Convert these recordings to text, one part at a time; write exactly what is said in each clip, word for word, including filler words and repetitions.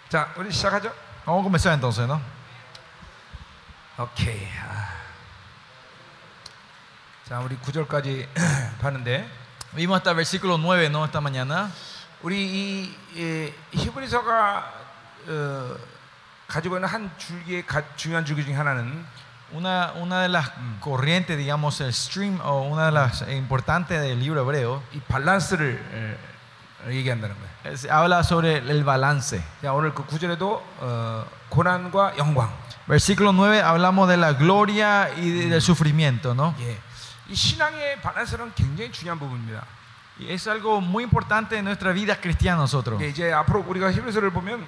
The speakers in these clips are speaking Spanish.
자, 우리 시작하죠. Vamos a comenzar entonces, ¿no? 오케이. 아. 자, 우리 구 절까지 봤는데 Vimos hasta el versículo nueve, ¿no? Esta mañana. 우리 이, 이 히브리서가 어, 가지고 있는 한 줄기의 가, 중요한 줄기 중에 하나는 Una, una de las corrientes, digamos, el stream o una de las importantes del libro hebreo, 이 밸런스를 어, 얘기한다는 거예요. es, habla sobre el balance. 자, 오늘 그 구 절에도 어, 고난과 영광. Versículo nueve hablamos de la gloria y de- del sufrimiento, ¿no? 예. 이 신앙의 밸런스는 굉장히 중요한 부분입니다. Y es algo muy importante en nuestra vida cristiana nosotros. 예, 이제 앞으로 우리가 히브리서를 보면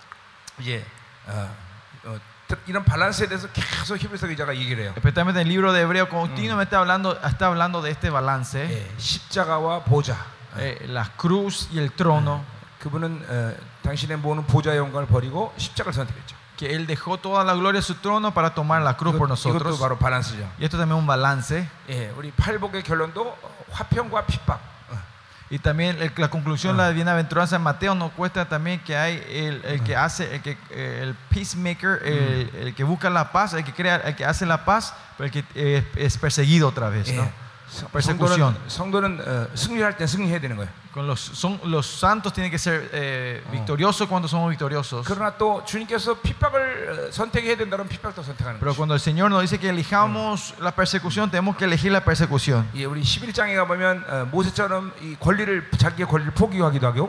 이제 어, 어, 이런 밸런스에 대해서 계속 히브리서 기자가 얘기를 해요. Especialmente en el libro de Hebreo continuamente hablando, está hablando de este balance, 예, 십자가와 보좌. eh, la cruz y el trono, 그분은 어, 당신의 모든 보좌의 영광을 버리고 십자가를 선택했죠. que él dejó toda la gloria de su trono para tomar la cruz por 이것, 이것도 nosotros. 바로 밸런스죠. Y esto también es un balance. 예, 우리 팔복의 결론도 화평과 핍박. 어, Y también el- la conclusión, la bienaventuranza en Mateo nos cuesta también que hay el, el que hace, el que eh, el peacemaker, el, el que busca la paz, el que crea, el que hace la paz, pero el que eh, es perseguido otra vez, ¿no? 예, 성- Persecución. 성도는, 성도는 어, 승리할 때 승리해야 되는 거예요. Con los, son, los santos tienen que ser eh, victoriosos cuando somos victoriosos. 그러나 또 주님께서 핍박을 어, 선택해야 된다면 핍박도 선택하는 Pero 거죠. cuando el Señor nos dice que elijamos la persecución, tenemos que elegir la persecución. 예, 우리 십일 장에 가보면 어, 모세처럼 이 권리를 자기의 권리를 포기하기도 하고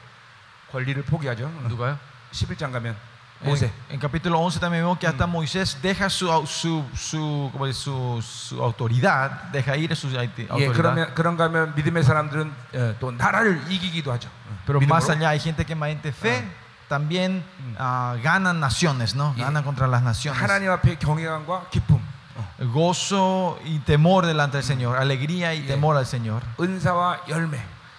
권리를 포기하죠. 어, 십일 장 가면 모세. En, en capítulo once también vemos que hasta Moisés deja su, su, su, como dice, su, su autoridad, deja ir su 예, autoridad. 그러면 그런가 하면 믿음의 사람들은 어, 또 나라를 이기기도 하죠. 어, Pero 믿음으로. más allá hay gente que mediante fe también ah, ganan naciones, ¿no? Yeah. Ganan contra las naciones. 하나님 앞에 경외감과 기쁨, 어, Gozo y temor delante del Señor, alegría y Yeah. temor al Señor. 은사와 열매.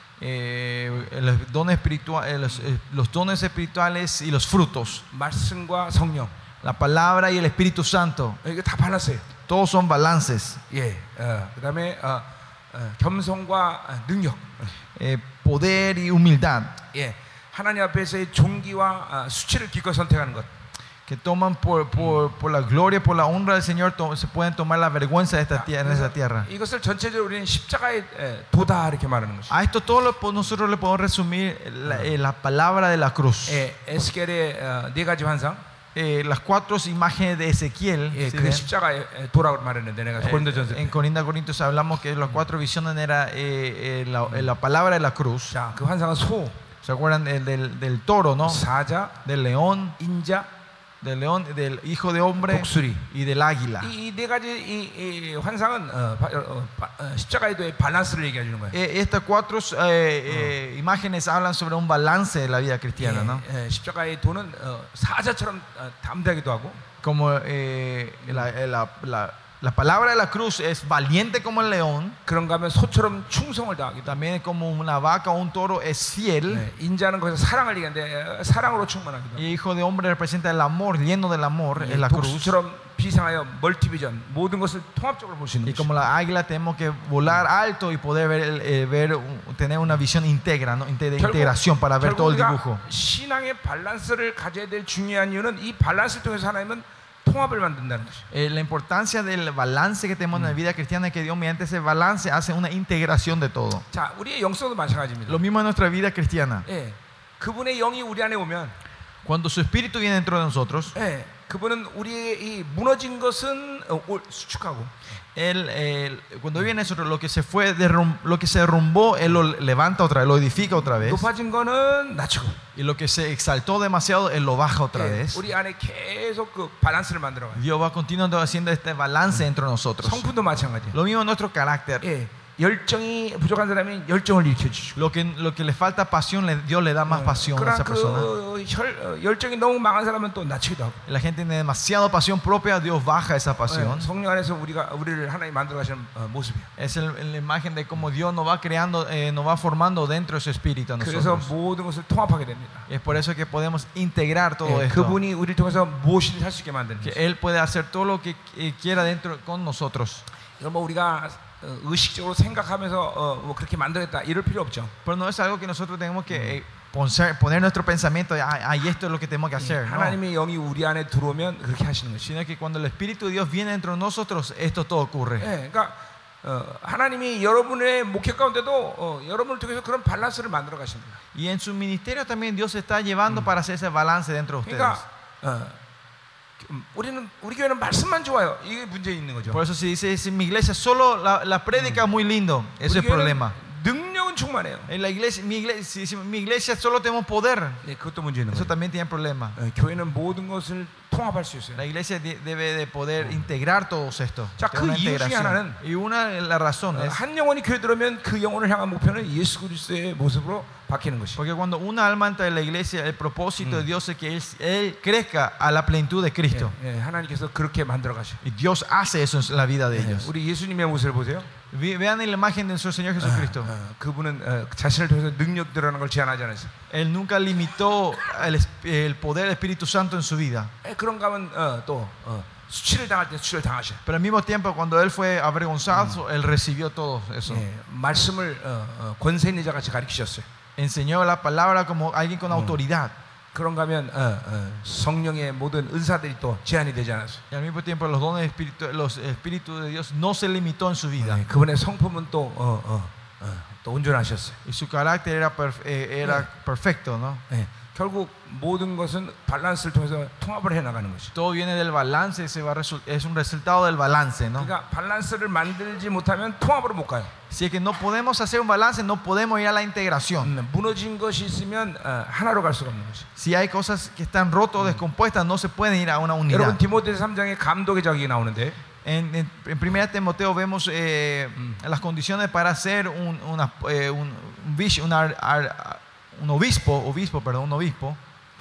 Eh, los, dones espiritua- eh, los, eh, los dones espirituales y los frutos, 말씀과 성령. la palabra y el Espíritu Santo, 어, 이거 다 발랐어요. todos son balances. 예, 어, 그다음에 어, 어, 겸손과 어, 능력. Eh, poder y humildad, 예, 하나님 앞에서의 존귀와 어, 수치를 기꺼이 선택하는 것. que toman por, por, por la gloria, por la honra del Señor, to- se pueden tomar la vergüenza de esta tierra, en esta tierra. 이것을 전체적으로 우리는 십자가의 에, 도다 이렇게 말하는 것이죠. A esto todo lo, po- nosotros le podemos resumir la, eh, la palabra de la cruz. 예, 에스겔의 어, 네 가지 환상. Eh, las cuatro imágenes de Ezequiel, 예, ¿sí 그 ven? 십자가의 에, 도라고 말했는데 내가 Eh, 고린도전서 en 때. Corinda Corintios hablamos que las cuatro visiones era eh, eh, la, eh, la palabra de la cruz. 자, 그 환상은 소, ¿Se acuerdan del, del, del toro, no? 사자, Del león, 인자, del león, del hijo de hombre 독수리. y del águila. 이 네 가지 이, 이 환상은 어, 바, 어, 바, 어, 십자가의 도의 밸런스를 얘기해 주는 거예요. Eh, estas cuatro eh, eh, imágenes hablan sobre un balance de la vida cristiana, ¿no? 예, 예, 십자가의 도는 어, 사자처럼 어, 담대하기도 하고, Como eh, la, la, la, la palabra de la cruz es valiente como el león, 그런가 하면 소처럼 충성을 다하기도 하고, también como una vaca o un toro es fiel. 예, 인자는 거기서 사랑을 얘기하는데 어, 사랑으로 충만하기도 하고, Y hijo de hombre representa el amor, lleno del amor, 예, es la cruz. 독수처럼 비상하여 멀티비전 모든 것을 통합적으로 볼 수 있는 Y 것이죠. como la águila tenemos que volar alto y poder ver, el- eh, ver un- tener una visión íntegra, ¿no? Inte- de 결국, integración para ver todo 결국 el 우리가 dibujo. 신앙의 밸런스를 가져야 될 중요한 이유는 이 밸런스를 통해서 하나님은 통합을 만든다는 것이죠. Eh, la importancia del balance que tenemos en la vida cristiana es que Dios mediante ese balance hace una integración de todo. 자, 우리의 영성도 마찬가지입니다. Lo mismo en nuestra vida cristiana. 예, 그분의 영이 우리 안에 오면, Cuando su espíritu viene dentro de nosotros, 예, 그분은 우리의 이 무너진 것은 어, 올- 수축하고, él, eh, cuando viene nosotros, lo que se fue derrum- lo que se derrumbó, él lo levanta otra vez, lo edifica otra vez. 높아진 거는 낮추고, Y lo que se exaltó demasiado, él lo baja otra 예, vez. 우리 안에 계속 그 밸런스를 만들어가요. Dios va continuando haciendo este balance entre nosotros. 성품도 마찬가지예요. Lo mismo en nuestro carácter. 예, 열정이 부족한 사람이 열정을 일으켜 주시고, Lo que, lo que le falta pasión, le- Dios le da más pasión a 그러나 esa persona. 그 혈, 어, 열정이 너무 강한 사람은 또 낮추기도 하고, La gente tiene demasiada pasión propia, Dios baja esa 예, pasión. 성령 안에서 우리가 우리를 하나님 만들어 가시는 어, 모습이에요. Es el- la imagen de cómo Dios nos va creando, eh, nos va formando dentro de su espíritu a 그래서 nosotros. 모든 것을 통합하게 됩니다. Y es por eso que podemos integrar todo 예, esto. 그분이 우리를 통해서 무엇이든 할 수 있게 만드는 Que 거죠. Él puede hacer todo lo que eh, quiera dentro con nosotros. 이건 뭐 우리가 어, 의식적으로 생각하면서 어, 뭐 그렇게 만들었다 이럴 필요 없죠. Pero no es algo que nosotros tenemos que eh, poner, poner nuestro pensamiento, ah, y esto es lo que tenemos que hacer. No. 하나님의 영이 우리 안에 들어오면 그렇게 하시는 것이. Sino que cuando el Espíritu de Dios viene dentro de nosotros, esto todo ocurre. 예, 그러니까 어, 하나님이 여러분의 목회 가운데도 어, 여러분을 통해서 그런 밸런스를 만들어 가십니다. Y en su ministerio también Dios está llevando para hacer ese balance dentro de ustedes. 그러니까 어, 우리는 우리 교회는 말씀만 좋아요. 이게 문제 있는 거죠. Por eso se dice, en mi iglesia solo la, la prédica es muy lindo. Ese es el problema. 능력은 충만해요. En la iglesia, mi iglesia, si, si, mi iglesia solo tenemos poder. 네, 그것도 문제 있는 Eso 거죠. también tiene problema. 어, 교회는 모든 것을 통합할 수 있어요. La iglesia de, debe de poder integrar todos estos. 자, 그 이유 중에 하나는 Y una de las razones, 한 영혼이 교회 들어오면 그 영혼을 향한 목표는 예수 그리스도의 모습으로 바뀌는 것이. porque cuando una alma entra en la iglesia, el propósito de Dios es que él, él crezca a la plenitud de Cristo. 예, 예, 하나님께서 그렇게 만들어 가셔. Y Dios hace eso en la vida de ellos. 우리 예수님의 모습을 보세요. Ve- Vean en la imagen de nuestro Señor Jesucristo. 어, 그분은 어, 자신을 통해서 능력 드러나는 걸 제한하지 않았어요. Él nunca limitó el, es- el poder del Espíritu Santo en su vida. 예, 그런가 하면 어, 또 어, 수치를 당할 때 수치를 당하셔. Pero al mismo tiempo, cuando él fue avergonzado, él recibió todo eso. 예, 말씀을 어, 어, 권세 있는 자 같이 가르치셨어요. Enseñó la palabra como alguien con autoridad. 그런가 하면 어, 어, 성령의 모든 은사들이 또 제한이 되지 않았어요. Y al mismo tiempo, los dones espíritu, los espíritus de Dios no se limitó en su vida. 예, 그분의 성품은 또 어, 어, 어, 또 온전하셨어요. Y su carácter era, perf- eh, era perfecto, ¿no? 예, 결국 모든 것은 밸런스를 통해서 통합을 해 나가는 것이죠. Todo viene del balance, se va a resu- es un resultado del balance, ¿no? 그러니까 밸런스를 만들지 못하면 통합으로 못 가요. Si es que no podemos hacer un balance, no podemos ir a la integración. 음, 무너진 것이 있으면 어, 하나로 갈 수가 없는 것이. Si hay cosas que están rotas o descompuestas, no se pueden ir a una 여러분 unidad. 디모데 삼 장에 감독의 자격이 나오는데 En, en, en primera Timoteo vemos eh, las condiciones para ser un, una, eh, un, un, bish- un ar- ar- un obispo, obispo, perdón, un obispo.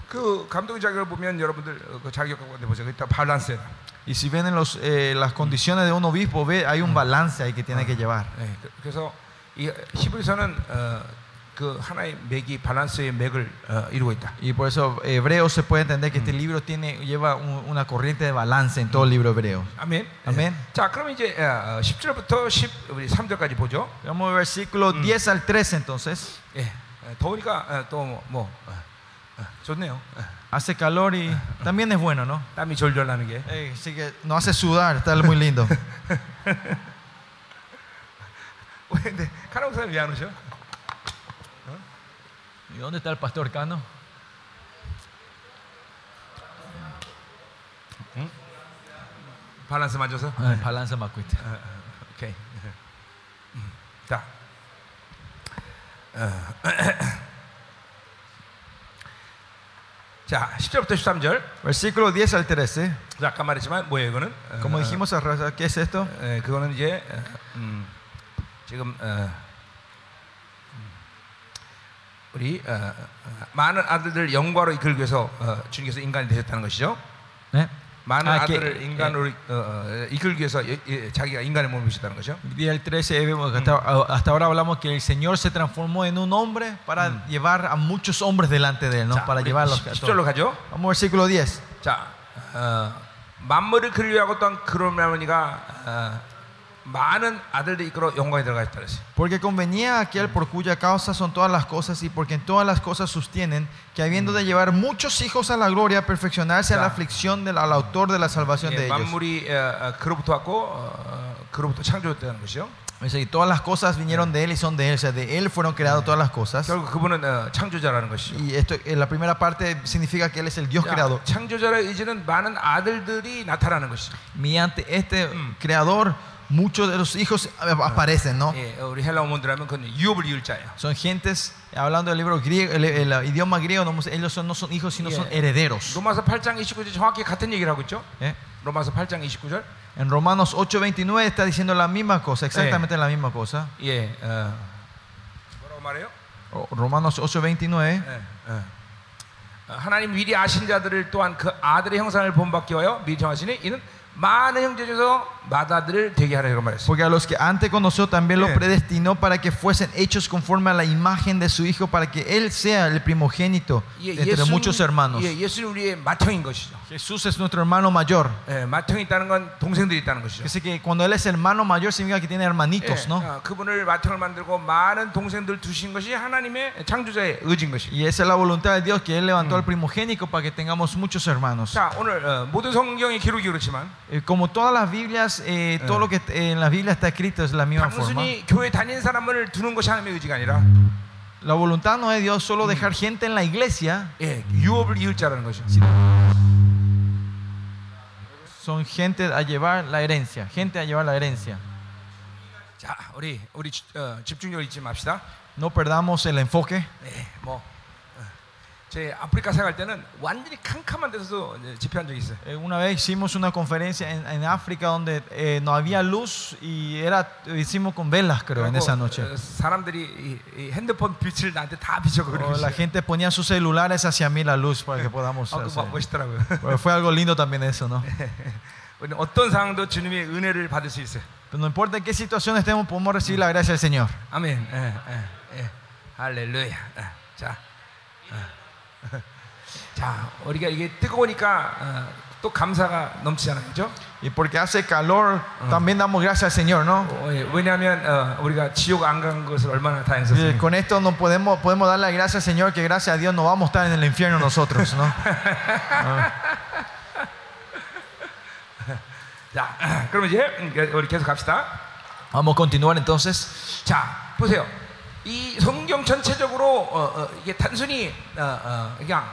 그 감독의 자격을 보면 여러분들 어, 그 자격 가운데 보세요. 그다 밸런스야. Y si ven en los, eh, las condiciones de un obispo, ve, hay un balance ahí que tiene que llevar. 예, 그- 그래서 이 히브리서는 어, 그 하나의 맥이 밸런스의 맥을 어, 이루고 있다. Y por eso hebreo se puede entender que este libro tiene, lleva un- una corriente de balance en todo el libro hebreo. 아멘. 아멘. 예. 자, 그럼 이제 어, 십 절부터 십삼 절까지 보죠. Vamos al versículo diez al trece entonces. 예, 어, 더우니까 어, 또 뭐 어, 어, 좋네요. 어, Hace calor y también es bueno, ¿no? 땀이 졸졸 나는 게. Eh, así que no hace sudar, está muy lindo. 왜 근데 카나우 사람 왜안 오셔? ¿Y dónde está el pastor Cano? 밸런스 맞아서. Balanza Macuita. 어, 어, 오케이. 음, 자. 어, 자, 십 절부터 십삼 절. Versículo diez al trece. 자, 아까 말했지만 뭐예요, 이거는? Como 어, dijimos, ¿qué es esto? 에, 그거는 이제 어, 음, 지금 어, 음, 우리 어, 어, 많은 아들들 영광으로 이끌기 위해서 어, 주님께서 인간이 되셨다는 것이죠. ¿Eh? 많은 아, que- 아들을 인간으로 어, 어, 이끌기 위해서 예, 예, 자기가 인간의 몸을 입으셨다는 거죠. Día el trece, vemos que hasta, hasta ahora hablamos que el Señor se transformó en un hombre para llevar a muchos hombres delante de él, ¿no? 자, Para 우리 llevarlos a 십 절로 todos. 가죠. Vamos al versículo diez. 자, 어, 만물을 그리려고 또한 그런 할머니가 어, 많은 아들들이 이끌어 영광에 들어가셨다 그랬어요. Porque convenía a aquel por cuya causa son todas las cosas y porque en todas las cosas sostienen que habiendo de llevar muchos hijos a la gloria, perfeccionarse a la Ya. aflicción del al autor de la salvación de 예, ellos. 만물이 어, 어, 그로부터 왔고 어, 그로부터 창조됐다는 것이죠. Es decir, todas las cosas vinieron de él y son de él, o sea, de él fueron creadas todas las cosas. 결국 그분은 어, 창조자라는 것이죠. Y esto, en la primera parte significa que él es el Dios 자, creador. 창조자의 의지는 많은 아들들이 나타나는 것이죠. Mediante este creador, muchos de los hijos aparecen, ¿no? 예, 우리 헬라 어머니라면 그건 유업을 이을 자예요. Son gentes, hablando del libro griego, el, el- el idioma griego, no, ellos son, no son hijos, sino Yeah. son herederos. 로마서 팔 장 이십구 절 정확히 같은 얘기를 하고 있죠. ¿Eh? 로마서 팔 장 이십구 절. En Romanos ocho veintinueve está diciendo la misma cosa, exactamente la misma cosa. 예, 어, 뭐라고 말해요? O- Romanos ocho veintinueve. 예, 어. 어, 하나님 미리 아신 자들을 또한 그 아들의 형상을 본받게 하여 미리 정하시니 이는 많은 형제 중에서 맏아들을 되게 하라고 말했어요. Porque a los que antes conoció también los Sí. predestinó para que fuesen hechos conforme a la imagen de su Hijo, para que Él sea el primogénito 예, entre muchos hermanos. 예, 예수는 우리의 맏형인 것이죠. Jesús es nuestro hermano mayor. 예, 맏형이 있다는 건 동생들이 있다는 것이죠. Dice que cuando Él es hermano mayor significa que tiene 예, hermanitos, ¿no? 어, 그분을 맏형을 만들고 많은 동생들 두신 것이 하나님의 창조자의 의지인 것이죠. Y esa es la voluntad de Dios, que Él levantó al primogénico para que tengamos muchos hermanos. 자, 오늘 어, 모든 성경의 기록이 그렇지만 Eh, como todas las Biblias, eh, todo lo que eh, en la Biblia está escrito es de la misma forma. 단순히 교회 다닌 사람을 두는 것이 하나님의 의지가 아니라 La voluntad no es de Dios solo dejar gente en la iglesia, 예, 유업을 이을 자라는 것이죠. son gente a llevar la herencia, gente a llevar la herencia. 자, 우리 우리 어, 집중력을 잊지 맙시다. No perdamos el enfoque. 네, 뭐 어, 제 아프리카 생활 때는 완전히 캄캄한 데서도 이제 집회한 적이 있어요. Eh, Una vez hicimos una conferencia en, en África donde eh, no había luz y era, hicimos con velas, creo, en esa noche. 어, 사람들이 이, 이 핸드폰 빛을 나한테 다 비춰고 그러고 O la 있어요. gente ponía sus celulares hacia mí la luz para que podamos 아, 그 hacer. 뭐- 멋있더라고요. Pero fue algo lindo también eso, ¿no? 우리는 어떤 상황도 주님의 은혜를 받을 수 있어요. Pero no importa en qué situación estemos, podemos recibir la gracia del Señor. 아멘. 예, 예, 예. 할렐루야. 예, 자, 어. 자, 우리가 이게 뜨거우니까 어, 또 감사가 넘치잖아요, 그렇죠? Y porque hace calor, también damos gracias al Señor, ¿no? 어, 예, 왜냐하면 어, 우리가 지옥 안 간 것을 얼마나 Y 다행스럽습니까? con esto no podemos, podemos dar la gracia al Señor, que gracias a Dios no vamos a estar en el infierno nosotros, ¿no? 자, 그럼 이제 우리 계속 갑시다. Vamos a continuar entonces. 자, 보세요. 이 성경 전체적으로 어, 어, 이게 단순히 어, 어, 그냥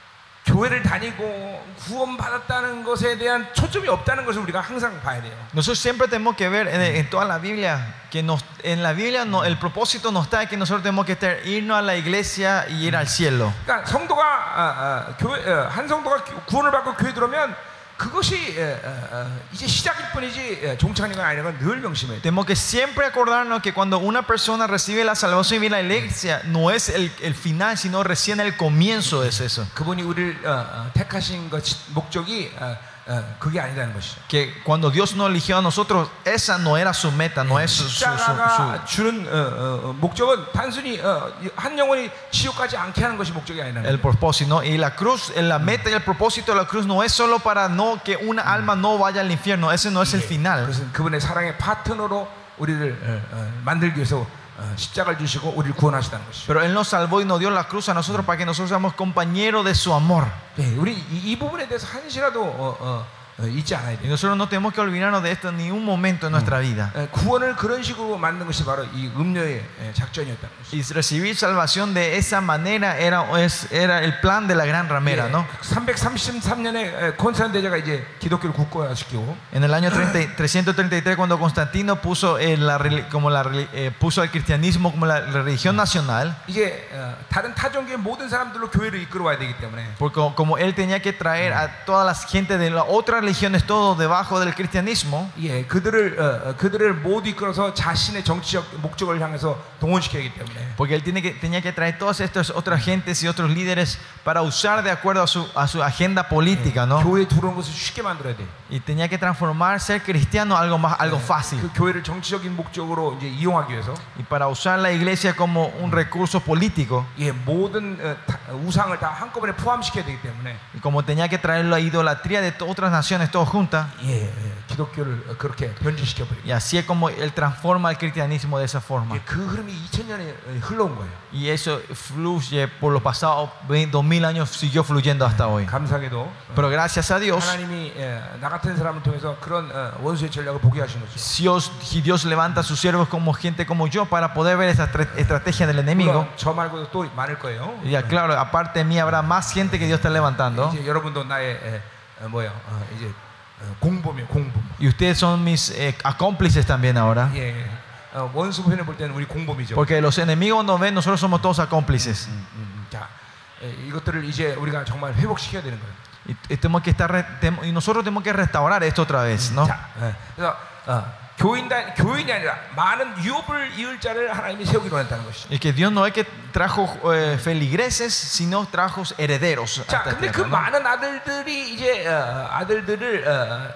교회를 다니고 구원받았다는 것에 대한 초점이 없다는 것을 우리가 항상 봐야 돼요. Nosotros siempre tenemos que ver en, en toda la Biblia que nos, en la Biblia no, el propósito no está en que nosotros tenemos que estar, irnos a la iglesia y ir al cielo. 그러니까 성도가 어, 어, 교회 어, 한 성도가 구원을 받고 교회 들어오면 그것이 어, 어, 어, 이제 시작일 뿐이지 어, 종착하는 건 아니라는 걸 늘 명심해야 돼요. Tenemos que siempre acordarnos que cuando una persona recibe la salvación y viene a la iglesia, no es el, el final, sino recién el comienzo es eso. 그분이 우리를 어, 어, 택하신 것 목적이 어, 어, 그게 아니라는 것이죠. Que cuando Dios nos eligió a nosotros, esa no era su meta, no es su, su, su, 십자가가 su- 주는 어, 어, 어, 목적은 단순히 어, 한 영혼이 지옥 가지 않게 하는 것이 목적이 아니라는 el 거예요. propósito, ¿no? Y la cruz, la meta y el propósito de la cruz no es solo para no que una alma no vaya al infierno, ese no es el final. 그것은 그분의 사랑의 파트너로 우리를 어, 어, 만들기 위해서 어, 십자가를 주시고 우리를 구원하시다는 것이죠. Pero Él nos salvó y nos dio la cruz a nosotros para que nosotros seamos compañeros de su amor. 네, 우리 이, 이 부분에 대해서 한시라도 어, 어, 어, 잊지 않아야 Y 돼요. nosotros no tenemos que olvidarnos de esto ni un momento en nuestra vida. 예, 구원을 그런 식으로 만든 것이 바로 이 음료의 예, 작전이었다는 것이죠. Y recibir salvación de esa manera era, es, era el plan de la gran ramera, ¿no? 삼백삼십삼 년에 콘스탄 대제가 이제 기독교를 국가화시키고 En el año treinta, trescientos treinta y tres, cuando Constantino puso, eh, la, reli- como la, reli- eh, puso al cristianismo como la religión nacional, 이제 어, 다른 타종교의 모든 사람들로 교회를 이끌어와야 되기 때문에 porque como él tenía que traer a todas las gente de las otras religiones, todo debajo del cristianismo, 예, 그들을 어, 어, 그들을 모두 이끌어서 자신의 정치적 목적을 향해서 동원시켜야 하기 때문에 porque él tiene que, tenía que traer todas estas otras gentes y otros líderes para usar de acuerdo a su, a su agenda política, ¿no? 교회에 들어오는 것을 쉽게 만들어야 돼. Y tenía que transformar ser cristiano algo más, algo fácil. 그 교회를 정치적인 목적으로 이제 이용하기 위해서 Y para usar la iglesia como un recurso político, 예, 모든 어, 다, 우상을 다 한꺼번에 포함시켜야 되기 때문에 y como tenía que traer la idolatría de to- otras naciones, todos juntas, 예, 예, 기독교를 그렇게 변질시켜 버리고 y así es como él transforma el cristianismo de esa forma. 예, 그 흐름이 이천 년에 흘러온 거예요. Y eso fluye por los pasados dos mil años, siguió fluyendo hasta hoy. 감사하게도 Pero gracias a Dios, 하나님이 예, 나 같은 사람을 통해서 그런 어, 원수의 전략을 보게 하신 거죠. Dios, y Dios levanta a sus siervos como gente como yo para poder ver esa estra- estrategia del enemigo. 물론 저 말고도 또 많을 거예요. Y ya, claro, aparte de mí habrá más gente que Dios está levantando. 이제 여러분도 나의 에, 어, 뭐야 어, 이제 어, 공범이에요, 공범. Y ustedes son mis eh, acómplices también ahora. 예, 예. 어, 원수 편에 볼 때는 우리 공범이죠. Porque los enemigos nos ven, nosotros somos todos acómplices. 음, 음, 자, 에, 이것들을 이제 우리가 정말 회복시켜야 되는 거예요. Y, y tenemos que estar re- tem- y nosotros tenemos que restaurar esto otra vez, ¿no? 자, 예. 그래서 어, 교인단 교인이 아니라 많은 유업을 이을 자를 하나님이 세우기로 했다는 것이죠. Y que Dios no es que trajo eh, feligreses, sino trajo herederos. a 자, esta 근데 그 tierra, ¿no? 많은 아들들이 이제 어, 아들들을 어, 어,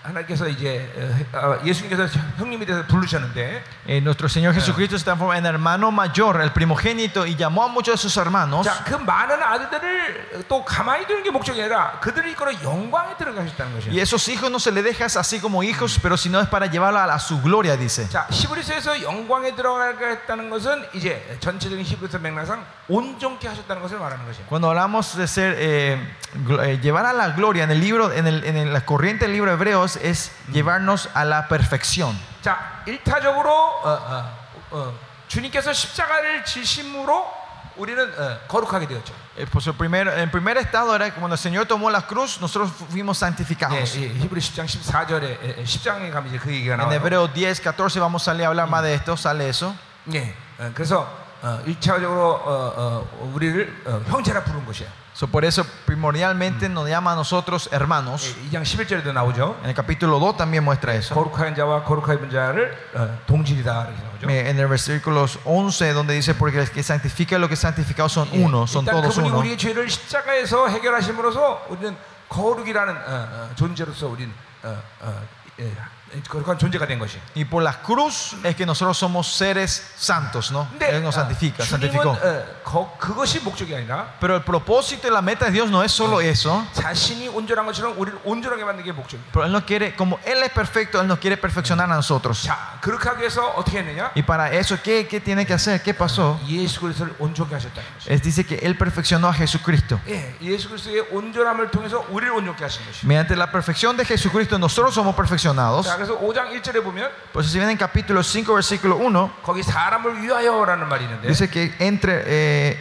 하나님께서 이제 어, 예수님께서 형님이 돼서 부르셨는데, Eh, nuestro Señor Jesucristo se transformó en hermano mayor, el primogénito, y llamó a muchos de sus hermanos. 자, 그 많은 아들들을 또 가만히 두는 게 목적이 아니라 그들을 이끌어 영광에 들어가셨다는 Y 것이에요. esos hijos no se les deja así como hijos, pero sino es para llevarlos a, a su gloria, dice. 자, 히브리서에서 영광에 들어가겠다는 것은 이제 전체적인 히브리서 맥락상 온전케 하셨다는 것을 말하는 것이에요. Cuando hablamos de ser eh, gl- eh, llevar a la gloria en el libro, en, el, en el- la corriente del libro de Hebreos es llevarnos a la perfección. 자, 일타적으로 어, 어, 어, 주님께서 십자가를 지심으로 우리는 어, 거룩하게 되었죠. Eh, pues el primer, el primer estado era que cuando el Señor tomó la cruz, nosotros fuimos 예, santificados. 예, 히브리 십 장 십사 절에 십 장에 가면 이제 그 얘기가 En 나와요. Hebreos diez, catorce vamos a salir a hablar más de esto, sale eso. 예, 어, 그래서 어, 일차적으로 어, 어, 우리를 어, 형제라 부른 것이에요. So, por eso primordialmente nos llama a nosotros hermanos. 이 장 십일 절에도 나오죠. En el capítulo dos también muestra eso. 거룩한 자와 거룩하게 입은 자를 어, 동질이다 이렇게 나오죠. Eh, En el versículo once donde dice porque el que santifica y los que santificados son uno, son 일단 todos 그분이 uno. 우리의 죄를 십자가에서 해결하심으로써 우리는 거룩이라는 어, 어, 존재로서 우리는 어, 어, 예, 거룩한 존재가 된 것이. Y por la cruz es que nosotros somos seres santos, ¿no? 근데 Él nos 어, santifica, 주님은 santificó. 어, 거, 그것이 목적이 아니라 Pero el propósito y la meta de Dios no es solo eso. 자신이 온전한 것처럼 우리를 온전하게 만드는 게 목적이에요. Pero Él no quiere, como Él es perfecto, Él nos quiere perfeccionar a nosotros. 자, 그렇게 하기 위해서 어떻게 했느냐? Y para eso, ¿qué, qué tiene que hacer? ¿Qué pasó? 예수 그리스도를 온전케 하셨다는 것이. Es, dice que Él perfeccionó a Jesucristo. 예, 예수 그리스도의 온전함을 통해서 우리를 온전케 하신 것이. Mediante la perfección de Jesucristo, nosotros somos perfeccionados. 자, 그래서 오 장 일 절에 보면 Pues si ven en capítulo cinco, versículo uno, 거기 사람을 위하여라는 말이 있는데, dice que entre eh,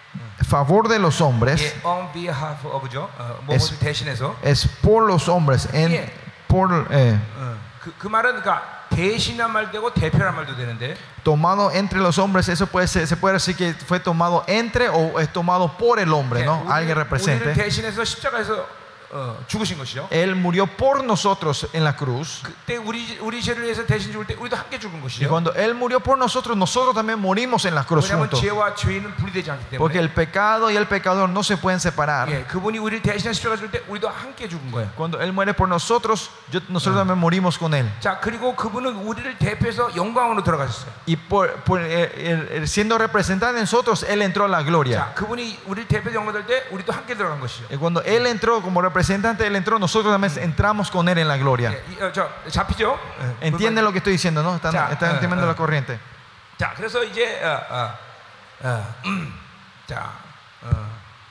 favor de los hombres 예, on behalf of죠. 어, 뭐 Es- 대신해서. es por los hombres, en, Yeah. por, eh, 어, 그, 그 말은 그러니까 대신한 말 되고 대표란 말도 되는데, tomado entre los hombres. Eso puede ser, se puede decir que fue tomado entre o es tomado por el hombre, ¿no? 우리, Alguien 우리를 represente. 대신해서 십자가에서 어, 죽으신 것이죠. Él murió por nosotros en la cruz. 그때 우리 우리 죄를 위해서 대신 죽을 때 우리도 함께 죽은 Y 것이죠. cuando Él murió por nosotros, nosotros también morimos en la cruz 왜냐하면 juntos. 죄와 죄인은 분리되지 않기 Porque 때문에. el pecado y el pecador no se pueden separar. 예, 그분이 우리를 대신해 십자가 죽을 때 우리도 함께 죽은 거예요. Cuando Él muere por nosotros, yo- nosotros también morimos con Él. 자, 그리고 그분은 우리를 대표해서 영광으로 들어가셨어요. Y por, por, eh, el- el- siendo representante de nosotros, Él entró a la gloria. 자, 그분이 우리를 대표해서 영광 될 때 우리도 함께 들어간 것이죠. Y cuando Él entró como representante, Él entró, nosotros también entramos con Él en la gloria. 예, 이, 어, 저 잡히죠? 예, ¿Entienden lo que estoy diciendo, no? ¿Están, Ya, están eh, entendiendo eh. la corriente? 자, 그래서 이제 어, 어, 어, 음, 자, 어,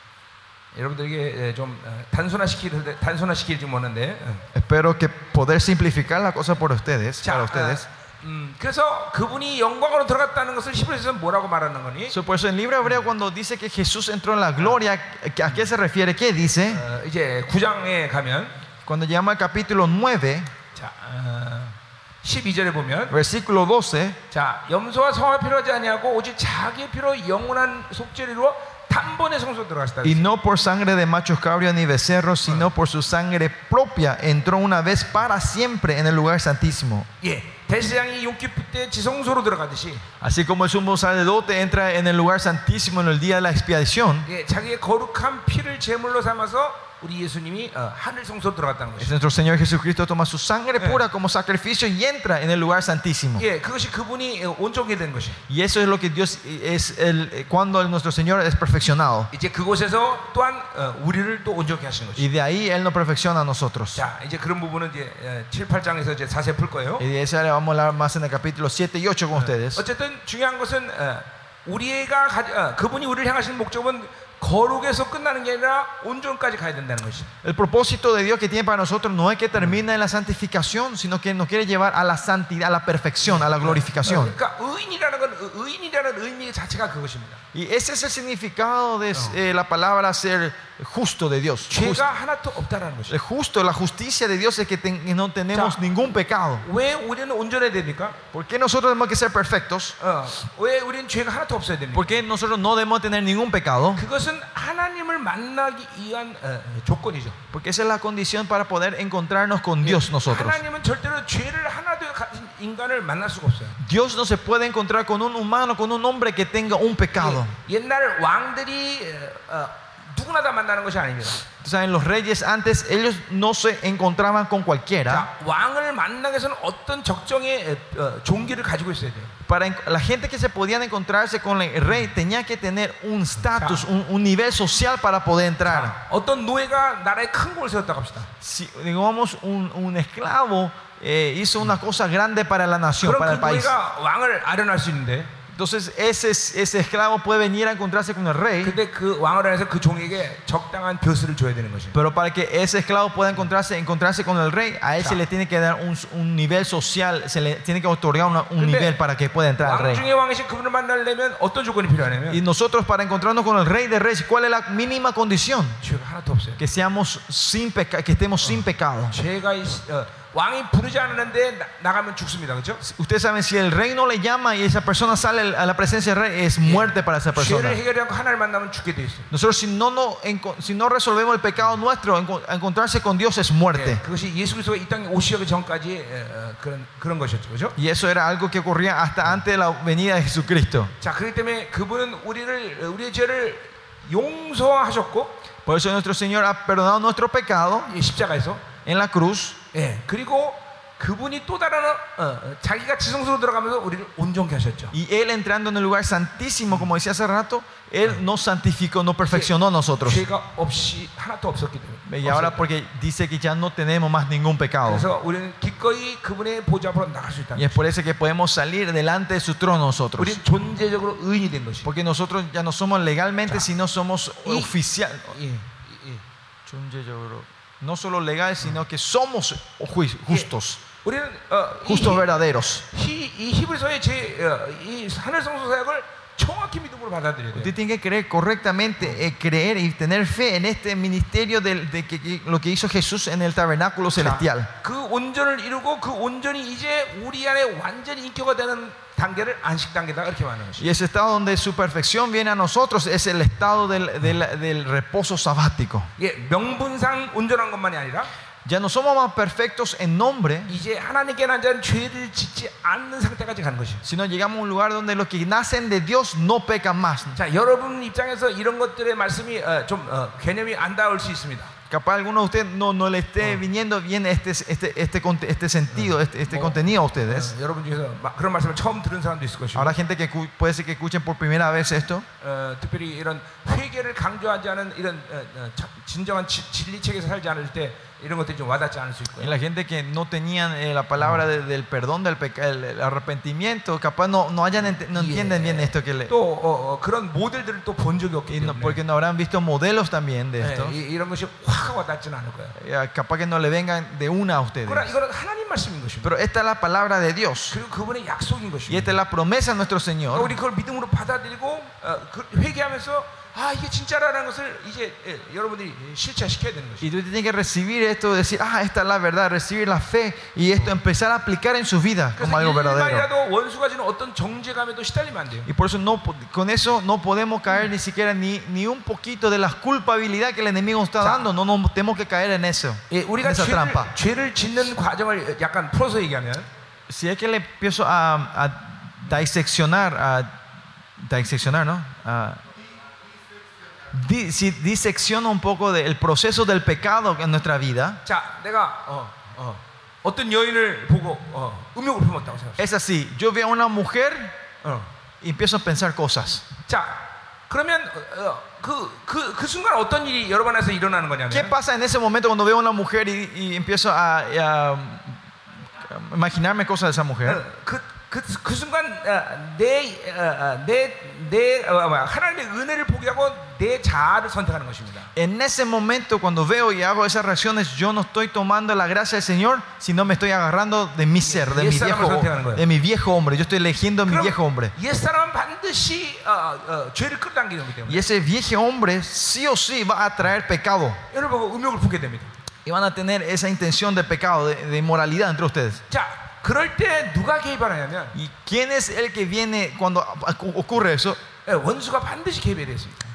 여러분들에게 예, 좀 어, 단순화시킬 단순화시키지 못하는데, 어. Espero que poder simplificar la cosa por ustedes, 자, para ustedes. 어, 음, 그래서 그분이 영광으로 들어갔다는 것을 히브리서는 뭐라고 말하는 거니? So, por eso en el libro hebreo cuando dice que Jesús entró en la gloria, ¿a qué se refiere? ¿Qué dice? 어, 이제 구 장에 가면, Cuando llama al capítulo nueve, 자, 어, 십이 절에 보면, versículo doce, 자, 염소와 성화 필요하지 아니하고 오직 자기의 피로 영원한 속죄를 이루어 단번에 성소 들어가시다. y no por sangre de machos cabríos ni becerros, sino por su sangre propia, entró una vez para siempre en el lugar santísimo. 예, 대제사장이 용기프 때 지성소로 들어가듯이, Así como el sumo sacerdote entra en el lugar santísimo en el día de la expiación, 예, 자기의 거룩한 피를 제물로 삼아서 우리 예수님이 어, 하늘 성소로 들어갔다는 es 것이죠. nuestro Señor Jesucristo toma su sangre pura como sacrificio y entra en el lugar santísimo. 예, 그것이 그분이 어, 온전하게 된 것이. Y eso es lo que Dios es el, cuando nuestro Señor es perfeccionado. 이제 그곳에서 또한 어, 우리를 또 온전하게 하신 것이. Y de ahí Él nos perfecciona a nosotros. 자, 이제 그런 부분은 이제 어, 칠, 팔 장에서 이제 자세히 풀 거예요. Y de eso le vamos a hablar más en el capítulo siete y ocho con ustedes. 어쨌든 중요한 것은 어, 우리가 가지, 어, 그분이 우리를 향하신 목적은 거룩에서 끝나는 게 아니라 온전까지 가야 된다는 것이. El propósito de Dios que tiene para nosotros no es que termine en la santificación, sino que nos quiere llevar a la santidad, a la perfección, a la glorificación. 그러니까 의인이라는 건 의- 의인이라는 의미 자체가 그것입니다. Y ese es el significado de eh, la palabra ser justo de Dios. Just- 죄가 하나도 없다라는 것이. el justo, la justicia de Dios es que, ten- que no tenemos Ya. ningún pecado. 왜 우리는 온전해야 됩니까? ¿Por qué nosotros tenemos que ser perfectos? 어, 왜 우리는 죄가 하나도 없어야 됩니까? ¿Por qué nosotros no debemos tener ningún pecado? 그것은 하나님을 만나기 위한 어, 조건이죠. Porque esa es la condición para poder encontrarnos con Dios nosotros. 하나님은 절대로 죄를 하나도 가진 인간을 만날 수가 없어요. Dios no se puede encontrar con un humano, con un hombre que tenga un pecado. 예, 옛날 왕들이 어, 어, 누구나 다 만나는 것이 아닙니다. Saben, los reyes antes, ellos no se encontraban con cualquiera. 자, 왕을 만나기 위해서는 어떤 적정의 어, 종기를 가지고 있어야 돼요. Para en- la gente que se podían encontrarse con el rey tenía que tener un estatus, un, un nivel social para poder entrar. 자, 어떤 노예가 나라에 큰 공을 세웠다고 합시다. Si, digamos, un, un esclavo eh, hizo una cosa grande para la nación, 그럼 para 그 el país. 노예가 왕을 아련할 수 있는데, Entonces ese, ese esclavo puede venir a encontrarse con el rey, 근데 그 왕을 안해서 그 종에게 적당한 벼슬을 줘야 되는 것입니다. pero para que ese esclavo pueda encontrarse, encontrarse con el rey, a él se Ya. le tiene que dar un, un nivel social, se le tiene que otorgar una- un 근데 nivel para que pueda entrar al 왕 rey. 중에 왕이신 그분을 만나려면 어떤 조건이 Y 필요하냐면 nosotros para encontrarnos con el rey de reyes, ¿cuál es la mínima condición? 죄가 하나도 없어요. Que seamos sin peca, que estemos sin pecado. 죄가 있- 어, 왕이 부르지 않았는데 나, 나가면 죽습니다. 그렇죠? Ustedes saben, si el rey no le llama y esa persona sale a la presencia del rey, es muerte para esa persona. 죄를 해결하지 않고 하나님을 만나면 죽게 돼 있어요. Nosotros si no, no, enco- si no resolvemos el pecado nuestro, enco- encontrarse con Dios es muerte. 예, 그것이 예수 그리스도가 이 땅에 오시기 전까지 어, 어, 그런 그런 것이었죠. 그렇죠? Y eso era algo que ocurría hasta antes de la venida de Jesucristo. 자, 그렇기 때문에 그분은 우리를 우리의 죄를 용서하셨고 Por eso nuestro Señor ha perdonado nuestro pecado 이 십자가에서 en la cruz. 예, 그리고 그분이 또 다른 어, 어, 자기가 지성소로 들어가면서 우리를 온전케 하셨죠. Y Él entrando en el lugar santísimo, como decía hace rato, Él nos santificó, nos perfeccionó a nosotros. 죄가 없이 하나도 없었기 때문에. Y ahora 없었기 porque dice que ya no tenemos más ningún pecado. 그래서 우리는 기꺼이 그분의 보좌 앞으로 나갈 수 있다. Y es por eso que podemos salir delante de su trono nosotros. 우리는 존재적으로 의인이 된 것이. Porque nosotros ya no somos legalmente, sino somos Y- oficial. 예, 예. No solo legales, sino que somos ju- justos. 우리는 어, 이, Justos verdaderos. 히, 이 히브리서의 제, 어, 이 하늘성소 사역을 정확히 믿음으로 받아들여야 Usted 돼요. tiene que creer correctamente, eh, creer y tener fe en este ministerio del- de, que, que- lo que hizo Jesús en el tabernáculo celestial. 그 온전을 이루고 그 온전이 이제 우리 안에 완전히 인격화 되는 단계를 안식 단계다 이렇게 말하는 것이. Y ese estado donde su perfección viene a nosotros es el estado del, del- del reposo sabático. 예, 명분상 온전한 것만이 아니라 Ya no somos más perfectos en nombre, 이제 하나님께 난 자는 죄를 짓지 않는 상태까지 가는 것이. sino llegamos a un lugar donde los que nacen de Dios no pecan más. 자, 여러분 입장에서 이런 것들의 말씀이 어, 좀 어, 개념이 안 닿을 수 있습니다. Capaz a alguno de ustedes no, no le esté viniendo bien este, este, este, conte- este sentido, este, este contenido a ustedes. 어, 여러분 중에서 막 그런 말씀을 처음 들은 사람도 있을 것이고, Habrá gente que cu- puede ser que escuchen por primera vez esto. 어, 특별히 이런 회개를 강조하지 않은 이런 어, 어, 자- 진정한 지, 진리 책에서 살지 않을 때 이런 것들이 좀 와닿지 않을 수 Y 있고요. la gente que no tenían eh, la palabra de- del perdón, del peca- el, el arrepentimiento, capaz no, no, hayan ente- no entienden bien esto que le, 또 어, 어, 그런 모델들을 또 본 적이 없기 y no- 때문에 porque no habrán visto modelos también de 예, esto. 이, 이런 것이 확 와닿지는 않을 거예요. Eh, Capaz que no le vengan de una a ustedes. 그러나 이거는 하나님 말씀인 것입니다. Pero esta es la palabra de Dios. 그리고 그분의 약속인 Y 것입니다. esta es la promesa de nuestro 그러니까 Señor. 우리 그걸 믿음으로 받아들이고 어, 그 회개하면서 아 이게 진짜라는 것을 이제 예, 여러분들이 실체시켜야 되는 것이죠. Y tú tienes que recibir esto, decir, ah, esta es la verdad, recibir la fe y esto empezar a aplicar en su vida como 그래서 algo verdadero. 일말이라도 원수가 주는 어떤 정죄감에도 시달리면 안 돼요. Y por eso no, po- con eso no podemos caer ni siquiera ni, ni un poquito de la culpabilidad que el enemigo está Ya. dando. No nos tenemos que caer en eso, 예, en 우리가 esa 죄를, trampa. 죄를 짓는 과정을 약간 풀어서 얘기하면 Si es que le empiezo a, a diseccionar, a diseccionar, ¿no? A- di- si disecciono un poco del proceso del pecado en nuestra vida, 자, 내가 어, 어, 어떤 여인을 보고 어, 음욕을 품었다고 생각해. es así. Yo veo a una mujer 어. y empiezo a pensar cosas. 자, 그러면 어, 그, 그, 그 순간 어떤 일이 여러 번 해서 일어나는 거냐면 ¿Qué pasa en ese momento cuando veo a una mujer y, y empiezo a, a- a imaginarme cosas de esa mujer? 어, 그, 그, 그 순간 어, 내, 어, 어, 내, 내 어, 뭐야, 하나님의 은혜를 포기하고 내 자아를 선택하는 것입니다. En ese momento cuando veo y hago esas reacciones, yo no estoy tomando la gracia del Señor, sino me estoy agarrando de mi ser, de mi viejo, de mi viejo hombre. Yo estoy eligiendo a mi viejo hombre. 옛사람은 반드시 어, 어, 죄를 끌어당기는 거기 때문에 Y ese viejo hombre sí o sí va a traer pecado. 여러분 보고 음욕을 품게 됩니다. Y van a tener esa intención de pecado, de, de inmoralidad entre ustedes. 자, 그럴 때 누가 개입하냐면 ¿Y quién es el que viene cuando ocurre eso? 예, 원수가 반드시 개입해야 되습니다.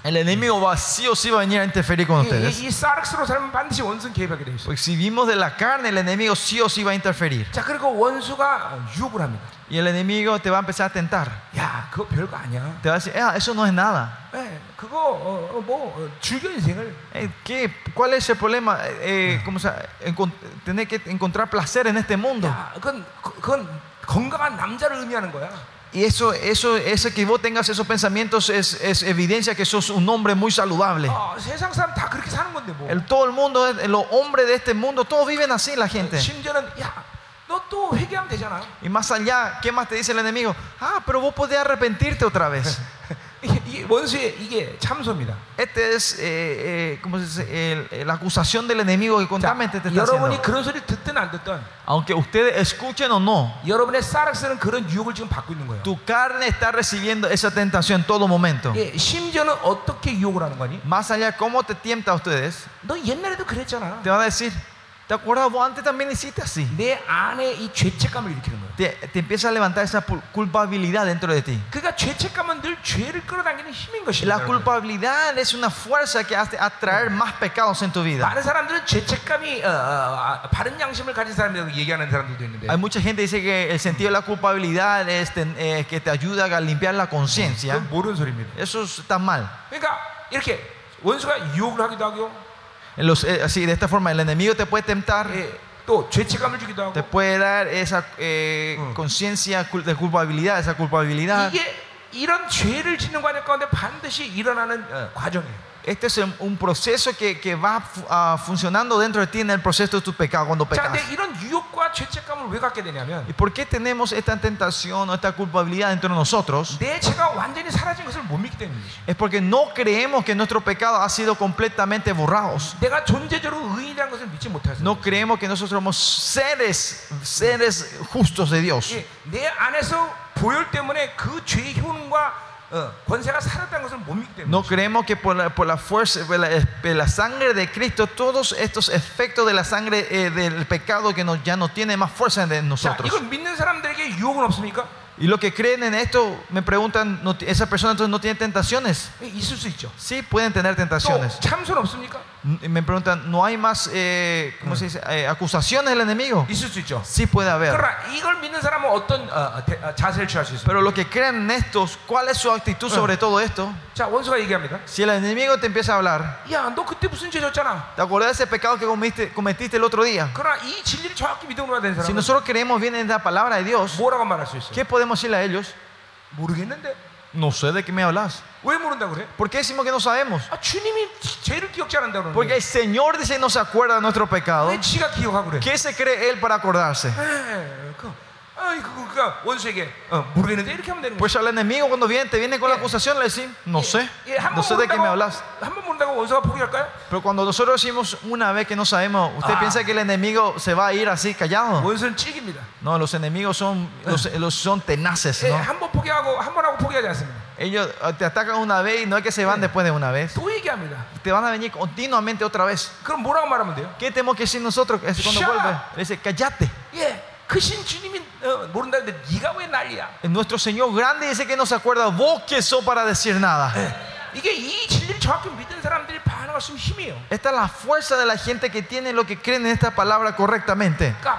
El enemigo va, sí o sí va a venir a interferir con 이, ustedes. 이, 이 사르스로 살면 반드시 원수는 개입하게 돼 있어요. Porque si vivimos de la carne, el enemigo sí o sí va a interferir. 자, 그리고 원수가 유혹을 합니다. Y el enemigo te va a empezar a tentar. 야, 그거 별거 아니야. Te va a decir, ah, eso no es nada. 예, 그거 어, 어, 뭐 어, 즐겨 인생을. Eh, ¿qué? ¿Cuál es el problema? Eh, ¿cómo se, encon- tener que encontrar placer en este mundo. 야, 그건 그- 그건 건강한 남자를 의미하는 거야. Y eso, eso, ese que vos tengas esos pensamientos es, es evidencia que sos un hombre muy saludable. 어, 세상 사람 다 그렇게 사는 건데 뭐. El, todo el mundo, los hombres de este mundo, todos viven así, la gente. 심지어는 야, 너 또 회개하면 되잖아. Y más allá, ¿qué más te dice el enemigo? Ah, pero vos podés arrepentirte otra vez. 이게, 이게 원수의 이게 참소입니다. Este es, eh, eh, ¿cómo se dice? El- el- la acusación del enemigo que 자, continuamente te está 여러분이 haciendo. 그런 소리 듣든 안 듣든 Aunque ustedes escuchen o no, 여러분의 사르스는 그런 유혹을 지금 받고 있는 거예요. tu carne está recibiendo esa tentación en todo momento. 예, 심지어는 어떻게 유혹을 하는 거니? Más allá, ¿cómo te tienta a ustedes? 너 옛날에도 그랬잖아. Te van a decir, ¿te acuerdas? Vos antes también hiciste así. 내 안에 이 죄책감을 일으키는 거예요. Te, te empieza a levantar esa pu- culpabilidad dentro de ti. 그러니까 죄책감은 늘 죄를 끌어당기는 힘인 것입니다. La 여러분. culpabilidad es una fuerza que hace atraer más pecados en tu vida. 많은 사람들은 죄책감이 어, 어, 아, 바른 양심을 가진 사람이라고 얘기하는 사람들도 있는데 Hay mucha gente que dice que el sentido de la culpabilidad es ten- eh, que te ayuda a limpiar la conciencia. 그건 모르는 소리입니다. Eso está mal. 그러니까 이렇게 원수가 유혹을 하기도 하고 En los- eh, así, de esta forma, el enemigo te puede tentar, 예, 또 죄책감을 주기도 하고 te puede dar esa eh, Mm. conciencia cul- de culpabilidad, esa culpabilidad. 이게 이런 죄를 짓는 과정 가운데 반드시 일어나는 어, 과정이에요. Este es un- un proceso que, que va fu- ah, funcionando dentro de ti en el proceso de tu pecado cuando 자, pecas. 근데 이런 유혹과 죄책감을 왜 갖게 되냐면 ¿Y por qué tenemos esta tentación o esta culpabilidad dentro de nosotros? 내 죄가 완전히 사라진 것을 못 믿기 때문이지. Es porque no creemos que nuestro pecado ha sido completamente borrados. 내가 존재적으로 의인이라는 것을 믿지 못해서 No creemos que nosotros somos seres, seres justos de Dios. 예, 내 안에서 보혈 때문에 그 죄의 효능과 어, 권세가 사라졌다는 것을 못 믿기 때문에 No creemos que por la, por la fuerza, por la, por la sangre de Cristo, todos estos efectos de la sangre eh, del pecado que no, ya no tiene más fuerza en 자, nosotros. 이걸 믿는 사람들에게 유혹은 없습니까? Y los que creen en esto me preguntan, ¿no, esa persona entonces no tiene tentaciones? 예, 있을 수 있죠. Sí, pueden tener 또 tentaciones. 참소는 없습니까? Y me preguntan, ¿no hay más eh, ¿cómo se dice? Eh, acusaciones del enemigo? 있을 수 있죠. Sí puede haber. 그러나 이걸 믿는 사람은 어떤 어, 어, 대- 어, 자세를 취할 수 있습니까? Pero los que creen en estos, ¿cuál es su actitud sobre todo esto? 자, 원수가 얘기합니다. Si el enemigo te empieza a hablar, 야, 너 그때 무슨 죄 졌잖아. ¿te acuerdas de ese pecado que cometiste, cometiste el otro día? 그러나 이 진리를 정확히 믿음으로 되는 Si 사람은 nosotros creemos bien en la palabra de Dios, 뭐라고 말할 수 있어요? ¿qué podemos decirle a ellos? 모르겠는데 No sé de qué me hablas. 왜 모른다 그래? ¿Por qué decimos que no sabemos? 아, 주님이 죄를 기억지 않는다 Porque 그러는데 el Señor dice no se acuerda de nuestro pecado. 왜 지가 기억하고 그래? ¿Qué se cree Él para acordarse? 에, 그, 아이 그, 그니까 원수에게 어, 모르겠는데 이렇게 하면 되는 거야. Pues al enemigo cuando viene, te viene con la acusación, le decimos, no sé, 예, no sé de qué me hablas. 한번 모른다고 원수가 포기할까요? Pero cuando nosotros decimos una vez que no sabemos, ¿usted Ah. piensa que el enemigo se va a ir así callado? 원수는 찌깁니다. No, los enemigos son, los, los son tenaces, 예, ¿no? 한번 포기하고 한 번 하고 포기하지 않습니다. Ellos eh, te atacan una vez y no es que se van después de una vez. 또 얘기합니다. Te van a venir continuamente otra vez. 그럼 뭐라고 말하면 돼요? ¿Qué tenemos que decir nosotros? Es cuando Shut vuelve. up. Le dice, cállate. 예, 크신 주님이 어, 모른다는데 네가 왜 난리야? Nuestro Señor grande dice que no se acuerda. ¿Vos qué sos para decir nada? 이게 이 진리를 정확히 믿는 사람들이 반응할 수 있는 힘이에요. Esta es la fuerza de la gente que tiene lo que creen en esta palabra correctamente. 그러니까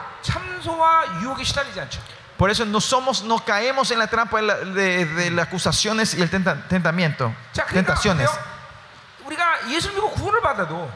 참소와 유혹에 시달리지 않죠. Por eso no somos, no caemos en la trampa de, la- de- de las acusaciones y el tenta- tentamiento, 자, 그러니까 tentaciones. 보세요. 우리가 예수 믿고 구원을 받아도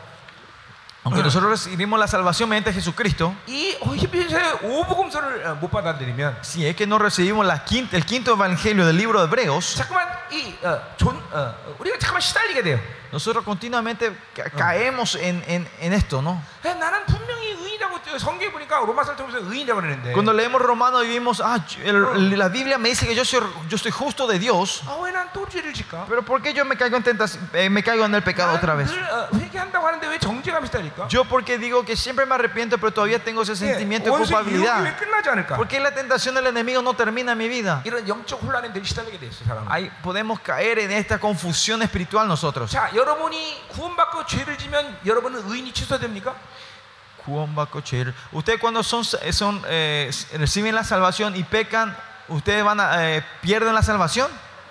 Aunque nosotros recibimos la salvación mediante Jesucristo, 이 히브리서의 오복음서를 어, 못 받아들이면 si es que no recibimos la quinta, el quinto evangelio del libro de Hebreos, 자꾸만 이 어, 존, 어, 우리가 잠깐만 시달리게 돼요. nosotros continuamente ca- caemos en, en- en esto, ¿no? 야, 나는 분명히 의인이라고 성경에 보니까 로마서를 통해서 의인이라고 그러는데 Cuando leemos Romanos y vimos, ah, el- la Biblia me dice que yo soy, yo soy justo de Dios, 아, 왜 난 또 죄를 질까? pero ¿por qué yo me caigo en tentación, eh, me caigo en el pecado otra vez? 늘 어, 회개한다고 하는데 왜 정죄감이 시달릴까? Yo porque digo que siempre me arrepiento, pero todavía tengo ese sentimiento de 원수의 유혹이 왜 culpabilidad. 끝나지 않을까? ¿Por qué la tentación del enemigo no termina en mi vida? 이런 영적 혼란에 늘 시달리게 돼 있어요, 사람은. Ahí podemos caer en esta confusión espiritual nosotros. 자, 여러분이 구원받고 죄를 지면 여러분은 의인이 취소됩니까? Ustedes cuando son, son, eh, reciben la salvación y pecan, ¿ustedes van a, eh, pierden la salvación?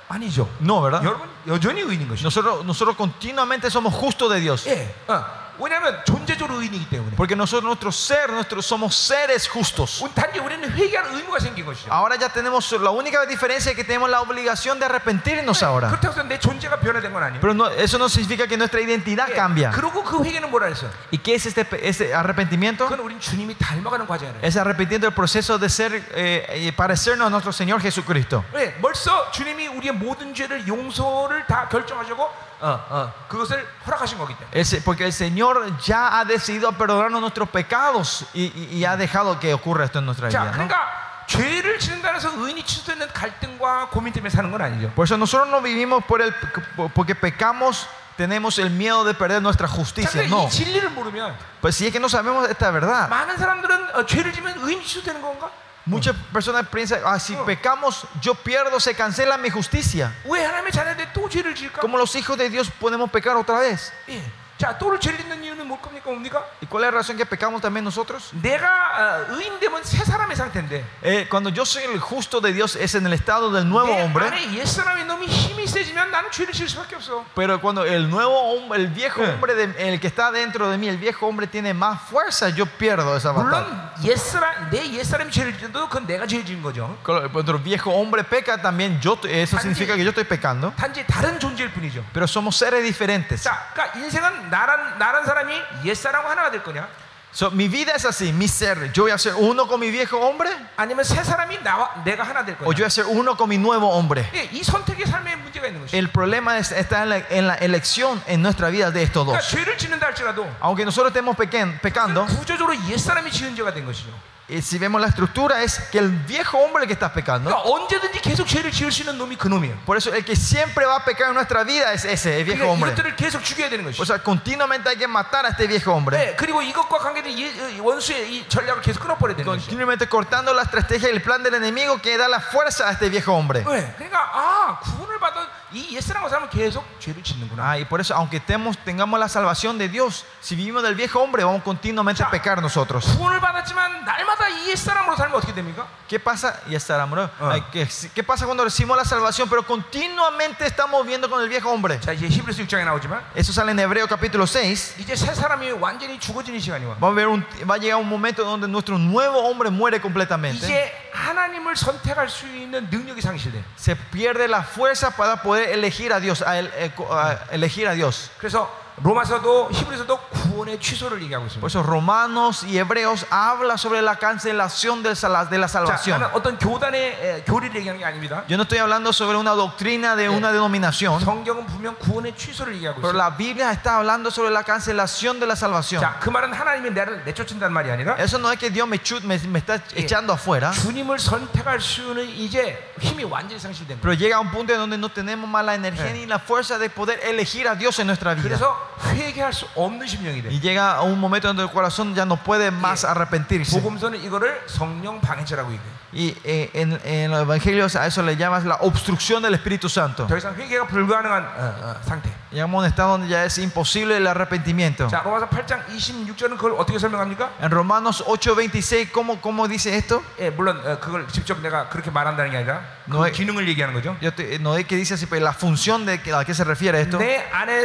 아니죠. No, ¿verdad? 여러분 여전히 의인인 것이죠. Nosotros, nosotros continuamente somos justos de Dios. 예, 어. 왜냐하면 존재적으로 의인이기 때문에. Porque nosotros, nuestro ser, nosotros somos seres justos. 우리 단지 우리는 회개할 의무가 생긴 것이죠. Ahora ya tenemos, la única diferencia es que tenemos la obligación de arrepentirnos ahora. 그렇다고 해서 내 존재가 변화된 건 아니에요. Pero no, eso no significa que nuestra identidad 예, cambia. 그리고 그 회개는 뭐라 했어? ¿Y qué es este, este arrepentimiento? 그건 우린 주님이 닮아가는 과정이에요. Es arrepentiendo el proceso de ser, eh, y parecernos a nuestro Señor Jesucristo. 예, 벌써 주님이 우리의 모든 죄를 용서를 다 결정하시고 어, 어, 그것을 허락하신 거기 때문에. Es, porque el Señor ya ha decidido perdonarnos nuestros pecados y, y, y ha dejado que ocurra esto en nuestra 자, vida, ¿no? 그러니까 죄를 짓는다고 해서 의인이 취소되는 갈등과 고민 때문에 사는 건 아니죠. Por eso nosotros no vivimos por el, porque pecamos, tenemos el miedo de perder nuestra 자, justicia. 근데 No. 이 진리를 모르면 Pues si es que no sabemos esta verdad, 많은 사람들은 어, 죄를 지면 의인이 취소되는 건가? muchas personas piensan, ah, si pecamos, yo pierdo, se cancela mi justicia. 왜 하나님의 자녀들 또 죄를 지을까? Como los hijos de Dios podemos pecar otra vez. 예. 자, 또를 죄를 짓는 이유는 뭘 겁니까? 뭡니까? ¿Y cuál es la razón que pecamos también nosotros? 내가 어, 의인 되면 새 사람의 상태인데 Eh, cuando yo soy el justo de Dios es en el estado del nuevo 내 hombre. 안에 옛사람의 놈이 힘이 세지면 나는 죄를 지을 수밖에 없어. Pero cuando el nuevo hombre, el viejo Eh. hombre, de- el que está dentro de mí, el viejo hombre tiene más fuerza, yo pierdo esa batalla. 물론 옛사람 내 옛사람이 죄를 지어도 그건 내가 죄를 지은 거죠. Cuando el viejo hombre peca también, yo, eso significa que yo estoy pecando. 단지 다른 존재일 뿐이죠. Pero somos seres diferentes. 자, 그러니까 인생은 나란 나란 사람이 옛사람과 하나가 될 거냐? So, mi vida es así, mi ser. Yo voy a ser uno con mi viejo hombre 아니면 새 사람이 나와 내가 하나 될 o yo voy 거냐? a ser uno con mi nuevo hombre. 예, 이 선택의 삶에 문제가 있는 것이죠. El problema es, está en la, en la elección en nuestra vida de estos 그러니까 dos. 죄를 짓는다 할지라도 Aunque nosotros estemos pequen- pecando, 구조적으로 옛사람이 지은 죄가 된 것이죠. eh, si vemos la estructura es que el viejo hombre el que está pecando. 그러니까 언제든지 계속 죄를 지을 수 있는 놈이 그 놈이에요. Por eso el que siempre va a pecar en nuestra vida es ese, el viejo 그러니까 hombre. 이것들을 계속 죽여야 되는 O 것이죠. sea, continuamente hay que matar a este viejo hombre. 네, 그리고 이것과 관계된 이- 이 원수의 이 전략을 계속 끊어버려야 되는 것이죠. Continuamente cortando la estrategia y el plan del enemigo que da la fuerza a este viejo hombre. 네, 그러니까 아 구원을 받은 이 옛사람과 사람은 계속 죄를 짓는구나. Ah, y por eso, aunque estemos, tengamos la salvación de Dios, si vivimos del viejo hombre, vamos continuamente a pecar nosotros. 구원을 받았지만 날마다 이 옛사람으로 살면 어떻게 됩니까? ¿Qué pasa? Y estará, ¿no? Ah. Ay, ¿Qué, ¿Qué pasa cuando recibimos la salvación, pero continuamente estamos viviendo con el viejo hombre? 자, 이제 히브리서 육 장에 나오지만 Eso sale en Hebreo capítulo seis. 이제 새 사람이 완전히 죽어지는 시간이 와. Va a, haber un, va a llegar un momento donde nuestro nuevo hombre muere completamente. 이제 하나님을 선택할 수 있는 능력이 상실돼. Se pierde la fuerza para poder elegir a Dios, a, el- a elegir a Dios. 그래서 로마서도 히브리서도 구원의 취소를 얘기하고 있습니다. Por eso Romanos y Hebreos habla sobre la cancelación del sala- de la 자, salvación. 나는 어떤 교단의 에, 교리를 얘기하는 게 아닙니다. Yo no estoy hablando sobre una doctrina de una denominación, 성경은 분명 구원의 취소를 얘기하고 pero 있어요. la Biblia está hablando sobre la cancelación de la salvación. 자, 그 말은 하나님이 나를 내쫓는다는 말이 아니라 Eso no es que Dios me, chu- me, me está echando afuera, 주님을 선택할 수는 이제 힘이 완전히 상실된 거예요. pero llega a un punto en donde no tenemos más la energía Eh. ni la fuerza de poder elegir a Dios en nuestra vida. 그래서 회개할 수 없는 심령이 돼. Y llega a un momento donde el corazón ya no puede más arrepentirse. 복음서는 이거를 성령 방해죄라고 얘기해요. Y eh, en, en los evangelios a eso le llamas la obstrucción del Espíritu Santo. 더 이상 회개가 불가능한 어, 어, 상태. Llegamos a un estado donde ya es imposible el arrepentimiento. 자, 로마서 팔 장 이십육 절은 그걸 어떻게 설명합니까? En Romanos ocho veintiséis, ¿cómo, cómo dice esto? 예, 물론 어, 그걸 직접 내가 그렇게 말한다는 게 아니라 그 No hay- 기능을 얘기하는 거죠. Yo te- no es que dice así, pero la función de que- a qué se refiere esto. 내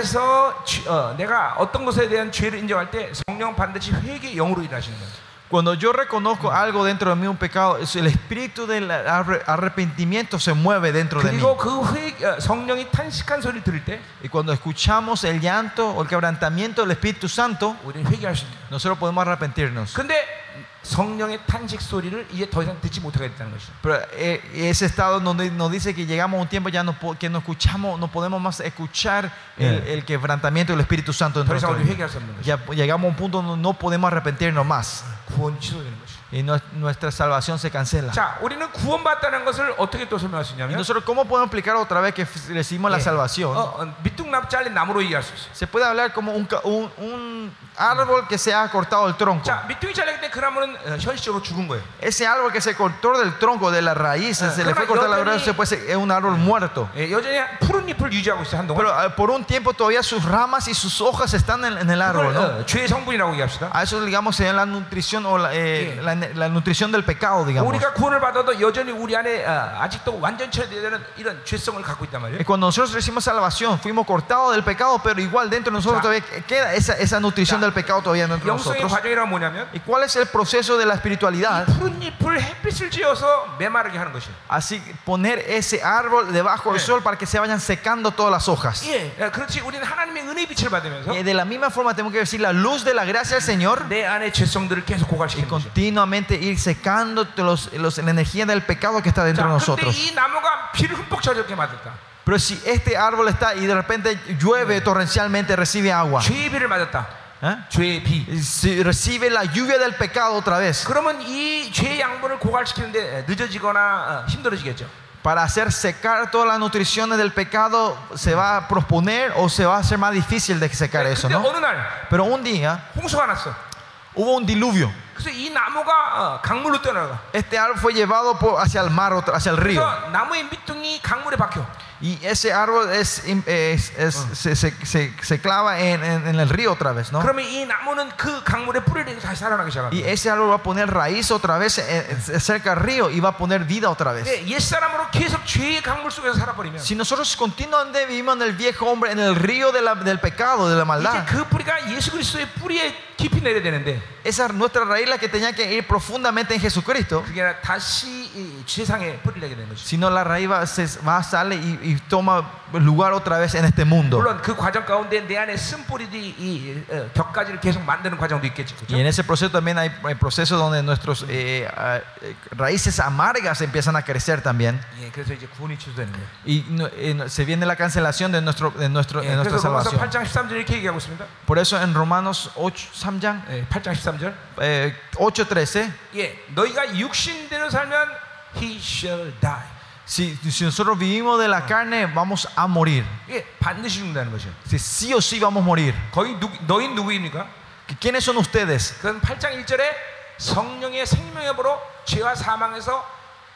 안에서 죄- 어, 내가 어떤 것에 대한 죄를 인정할 때 성령 반드시 회개 영으로 일하시는 거예요. Cuando yo reconozco algo dentro de mí, un pecado, es el espíritu del arre- arrepentimiento se mueve dentro de mí. 그리고 그 회, 어, 성령이 탄식한 소리를 들을 때 Y cuando escuchamos el llanto o el quebrantamiento del Espíritu Santo, 우리는 회개할 수 있는 거예요. nosotros podemos arrepentirnos. 근데 성령의 탄식 소리를 이제 더 이상 듣지 못하게 됐다는 것이죠. Pero eh, ese estado donde nos dice que llegamos a un tiempo ya no, po- que no escuchamos, no podemos más escuchar el, Yeah. el quebrantamiento del Espíritu Santo en 더 이상 nuestra 우리 vida. 회개할 수 없는 것이죠. Ya llegamos a un punto donde no podemos arrepentirnos más 구원 취소되는 것이죠. y no- nuestra salvación se cancela. 자, 우리는 구원받다는 것을 어떻게 또 설명할 수 Y 있냐면 nosotros, ¿cómo podemos explicar otra vez que f- recibimos la 예, salvación? 어, 어, 밑둥납 잘린 나무로 얘기할 수 있어요. Se puede hablar como un, ca- un, un árbol que se ha cortado el tronco. 자, 밑둥이 잘릴 때 그 나무는 어, 현실적으로 죽은 거예요. Ese árbol que se cortó del tronco, de la raíz, Ah, se le fue 그러나 cortar la 여전히- raíz, se puede ser- es un árbol muerto. 예, 여전히 푸른 잎을 유지하고 있어요, 한동안. Pero eh, por un tiempo todavía sus ramas y sus hojas están en, en el árbol, 그걸 ¿no? 어, 죄의 성분이라고 얘기합시다. A eso digamos se llama la nutrición o la, eh, Sí. la la nutrición del pecado, digamos. 우리가 구원을 받아도 여전히 우리 안에 어, 아직도 완전체가 되는 이런 죄성을 갖고 있단 말이에요. Y cuando nosotros recibimos salvación, fuimos cortados del pecado, pero igual dentro de nosotros todavía queda esa, esa nutrición del pecado todavía dentro de 영성의 nosotros. 과정이란 뭐냐면 ¿Y cuál es el proceso de la espiritualidad? 푸른 잎을 햇빛을 쥐어서 메마르게 하는 것이에요. Así poner ese árbol debajo del Sí. sol para que se vayan secando todas las hojas. 예, 예, 그렇지. 우리는 하나님의 은혜의 빛을 받으면서 Y de la misma forma tenemos que decir la luz de la gracia del Señor 내 안에 죄성들을 계속 y 고갈시키는 거죠. continuamente ir secando los, los, la energía del pecado que está dentro de 자, 근데 nosotros. 이 나무가 비를 흠뻑 젖게 맞을까? Pero si este árbol está y de repente llueve torrencialmente, recibe agua, 죄의 비를 맞았다. ¿eh? 죄의 비. Y si recibe la lluvia del pecado otra vez, 그러면 이 죄의 양분을 고갈시키는데 늦어지거나 어, 힘들어지겠죠. para hacer secar todas las nutriciones del pecado, se va a posponer o se va a hacer más difícil de secar eso, 근데 ¿no? 어느 날 Pero un día 홍수가 났어. hubo un diluvio. 그래서 이 나무가 어, 강물로 떠나가. Este árbol fue llevado por- hacia el mar, otra- hacia el río. 그래서 나무의 밑둥이 강물에 박혀. Y ese árbol es, es- es- se, se- se- se clava en, en- en el río otra vez, ¿no? 그러면 이 나무는 그 강물에 뿌리를 내서 다시 살아나기 Y 시작합니다. ese árbol va a poner raíz otra vez en- en- cerca del río y va a poner vida otra vez. 네, 옛사람으로 계속 죄의 강물 속에서 살아버리면 Si nosotros continuamente vivimos en el viejo hombre, en el río de la- del pecado, de la 이제 maldad, 그 뿌리가 예수 그리스도의 뿌리에 깊이 내려야 되는데 esa nuestra raíz la que tenía que ir profundamente en Jesucristo, 그게 아니라 다시 이 죄상에 뿌리를 내게 되는 것이죠. sino la raíz va, se, va sale y, y toma lugar otra vez en este mundo. 물론 그 과정 가운데 내 안에 쓴뿌리들이 이 어, 격가지를 계속 만드는 과정도 있겠죠. Y en ese proceso también hay el proceso donde nuestras eh, ah, eh, raíces amargas empiezan a crecer también. 예, 그래서 이제 구원이 취소되는 거예요. Y no- eh, no- se viene la cancelación de, nuestro, de, nuestro, 예, de nuestra 그래서 로마서 salvación. 팔 장 십삼 절 이렇게 얘기하고 있습니다. Por eso en Romanos ocho, 삼 장, 예, 팔 장 십삼 절. eh, ocho trece, 예, 너희가 육신대로 살면 he shall die. si, si nosotros vivimos de la carne, vamos a morir. 예, 반드시 죽는다는 것이요. Si sí o sí vamos a morir. 거기 누, 너희 누구입니까? ¿Quiénes son ustedes? 그건 팔 장 일 절에 성령의 생명의 법으로 죄와 사망에서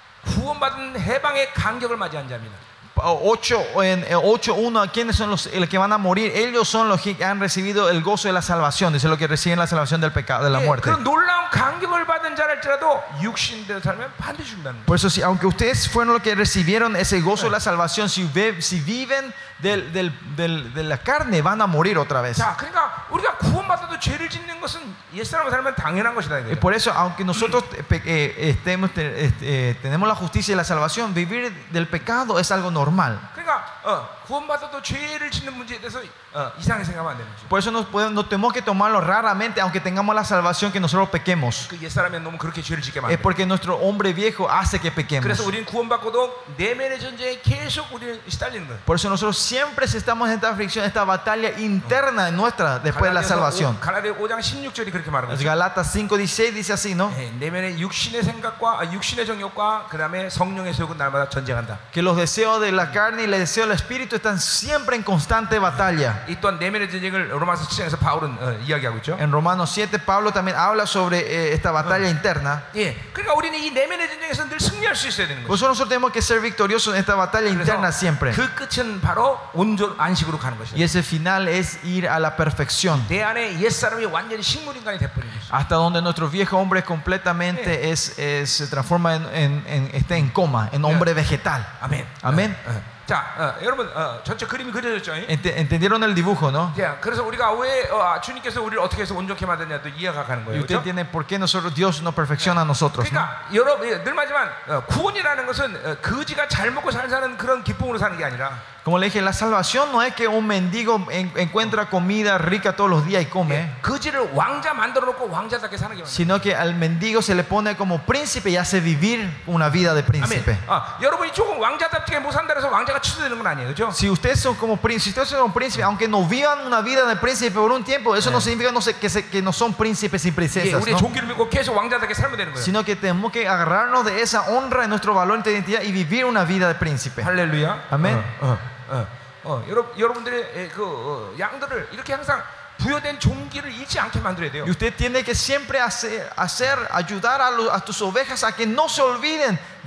구원받은 해방의 간격을 맞이한 자입니다. ocho, en ocho uno, ¿quiénes son los, los que van a morir? Ellos son los que han recibido el gozo de la salvación. Dice lo que reciben la salvación del pecado, de la 예, muerte. 그런 놀라운 간격을 받은 자랄지라도 육신대로 살면 반드시 죽는다는 거예요. Por eso, si, aunque ustedes fueron los que recibieron ese gozo de la salvación, si, ve- si viven del, del- del- de la carne, van a morir otra vez. 자, 그러니까 우리가 구원받아도 죄를 짓는 것은 옛사람으로 살면 당연한 것이다. Y 이거죠. por eso, aunque nosotros eh, pe- eh, estemos, te- este, eh, tenemos la justicia y la salvación, vivir del pecado es algo normal. 그러니까 어, 구원받아도 죄를 짓는 문제에 대해서 어, 이상하게 생각하면 안 되는 거죠. Por eso no, podemos- no tenemos que tomarlo raramente, aunque tengamos la salvación, que nosotros pequemos. 그 옛사람의 놈은 그렇게 죄를 짓게 Es 만들어요. porque nuestro hombre viejo hace que pequemos. 그래서 우리는 구원받고도 내면의 전쟁에 계속 우리는 시달리는 거예요. Por eso nosotros siempre estamos en esta aflicción, esta batalla interna nuestra después de la salvación. 갈라디아 오 장 십육 절이 그렇게 말하고 있어요. Galatas cinco dieciséis dice así, ¿no? 예, 내면의 육신의 생각과 아, 육신의 정욕과 그다음에 성령의 소욕은 날마다 전쟁한다. Que los deseos de la carne y los deseos del espíritu están siempre en constante batalla. 이 또한 내면의 전쟁을 로마서 칠 장에서 바울은 어, 이야기하고 있죠. En Romanos siete, Pablo también habla sobre eh, esta batalla interna. 예, 그러니까 우리는 이 내면의 전쟁에서 늘 승리할 수 있어야 되는 Por 거죠. eso nosotros tenemos que ser victoriosos en esta batalla interna siempre. 그 끝은 바로 온전 안식으로 가는 것이죠. Y ese final es ir a la perfección. 내 안에 옛 사람이 완전히 식물 인간이 돼버리는 것이죠. Hasta donde nuestro viejo hombre completamente es, es- se transforma en, en- en- está en coma, en hombre vegetal. 아멘. 아멘. 어, 어. 자, 어, 여러분 어, 전체 그림이 그려졌죠. Ent- ¿Entendieron el dibujo, no? 자, 그래서 우리가 왜 어, 주님께서 우리를 어떻게 해서 온전케 만드냐도 이해가 가는 Y 거예요. usted 그렇죠? entiende por qué nosotros, Dios nos perfecciona a nosotros, ¿no? 그러니까 여러분 늘 말하지만 어, 구원이라는 것은 어, 거지가 잘 먹고 잘 사는 그런 기쁨으로 사는 게 아니라 Como le dije, la salvación no es que un mendigo en- encuentra comida rica todos los días y come, 거지를 왕자 만들어 놓고 왕자답게 사는 게 아니라. sino que al mendigo se le pone como príncipe y hace vivir una vida de 아멘. príncipe. 아, 여러분이 조금 왕자답게 못 산다 해서 왕자가 취소되는 건 아니에요, 그렇죠? Si ustedes son como príncipes, si ustedes son príncipes, aunque no vivan una vida de príncipe por un tiempo, eso no significa no sé, que, se- que no son príncipes y 예, princesas, 우리의 ¿no? 종기를 믿고 계속 왕자답게 살면 되는 거예요. Sino que tenemos que agarrarnos de esa honra en nuestro valor de identidad y vivir una vida de príncipe. 할렐루야. 아멘. 어, 어, 어, 어, 여러분 여러분들의 에, 그 어, 양들을 이렇게 항상 부여된 종기를 잃지 않게 만들어야 돼요. Y usted tiene que siempre hacer, hacer ayudar a, los- a tus ovejas a que no se olviden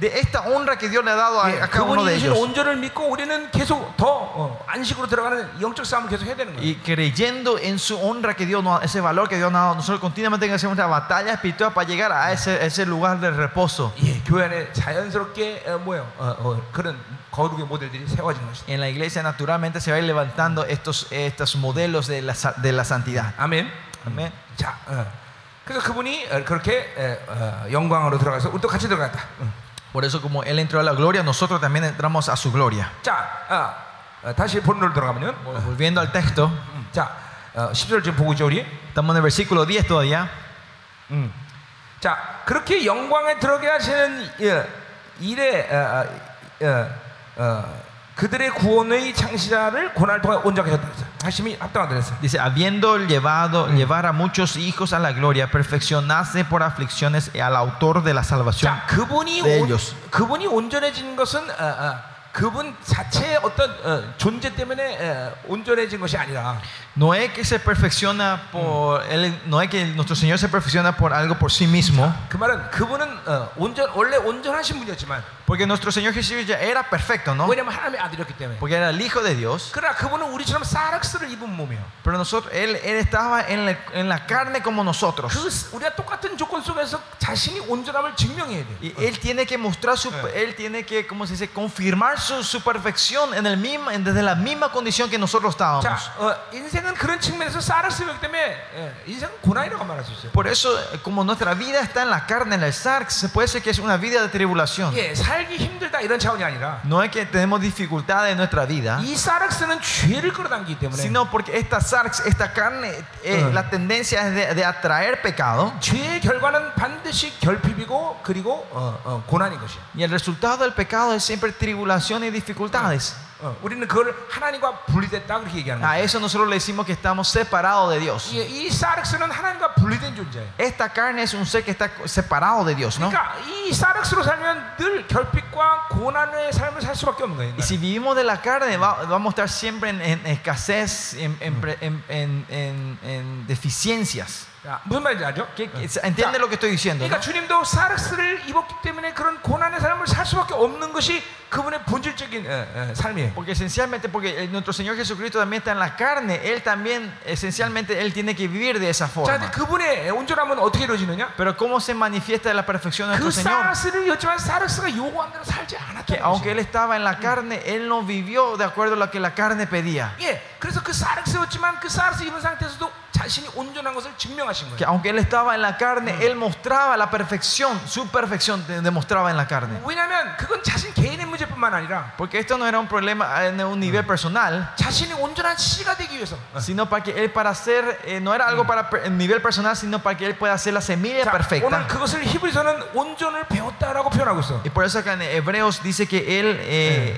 de esta honra que Dios le ha dado a, 예, a cada uno 그분이 de 주신 ellos. 온전을 믿고 우리는 계속 더 어, 안식으로 들어가는 영적 싸움을 계속 해야 되는 거예요. Y creyendo en su honra que Dios nos, ese valor que Dios nos ha dado, nosotros continuamente tenemos que hacer una batalla espiritual para llegar a ese, ese lugar de reposo. 예, 교회 안에 자연스럽게 어, 뭐요? 어, 어, 그런 거룩의 모델들이 세워지는 것이다. En la iglesia naturalmente se va a ir levantando estos, estos modelos de la, sa- de la santidad. 아멘. Amén. 자, 어, 그래서 그분이 어, 그렇게 어, 어, 영광으로 들어가서 우리도 같이 들어갔다. 응. Por eso como Él entró a la gloria, nosotros también entramos a su gloria. 자, 어, 어, 다시 본론으로 들어가면요. Volviendo al texto, 음, 자, 어, 십 절 지금 보고 있죠 우리. estamos en el versículo diez todavía. 음. 자, 그렇게 영광에 들어게 하시는 어, 일에 어, 어, 어, 그들의 구원의 창시자를 고난을 통해 온전하게 하셨다. 하심이 합당하다 그랬어요. Dice, habiendo llevado, llevar a muchos hijos a la gloria, perfeccionarse por aflicciones al autor de la salvación. 자, 그분이 네, 온, ellos. 그분이 온전해진 것은 어, 어, 그분 자체의 어떤 어, 존재 때문에 어, 온전해진 것이 아니라 No es que se perfecciona por él, no es que nuestro Señor se perfecciona por algo por sí mismo, 그 말은 그분은 어, 온전 원래 온전하신 분이었지만 porque nuestro Señor Jesús ya era perfecto, ¿no? 왜냐하면 하나님의 아들이었기 때문에. Porque era el Hijo de Dios. 그러나 그분은 우리처럼 사락스를 입은 몸이에요. Pero nosotros, él, él estaba en la, en la carne como nosotros. 그 우리가 똑같은 조건 속에서 자신이 온전함을 증명해야 돼. Y él tiene que mostrar su, él tiene que, ¿cómo se dice? Confirmar su, su perfección en el mismo, en- desde la misma condición que nosotros estábamos. 자, 어, 인생은 그런 측면에서 사락스였기 때문에 예, 인생은 고난이라고 말할 수 있어요. Por eso, como nuestra vida está en la carne, en el sarx, se puede decir que es una vida de tribulación. 예, 살기 힘들다 이런 차원이 아니라 No es que tenemos dificultades en nuestra vida, 이 사락스는 죄를 끌어당기기 때문에 sino porque esta sarx, esta carne, eh, Uh. la tendencia es de, de atraer pecado. 죄의 결과는 반드시 결핍이고 그리고 어, 어, 고난인 것이야. Y el resultado del pecado es siempre tribulación y dificultades. 어, 우리는 그걸 하나님과 분리됐다 그렇게 얘기하는 A 거야. eso nosotros le decimos que estamos separados de Dios. 이, 이 사락스는 하나님과 분리된 존재예요. Esta carne es un ser que está separado de Dios, ¿no? 그러니까 이 사락스로 살면 늘 결핍과 고난의 삶을 살 수밖에 없는 거예요. Y si vivimos de la carne, va- vamos a estar siempre en, en escasez, en, en pre- en- en- en- en deficiencias. 자, 무슨 말인지 알죠? ¿Qué- qué- ¿Entiende lo que estoy diciendo? 그러니까 ¿no? 주님도 사락스를 입었기 때문에 그런 고난의 삶을 살 수밖에 없는 것이 그분의 본질적인 어, 어, 삶이에요. Porque esencialmente, porque el- nuestro Señor Jesucristo también está en la carne, Él también, esencialmente, Él tiene que vivir de esa 자, forma. 근데 그분의 온전함은 어떻게 이루어지느냐? Pero ¿cómo se manifiesta la perfección de 그 nuestro Señor? 사락스를 입었지만 사락스가 요구한 대로 살지 Que 않았다는 aunque Él 것이에요. estaba en la carne, Él no vivió de acuerdo a lo que la carne pedía. 예, 그래서 그 사락스였지만 그 사락스 입은 상태에서도 자신이 온전한 것을 증명하신 Que 거예요. aunque Él estaba en la carne, Él mostraba la perfección, su perfección de- demostraba en la carne. 왜냐하면 그건 자신 개인의 문제뿐만 아니라 Porque esto no era un problema en un nivel personal, 자신이 온전한 씨가 되기 위해서. sino para que Él para hacer, eh, no era algo para per- en nivel personal, sino para que Él pueda hacer la semilla 자, 오늘 perfecta. 그것을 히브리서는 온전을 배웠다라고 표현하고 있어. Y por eso acá en Hebreos dice que Él, eh,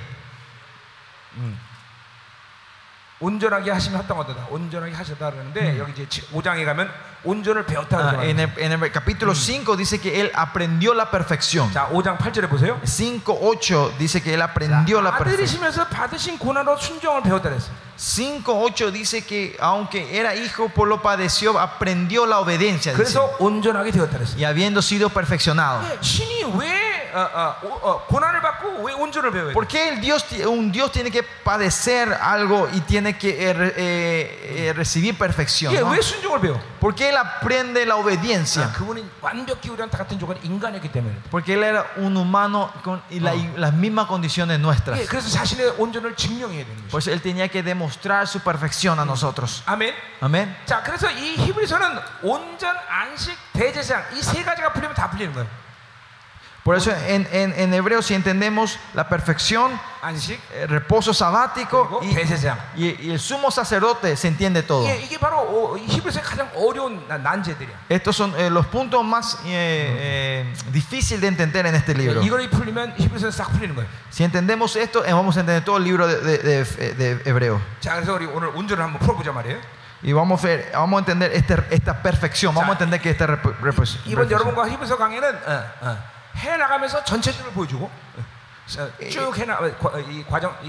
온전하게 하시면 합당하다. 온전하게 하셨다 그러는데 여기 이제 오 장에 가면 온전을 배웠다 ah, 그러죠. en, el, en el capítulo cinco dice que Él aprendió la perfección. 자, 오 장 팔 절에 보세요. cinco ocho dice que Él aprendió la perfección. 아들이시면서 받으신 고난으로 순종을 배웠다 그랬어. cinco ocho dice que aunque era hijo, por lo padeció, aprendió la obediencia. dice. 그래서 온전하게 되었다 그랬어. Y habiendo sido perfeccionado. 예, 신이 왜 어, 어, 어, 어, 고난을 받고 왜 온전을 배워야 돼? ¿Por qué el Dios, ti- un Dios tiene que padecer algo y tiene que eh, re- eh, eh, recibir perfección? 예, ¿no? 왜 순종을 배워? ¿Por qué Él aprende la obediencia? 아, 그분은 완벽히 우리랑 다 같은 조건 인간이었기 때문에. Porque Él era un humano con y la- y las mismas condiciones nuestras. 예, 그래서 자신의 온전을 증명해야 되는 Por 거죠. eso Él tenía que demostrar su perfección a nosotros. 아멘. Amén. 자, 그래서 이 히브리서는 온전, 안식, 대제사장 이 세 가지가 풀리면 다 풀리는 거예요. Por eso en, en, en hebreo si entendemos la perfección, 안식, eh, reposo sabático 그리고 y, 대제사장. y- y el sumo sacerdote, se entiende todo. 예, 이게 바로 어, 이 히브리서의 가장 어려운 난- 난제들이야. Estos son eh, los puntos más eh, eh, difíciles de entender en este libro. 이걸 풀리면 히브리서는 싹 풀리는 거예요. Si entendemos esto, eh, vamos a entender todo el libro de, de- de- de hebreo. 자, 그래서 우리 오늘 온전을 한번 풀어보자 말이에요. Y vamos a, ver, vamos a entender este- esta perfección. Vamos a entender que esta rep- rep- 이번 perfección. 여러분과 히브리서 강의는 어, 어, 해 나가면서 전체적으로 보여주고 어, 쭉 해나 어, 과- 이 과정 이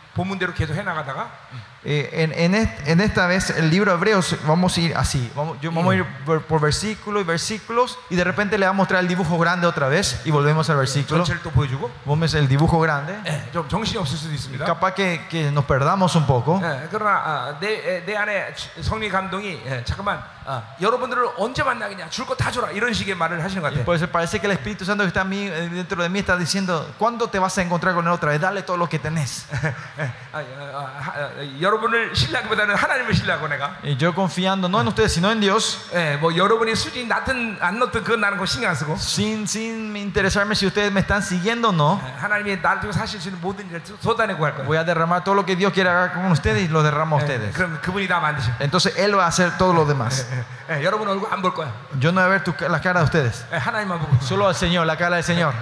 본문대로 계속 해나가다가 Eh, en, en, est- en esta vez el libro de Hebreos vamos a ir así, vamos, yo, vamos a ir por, por versículos y versículos y de repente le va a mostrar el dibujo grande otra vez y volvemos al versículo. 전체를 또 보여주고 Vamos el dibujo grande. 예, 좀 정신이 없을 수도 있습니다. Capaz que, que nos perdamos un poco. 예, 그러나 아, 내, 에, 내 안에 성령 감동이 예, 잠깐만 아, 여러분들을 언제 만나겠냐 줄 거 다 줘라 이런 식의 말을 하시는 것 Y 같아요. por eso parece que el Espíritu Santo que está en mí, eh, dentro de mí está diciendo, ¿cuándo te vas a encontrar con él otra vez? Dale todo lo que tenés. 예, 아, 아, 아, 아, 여러분을 신뢰하기보다는 하나님을 신뢰하고 내가 Y yo confiando no en ustedes sino en Dios, 예, 뭐 여러분이 수준이 낮든 안 높든 그건 나는 거 신경 안 쓰고 sin, sin interesarme si ustedes me están siguiendo o no. 예, 하나님이 나를 통해 사실 수 있는 모든 일을 쏟아내고 할 거예요. Voy a derramar todo lo que Dios quiere hacer con ustedes y lo derramo a 예, ustedes. 그럼 그분이 다 만드셔. Entonces Él va a hacer todo lo demás. 예, 예, 여러분 얼굴 안 볼 거야. Yo no voy a ver tu, ca- la cara de ustedes, 예, 하나님만 보고. solo al Señor, la cara del Señor.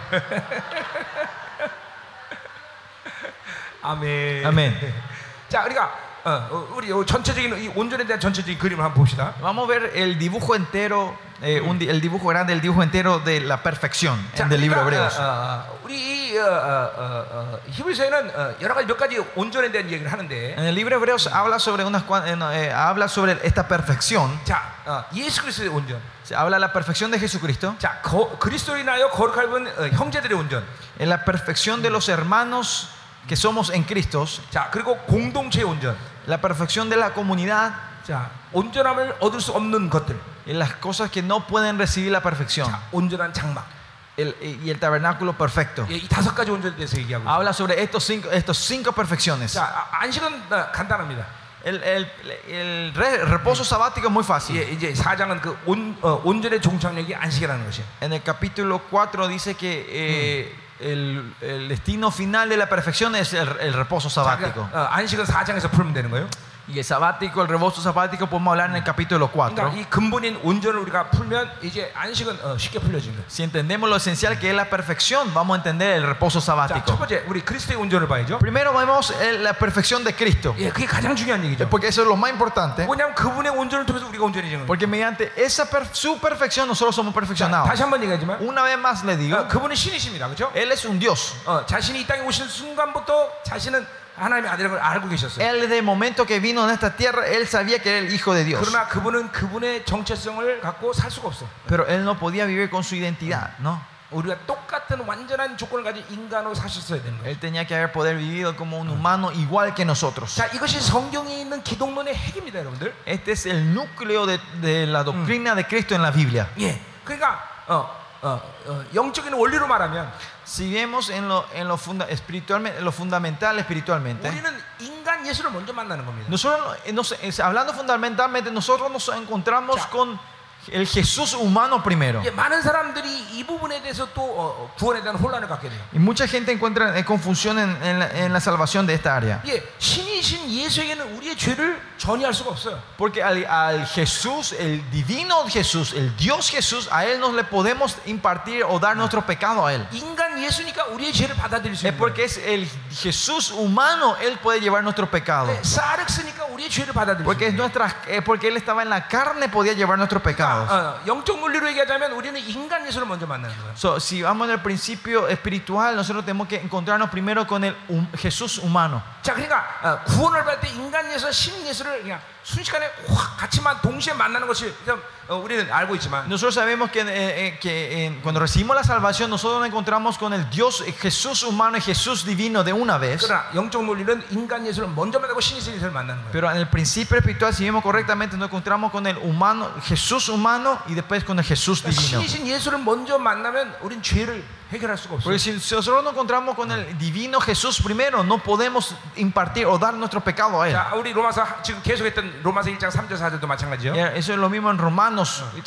아멘. 아멘. 자, 우리가 어, 어, 우리 요 전체적인 이 온전에 대한 전체적인 그림을 한번 봅시다. Vamos a ver el dibujo entero, eh, un di- el dibujo grande, el dibujo entero de la perfección 자, del libro de 그러니까, Hebreos. 어, 어, 우리 이 어, 어, 어, 어, 히브리서에는 어, 여러 가지 몇 가지 온전에 대한 얘기를 하는데, En el libro de Hebreos habla sobre unas cuan- eh, no, eh, habla sobre esta perfección. 자, 어, 예수 그리스도의 온전, Se habla de la perfección de Jesucristo, 자, 거, 그리스도로 인하여 거룩하게 본 어, 형제들의 온전, en la perfección de los hermanos que somos en Cristo, 자, 그리고 공동체의 온전, la perfección de la comunidad, 자, 온전함을 얻을 수 없는 것들, en las cosas que no pueden recibir la perfección, 자, 온전한 장막, el- y el tabernáculo perfecto. 예, 이 다섯 가지 온전에 대해서 얘기하고 있어요. Habla sobre estos cinco, estos cinco perfecciones. 자, 아, 안식은 어, 간단합니다. El, el- el re- reposo sabático es muy fácil. 예, 이제 사 장은 그 온, 어, 온전의 종착역이 안식이라는 것이에요. En el capítulo cuatro dice que eh, el, el destino final de la perfección es el, el reposo 자, sabático. 그러니까, 어, 안식은 사 장에서 풀면 되는 거예요. Y el sabático, el reposo sabático, podemos hablar en el capítulo cuatro. 그러니까 이 근본인 온전을 우리가 풀면 이제 안식은 어, 쉽게 풀려지는 거예요. Si entendemos lo esencial que es la perfección, vamos a entender el reposo 자, 첫 sabático. 번째 우리 그리스도의 온전을 봐야죠. Primero vemos el- la perfección de Cristo, 예, 그게 가장 중요한 얘기죠. porque eso es lo más importante. 왜냐하면 그분의 온전을 통해서 우리가 온전해지는 거예요. Porque mediante esa per- su perfección nosotros somos 자, perfeccionados. 다시 한번 얘기하지만 Una vez más le digo, 어, 그분은 신이십니다, 그렇죠? Él es un Dios. 어, 자신이 이 땅에 오신 순간부터 자신은 하나님의 아들인 걸 알고 계셨어요. Él desde el momento que vino en esta tierra, Él sabía que era el Hijo de Dios. 그러나 그분은 그분의 정체성을 갖고 살 수가 없어. Pero Él no podía vivir con su identidad, ¿no? 우리가 똑같은 완전한 조건을 가진 인간으로 사셨어야 되는 거예요. Él tenía que haber poder vivido como un humano igual que nosotros. 자, 이것이 성경에 있는 기독론의 핵입니다, 여러분들. Este es el núcleo de, de la doctrina de Cristo en la Biblia. 예, 그러니까 어, 어, 어, 영적인 원리로 말하면 Si vemos en lo, en lo, funda, espiritualmente, en lo fundamental espiritualmente, 우리는 인간 예수를 먼저 만나는 겁니다. nosotros, nos- es- hablando fundamentalmente, nosotros nos encontramos Ya. con el Jesús humano primero. 예, 많은 사람들이 이 부분에 대해서 또 어, 구원에 대한 혼란을 갖게 돼요. Y mucha gente encuentra eh, confusión en, en la, en la salvación de esta área. 예, 신이신 예수에게는 우리의 죄를 전이할 수가 없어요. Porque al, al Jesús, el divino Jesús, el Dios Jesús, a Él no le podemos impartir o dar nuestro pecado a Él. 인간 예수니까 우리의 죄를 받아들일 수 Es 있는 거예요. porque es el Jesús humano, Él puede llevar nuestro pecado. 예, 사르스니까 우리의 죄를 받아들일 수 Porque, es 있는 거예요. nuestra, eh, porque Él estaba en la carne, podía llevar nuestros pecados. 어, 영적 논리로 얘기하자면 우리는 인간 예수를 먼저 만나는 거예요. So, si vamos al principio espiritual, nosotros tenemos que encontrarnos primero con el hum- Jesús humano. 자, 그러니까 어, 구원을 받을 때 인간 예수와 신 예수를 그냥 순식간에 확 같이만 동시에 만나는 것이 좀, 어, 우리는 알고 있지만 Nosotros sabemos que, eh, eh, que eh, cuando recibimos la salvación, nosotros nos encontramos con el Dios, eh, Jesús humano y Jesús divino de una vez. 그러나 영적 논리는 인간 예수를 먼저 만나고 신 예수를 만나는 거예요. Pero en el principio espiritual, si vemos correctamente, nos encontramos con el humano, Jesús humano y después con el Jesús 그러니까 divino. 신이신 예수를 먼저 만나면 우린 죄를 해결할 수가 없어요. Porque si nosotros nos encontramos con el divino Jesús primero, no podemos impartir o dar nuestro pecado a Él. 자, 우리 로마서 하- 지금 계속했던 로마서 일 장 삼 절 사 절도 마찬가지죠. Y eso es lo mismo en Romanos, 일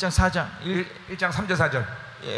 Romanos 장 삼 절 사 절.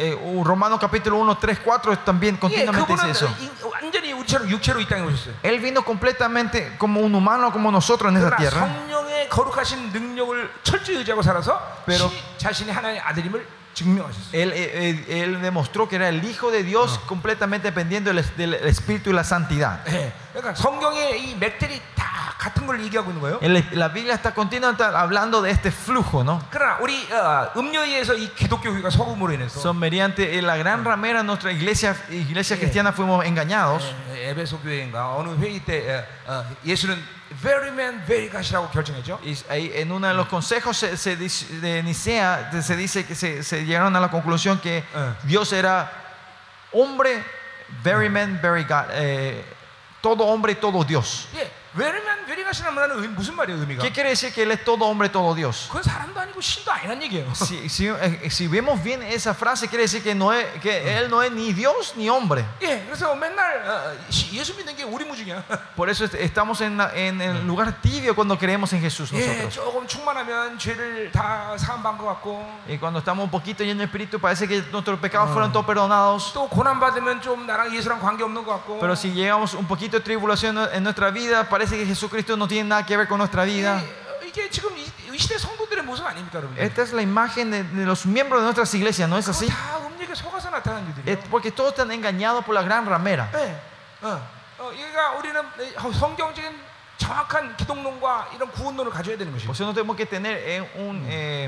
capítulo uno, tres, cuatro también 예, continuamente dice 그분은 eso. 인- 완전히 우리처럼 육체로 이 땅에 오셨어요. Él vino completamente como un humano como nosotros en esta 그러나 tierra. 성령의 거룩하신 능력을 철저히 의지하고 살아서 Pero- 신이 자신이 하나님의 아들임을 증명하셨어요. Él, él, él demostró que era el Hijo de Dios completamente dependiendo del, del Espíritu y la santidad. 예, 그러니까 성경의 이 맥들이 다 같은 걸 얘기하고 있는 거예요. El- La Biblia está continuamente hablando de este flujo, ¿no? 그러나 우리 어, 음료에 의해서 이 기독교 교회가 속음으로 인해서 Son mediante la gran ramera de nuestra iglesia, iglesia Sí. cristiana fuimos engañados. 에, 에베소 교회인가 어느 회의 때 어, 어, 예수는 very man, very God이라고 결정했죠. Y ahí en uno de los consejos se- se dice- de Nicea se dice que se, se llegaron a la conclusión que Eh. Dios era hombre, very man, very God, eh, todo hombre y todo Dios. 예, very man, very God이라는 말은 의- 무슨 말이에요, 의미가? ¿Qué quiere decir que Él es todo hombre, todo Dios? 그건 사람도 아니고 신도 아니란 얘기예요. Si, si, eh, si vemos bien esa frase, quiere decir que, no es, que Él no es ni Dios ni hombre. 예, 그래서 맨날 어, 시- 예수 믿는 게 오리무중이야. Por eso est- estamos en, la- en el lugar tibio cuando creemos en Jesús 예, nosotros. 조금 충만하면 죄를 다 사함받은 것 같고 Y cuando estamos un poquito llenos de espíritu, parece que nuestros pecados fueron todos perdonados. 또 고난 받으면 좀 나랑 예수랑 관계 없는 것 같고. Pero si llegamos un poquito de tribulación en nuestra vida, parece que Jesucristo no tiene nada que ver con nuestra vida. 예, 이게 지금 이, 이 시대 성도들의 모습 아닙니까, 여러분? Esta es la imagen de, de los miembros de nuestras iglesias, ¿no es así? 다 음력에 속아서 나타난 Es 일들이에요. porque todos están engañados por la gran ramera. 예, 어, 어, 그러니까 우리는 성경적인 정확한 기독론과 이런 구원론을 가져야 되는 것이죠. Por eso no tenemos que tener eh, un, eh,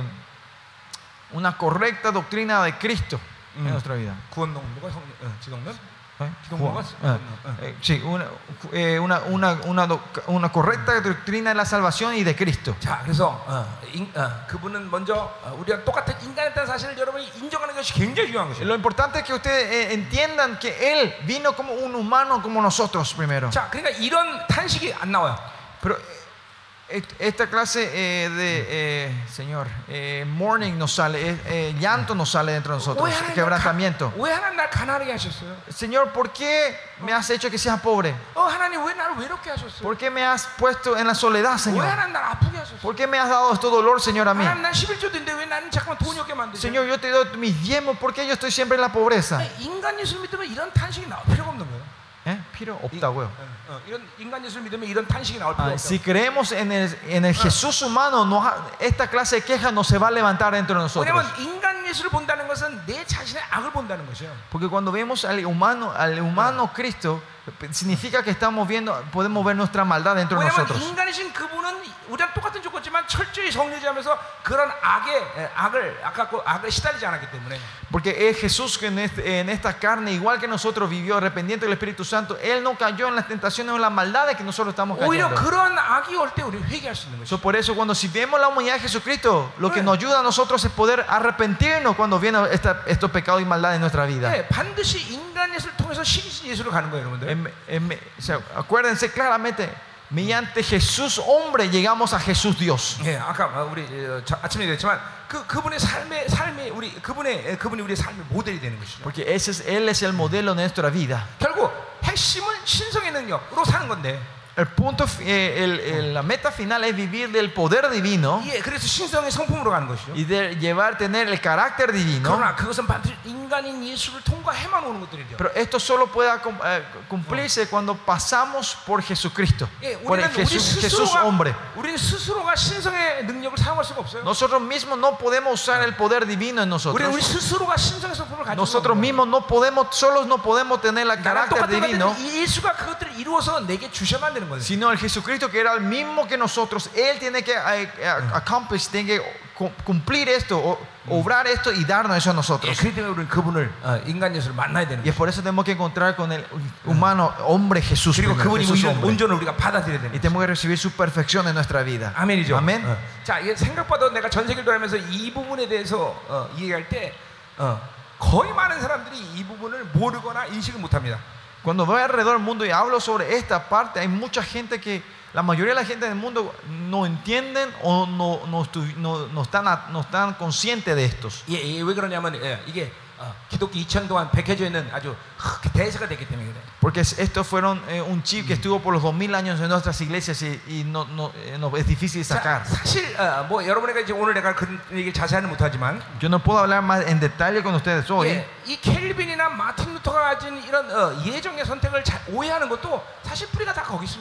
una correcta doctrina de Cristo en Mm. nuestra vida. 구원론, 누가 성, 어, 지독론? ¿Eh? 기독론과 Ah, eh, sí, una, eh, una, una, una, doc- una correcta doctrina de la salvación y de Cristo. 자, 그래서 어, 인, 어, 그분은 먼저 어, 우리가 똑같은 인간이었다는 사실을 여러분이 인정하는 것이 굉장히 중요한 것이에요. Lo importante es que ustedes eh, entiendan que Él vino como un humano como nosotros primero. 자, 그러니까 이런 탄식이 안 나와요. Pero eh, esta clase eh, de, eh, Señor, eh, mourning nos sale, eh, eh, llanto nos sale dentro de nosotros, 왜 하나님 날 quebrantamiento. 가- 왜 하나님 날 가난하게 하셨어요? Señor, ¿por qué me has hecho que seas pobre? 어, 하나님 왜 나를 외롭게 하셨어요? ¿Por qué me has puesto en la soledad, 왜 Señor? 하나님 날 아프게 하셨어요? ¿Por qué me has dado este dolor, Señor, a mí? 하나님 난 십일 조인데 왜 나는 잠깐만 돈이 없게 만드세요? Señor, yo te doy mis diezmos, ¿por qué yo estoy siempre en la pobreza? 인간 예수를 믿으면 이런 탄식이 나올 필요가 없는 거예요. ¿Eh? Piro, 없다고요. 어, 어, 이런 인간 예수를 믿으면 이런 탄식이 나올 필요가 Ah, 없다. si creemos en el, en el Jesús humano, no ha- esta clase de queja no se va a levantar dentro de nosotros. 왜냐면 인간 예수를 본다는 것은 내 자신의 악을 본다는 것이에요. Porque cuando vemos al humano, al humano Cristo, significa que estamos viendo, podemos ver nuestra maldad dentro de 왜냐면 nosotros. 인간이신 그분은 우리랑 똑같은 조건지만 철저히 정죄하면서 그런 악의 에, 악을 아까 그 악을 시달리지 않았기 때문에. Porque es Jesús que en, este- en esta carne, igual que nosotros, vivió arrepentiendo del Espíritu Santo. Él no cayó en las tentaciones o en las maldades que nosotros estamos 오히려 cayendo. 그런 악이 올 때 우리 회개할 수 있는 So, 것이죠. por eso cuando si vemos la humanidad de Jesucristo, lo que nos ayuda a nosotros es poder arrepentirnos cuando vienen esta- estos pecados y maldades en nuestra vida. 네, 반드시 인간 예수를 통해서 신이신 예수로 가는 거예요, 여러분들. En- en- o sea, acuérdense claramente, mediante Jesús hombre llegamos a Jesús Dios. 예, 아까 우리 어, 자- 아침에 얘기했지만 그 그분의 삶의 삶의 우리 그분의 에, 그분이 우리의 삶의 모델이 되는 것이죠. Porque ese es, Él es el modelo de nuestra vida. 결국 핵심은 신성의 능력으로 사는 건데. El punto, eh, el- el- la meta final es vivir del poder divino 예, 그래서 신성의 성품으로 가는 것이죠. y de llevar, tener el carácter divino. 그러나 그것은 반드시 인간인 예수를 통과해만 오는 것들이죠. Pero esto solo puede cum- eh, cumplirse cuando pasamos por Jesucristo, 예, por el 우리는 우리 Jesús, Jesús 스스로가 hombre. 우리는 스스로가 신성의 능력을 사용할 수가 없어요. Nosotros mismos no podemos usar el poder divino en 우리 nosotros. 우리 스스로가 신성의 성품을 가지고 Nosotros mismos no podemos, solos no podemos tener el 나랑 carácter 똑같은 divino, 건데 예수가 그것들을 이루어서 내게 주셔만 되는 거예요. sino el Jesucristo que era el mismo que nosotros. Él tiene que eh, eh, accomplish, tiene que cu- cumplir esto, o- obrar esto y darnos eso a 예, nosotros. 그렇기 때문에 우리는 그분을 어, 인간 예수를 만나야 되는 Y es 거예요. por eso tenemos que encontrar con el humano, hombre Jesús, 그리고 primero, 그분이 Jesús 우리는 hombre. 온전을 우리가 받아들여야 되는 Y 거예요. tenemos que recibir su perfección en nuestra vida. 아멘이죠. Amén. 어. 자, 이게 생각보다 내가 전 세계를 돌아면서 이 부분에 대해서 어, 얘기할 때 어, 거의 많은 사람들이 이 부분을 모르거나 인식을 못합니다. Cuando voy alrededor del mundo y hablo sobre esta parte, hay mucha gente que, la mayoría de la gente del mundo no entienden o no, no, estu- no, no están, a- no están conscientes de estos. 예, 예, 왜 그러냐면 예, 이게 어, 기독교 이천 년 동안 백해져 있는 아주 크, 대세가 됐기 때문에 그래. Porque es- estos fueron eh, un chip que estuvo por los dos mil años en nuestras iglesias y, y no, no, eh, no- es difícil de 자, sacar. 사실 어, 뭐 여러분에게 이제 오늘 내가 그런 얘기 자세히는 못하지만 Yo no puedo hablar más en detalle con ustedes hoy. 예, 이 켈빈이나 마틴 루터가 가진 이런 어, 예정의 선택을 잘 오해하는 것도 사실 뿌리가 다 거기 있습니다.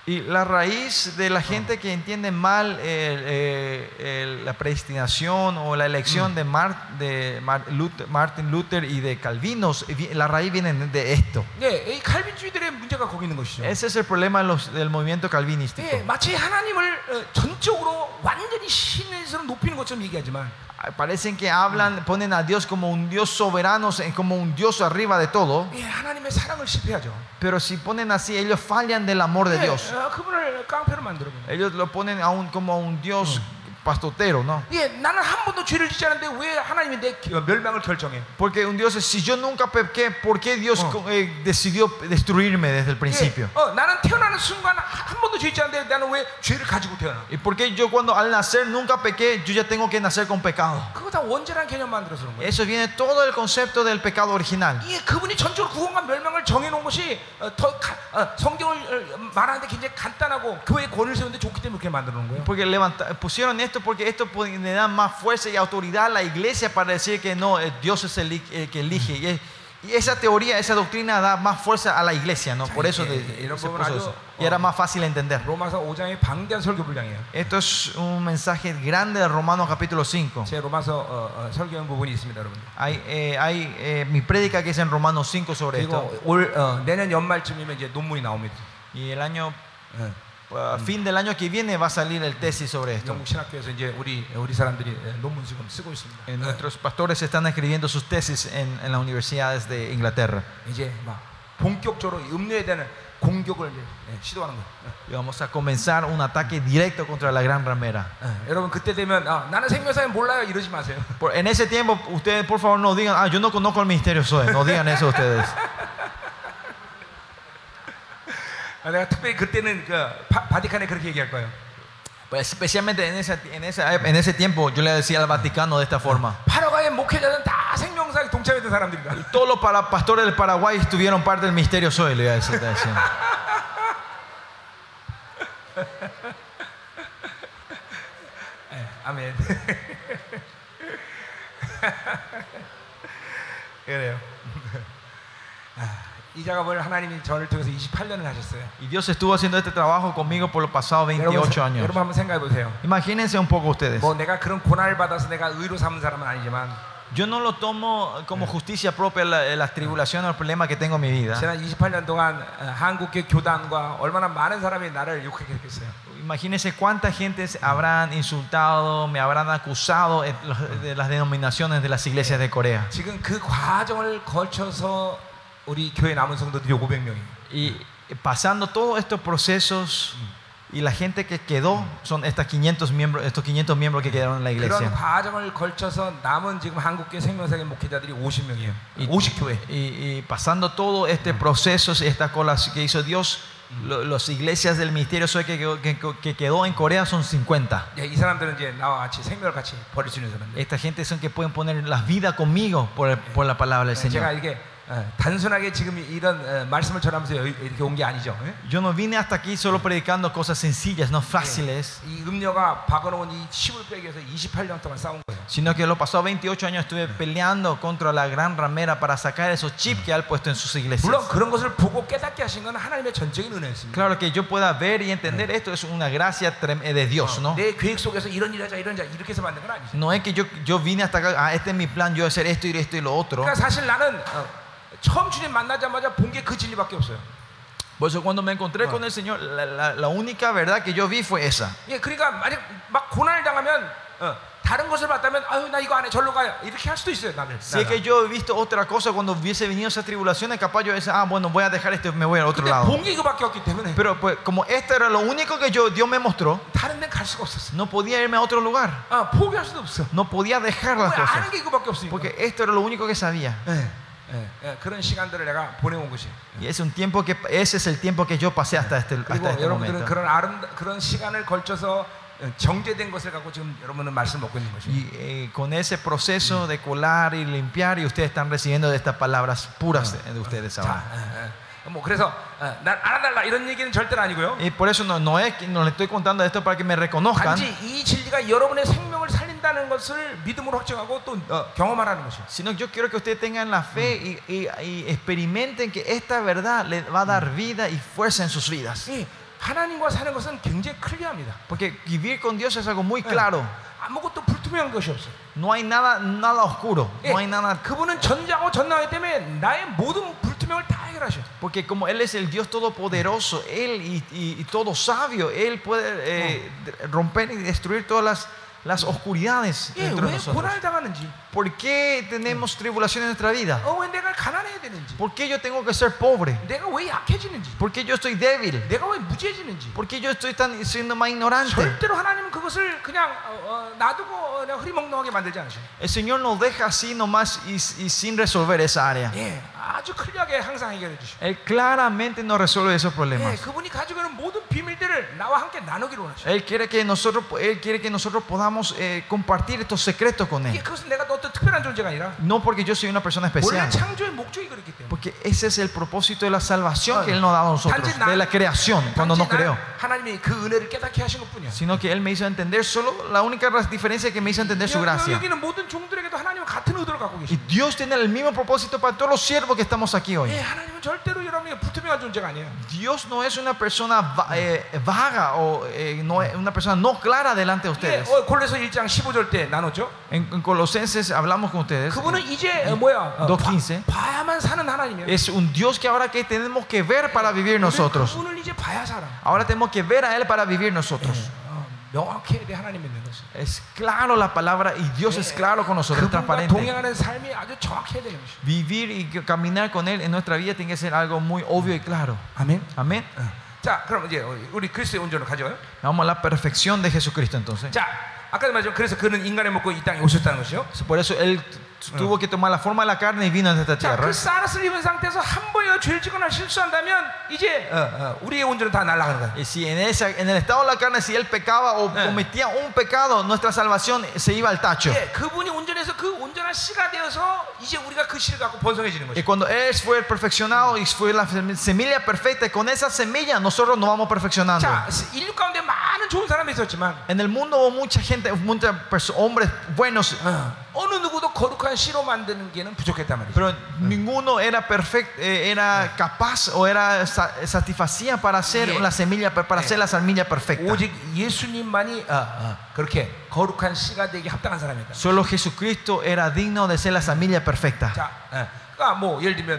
Y la raíz de la gente que entiende mal el, eh, el- la predestinación o la elección de, Mar- de Mar- Luther- Martin Luther y de Calvinos, vi- la raíz viene de esto. 네, 이 칼빈주의들의 문제가 거기 있는 것이죠. Ese es el problema de los- del movimiento calvinístico. 예, 마치 하나님을 어, 전적으로 완전히 신에서 높이는 것처럼 얘기하지만 Parecen que hablan, ponen a Dios como un Dios soberano, como un Dios arriba de todo. 예, 하나님의 사랑을 실패하죠. Pero si ponen así, ellos fallan del amor de 예, Dios. 어, 그분을 깡패로 만들어버려요. Ellos lo ponen a un, como a un Dios pastotero, ¿no? 예, 나는 한 번도 죄를 짓지 않았는데 왜 하나님이 내 기- 멸망을 결정해? Porque un Dios es, si yo nunca pequé, ¿por qué Dios Oh. eh, decidió destruirme desde el principio? 예, 어, 나는 태어나는 순간 한- 한 번도 죄 짓지 않는데 나는 왜 죄를 가지고 태어나? ¿Y por qué yo cuando al nacer nunca pequé, yo ya tengo que nacer con pecado? 그거 다 원죄라는 개념 만들어서 그런 거예요. Eso viene todo el concepto del pecado original. 예, 그분이 전적으로 구원과 멸망을 정해놓은 것이 어, 더 가, 어, 성경을 어, 말하는데 굉장히 간단하고 교회의 권을 세우는데 좋기 때문에 그렇게 만들어놓은 거예요. Porque levanta- pusieron esto porque esto pu- le da más fuerza y autoridad a la iglesia para decir que no, eh, Dios es el, i- el que elige. Y, es- y esa teoría, esa doctrina da más fuerza a la iglesia, ¿no? Por eso 예, de- 예, 이런 se 부분은 puso 아주, eso. Y era más fácil entender. 로마서 오 장의 방대한 설교 분량이에요. Esto es un mensaje grande de Romanos capítulo cinco. 제 로마서 어, 어, 설교한 부분이 있습니다, 여러분. Hay, eh, hay eh, mi prédica que es en Romanos cinco sobre esto. 그리고 올 어, 내년 연말쯤이면 이제 논문이 나옵니다. Y el año, 예. a fin del año que viene va a salir el tesis sobre esto. 영국 신학교에서 이제 우리 우리 사람들이 예, 논문 지금 쓰고 있습니다. Eh, Nuestros pastores están escribiendo sus tesis en, en las universidades de Inglaterra. 이제 막 본격적으로 이 음료에 대한 공격을 이제 예, 시도하는 거예요. Y vamos a comenzar un ataque directo contra la gran ramera. 예, 여러분 그때 되면 아, 나는 생명사에 몰라요 이러지 마세요. Por- en ese tiempo, ustedes por favor no digan, ah, yo no conozco el misterio Zoe. No digan eso ustedes. 아, 내가 특별히 그때는 그 바, 바티칸에 그렇게 얘기할 거예요. Pues especialmente en, esa, en, esa, en ese tiempo yo le decía al Vaticano de esta forma. 파라과이의 목회자는 다 생명사에 동참했던 사람들이다. Todos los para- pastores del Paraguay estuvieron parte del misterio Zoe, le iba a decir. te decía. 예, 아멘. 그래요. 아, 이 작업을 하나님이 저를 통해서 이십팔 년을 하셨어요. Y Dios estuvo haciendo este trabajo conmigo por los pasados 여러분, veintiocho años. 여러분 한번 생각해 보세요. Imagínense un poco ustedes. 뭐 내가 그런 고난을 받아서 내가 의로 삼은 사람은 아니지만 Yo no lo tomo como justicia propia la- las tribulaciones o el problema que tengo en mi vida. 지난 이십팔 년 동안 어, 한국교 교단과 얼마나 많은 사람이 나를 욕했겠어요. Imagínense cuánta gente se habrán insultado, me habrán acusado en los- de las denominaciones de las iglesias de Corea. 지금 그 과정을 거쳐서 우리 교회 남은 성도들이 오백 명이에요. Y pasando todos estos procesos y la gente que quedó son estas quinientos miembros, estos quinientos miembros que quedaron en la 그런 iglesia. 과정을 걸쳐서 남은 지금 한국교 생명사의 목회자들이 오십 명이에요. 오십 교회. Y, y pasando todo este proceso, esta cola que hizo Dios, lo- las iglesias del ministerio Zoe que, quedó- que, que quedó en Corea son cincuenta. 예, 이 사람들은 이제 나와 같이 생명을 같이 버릴 수 있는 사람들. Esta gente son que pueden poner las vidas conmigo por, el- por la palabra del 제가 Señor. 이게 어, 단순하게 지금 이런 어, 말씀을 전하면서 여기 이렇게 온 게 아니죠. 예? Yo no vine hasta aquí solo predicando cosas sencillas, no fáciles, 이 음료가 박아놓은 이 칩을 빼기 위해서 이십팔 년 동안 싸운 거예요. sino que los pasados veintiocho años estuve peleando contra la gran ramera para sacar esos chips que ha puesto en sus iglesias. 물론 그런 것을 보고 깨닫게 하신 건 하나님의 전적인 은혜였습니다. Claro que yo pueda ver y entender esto es una gracia trem- de Dios, ¿no? 내 계획 속에서 이런 일 하자 이런 자 이렇게 해서 만든 건 아니죠. No es que yo, yo vine hasta acá, ah, este es mi plan, yo voy a hacer esto y esto y lo otro. 그러니까 사실 나는 어, 처음 주님 만나자마자 본 게 그 진리밖에 없어요. Por eso cuando me encontré con el Señor, la, la- la única verdad que yo vi fue esa. 예, 그러니까 만약 막 고난을 당하면 어, 다른 것을 봤다면 아유 나 이거 안 해 절로 가요 이렇게 할 수도 있어요 나는. Si es que yo he visto otra cosa cuando hubiese venido esas tribulaciones, capaz yo decía, ah, bueno, voy a dejar esto y me voy al otro 근데 lado. 본 게 이거밖에 없기 때문에 Pero pues como esto era lo único que yo, Dios me mostró, 다른 데는 갈 수가 없었어. no podía irme a otro lugar. 아, 포기할 수도 없어. No podía dejar 왜 las 아는 cosas. 게 이거밖에 없으니까. Porque esto era lo único que sabía. 예, 예, 예, 그런 시간들을 내가 보내온 것이. Y es un tiempo que, ese es el tiempo que yo pasé hasta este, 그리고 hasta este 여러분들은 momento. 그런 아름 그런 시간을 걸쳐서 정제된 것을 갖고 지금 여러분은 말씀 먹고 있는 것이. Y eh, con ese proceso de colar y limpiar, y ustedes están recibiendo de estas palabras puras de, de ustedes 자, ahora. 예, 예. 뭐 그래서 어, 난 알아달라 이런 얘기는 절대로 아니고요. Y por eso no, no es que no les estoy contando esto para que me reconozcan, 단지 이 진리가 여러분의 생명을 살린다는 것을 믿음으로 확증하고 또 어, 경험하라는 것이요. sino que yo quiero que ustedes tengan la fe y, y- y experimenten que esta verdad les va a dar vida y fuerza en sus vidas. 이 하나님과 사는 것은 굉장히 클리어합니다. Porque vivir con Dios es algo muy claro. 아무것도 불투명한 것이 없어. No hay nada, nada oscuro. No hay nada. 그분은 전자고 전능하기 때문에 나의 모든 불투명을 다 해결하셔. Porque como Él es el Dios todopoderoso, Él y, y, y todo sabio, Él puede eh, romper y destruir todas las, las oscuridades 예, dentro de 왜 nosotros. 고난을 당하는지, ¿Por qué tenemos tribulación en nuestra vida? 어, 왜 내가 가난해야 되는지, ¿Por qué yo tengo que ser pobre? 내가 왜 약해지는지, ¿Por qué yo estoy débil? 내가 왜 무지해지는지. ¿Por qué yo estoy tan, siendo más ignorante? 절대로 하나님은 그것을 그냥 어, 어, 놔두고 어, 그냥 흐리멍텅하게 만들지 않으셔. El Señor nos deja así nomás y, y sin resolver esa área. 예, 아주 클리어하게 항상 해결해 주셔. Él claramente nos resuelve esos 예, problemas. 그분이 가지고 있는 모든 비밀들을 나와 함께 나누기로 원하셔. Él quiere que nosotros, Él quiere que nosotros podamos eh, compartir estos secretos con 이게 Él. 그것은 내가 어떤 특별한 존재가 아니라 No porque yo soy una persona 원래 especial, 창조의 목적이 그렇기 때문에. porque ese es el propósito de la salvación que Él nos ha dado a nosotros, 단지 나- de la creación, cuando 단지 no creo. 나는 하나님이 그 은혜를 깨닫게 하신 것뿐이야. Sino que Él me hizo entender, solo la única diferencia es que me hizo entender su 여- gracia. 여기는 모든 종들에게도 하나님은 같은 의도를 갖고 Y 계십니다. Dios tiene el mismo propósito para todos los siervos que estamos aquí hoy. 예, 하나님은 절대로 여러분이 불투명한 존재가 아니에요. Dios no es una persona va- eh, vaga o eh, no es una persona no clara delante de 예, ustedes. 어, 골로새 일 장 십오 절 때 나눴죠. En, en Colosenses hablamos con ustedes. 그분은 이제 어, 뭐야? 어, dos 봐- quince. 봐야만 사는 하나님이에요. Es un Dios que ahora que tenemos que ver para vivir nosotros. 그분을 이제 봐야 살아. Ahora tenemos que ver a Él para vivir nosotros. 어, 명확해야 돼 하나님 믿는 것이. Es claro la palabra y Dios es claro con nosotros, es 그분과 transparente. 동행하는 삶이 아주 정확해야 되는 것이. Vivir y caminar con Él en nuestra vida tiene que ser algo muy obvio y claro. 아멘. Amén. 어. 자, 그럼 이제 우리 그리스도의 온전을 가져요. Vamos a la perfección de Jesucristo entonces. 자, 아까도 말했지만 그래서 그는 인간의 먹고 이 땅에 오셨다는 것이요. Por eso Él tuvo que tomar la forma de la carne y vino a esta 자, tierra. 그 사르스를 입은 상태에서 한 번이라도 죄를 짓거나 실수한다면 이제 어, 어, 우리의 온전은 다 날아가는 거야. Y si en, esa, en el estado de la carne, si Él pecaba o Eh. cometía un pecado, nuestra salvación se iba al tacho. 예, 그분이 온전해서 그 온전한 씨가 되어서 이제 우리가 그 씨를 갖고 번성해지는 Y 것이. cuando Él fue perfeccionado y fue la semilla perfecta, y con esa semilla nosotros nos vamos perfeccionando. 자, 인류 가운데 많은 좋은 사람이 있었지만 En el mundo hubo mucha gente, muchos hombres buenos, 어, 어느 누구도 거룩한 씨로 만드는 게는 부족했단 말이죠. pero ninguno era perfecto, eh, era capaz o era sa- satisfacía para hacer Yeah. la semilla, para hacer la semilla perfecta. 오직 예수님만이 어, 어, 그렇게 거룩한 씨가 되기 합당한 사람이다. Solo Jesucristo era digno de ser la semilla perfecta. 자, 어, 그러니까 뭐 예를 들면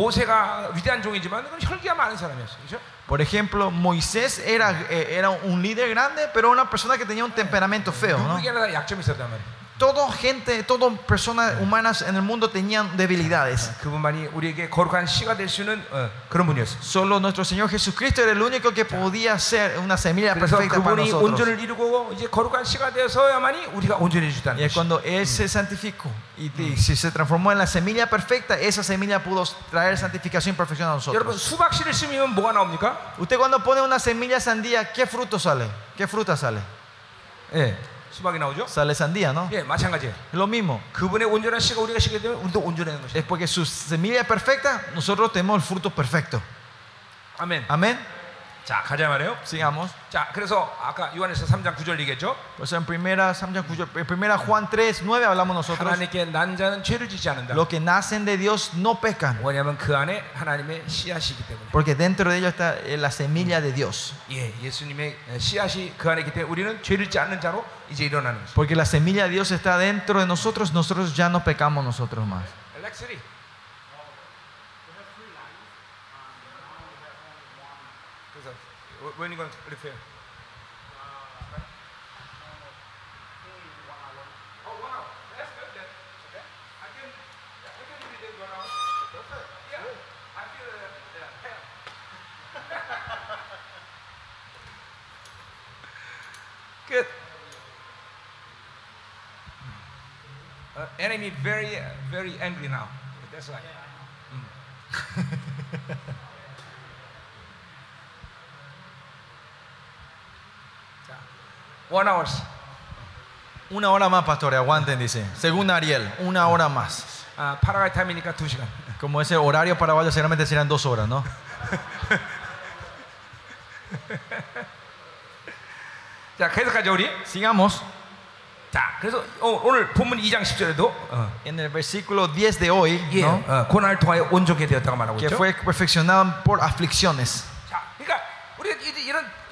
모세가 위대한 종이지만 그건 혈기가 많은 사람이었어, 그렇죠? Por ejemplo, Moisés era, eh, era un líder grande, pero una persona que tenía un temperamento feo, ¿no? 누구에게나 다 약점이 있었단 말이에요. Toda gente, todas personas humanas en el mundo tenían debilidades. 그분만이 우리에게 거룩한 씨가 될 수 있는 어, 그런 분이었어. Solo nuestro Señor Jesucristo era el único que podía ser una semilla 그래서 perfecta para 그분이 nosotros. 온전을 이루고 이제 거룩한 씨가 되어서야만이 우리가 온전해지다는 Y es 것이. cuando Él se santificó y, y si se transformó en la semilla perfecta, esa semilla pudo traer santificación y perfección a 여러분 nosotros. 수박 씨를 심으면 뭐가 나옵니까? Usted cuando pone una semilla sandía, ¿qué fruto sale? ¿Qué fruta sale? 예, 수박이 나오죠. Sale sandía, ¿no? 예, 마찬가지예요. Es lo mismo. 그분의 온전한 씨가 우리가 시게 되면 우리도 온전해지는 것이에요. Es porque su semilla es perfecta, nosotros tenemos el fruto perfecto. 아멘. Amén. 자, 가자 말이에요. Sigamos. 자, 그래서 아까 요한에서 삼 장 구 절 얘기했죠. Pues en primera, en primera Juan tres, nueve hablamos nosotros. 하나님께 난 자는 죄를 짓지 않는다. Los que nacen de Dios no pecan, 왜냐하면 그 안에 하나님의 씨앗이기 때문에. porque dentro de ellos está eh, la semilla de Dios. 예, 예수님의 씨앗이 그 안에 있기 때문에 우리는 죄를 짓지 않는 자로 이제 일어나는 것이죠. Porque la semilla de Dios está dentro de nosotros, nosotros ya no pecamos nosotros más. 렉스리. 그래서 when you going to prepare? Oh, one hour. That's good then. Okay. I can, yeah, we can read it one hour. Perfect. Yeah. I feel uh, yeah, hell. Good. Uh, enemy very, uh, very angry now. That's right. Mm. 자, one hours. Una hora más, pastor, aguanten, dice. Según Ariel, una hora más. 아, 파라과이 타임이니까 두 시간. Como ese horario paraguayo, seguramente serán dos horas, ¿no? 자, 계속하죠 우리. Sigamos. 자, 그래서 어, 오늘 본문 이 장 십 절에도 어, En el versículo diez de hoy, 예, ¿no? 어, 고난을 통하여 온전케 되었다고 말하고 Que 있죠. fue perfeccionado por aflicciones. 자, 그러니까 우리가 이- 이런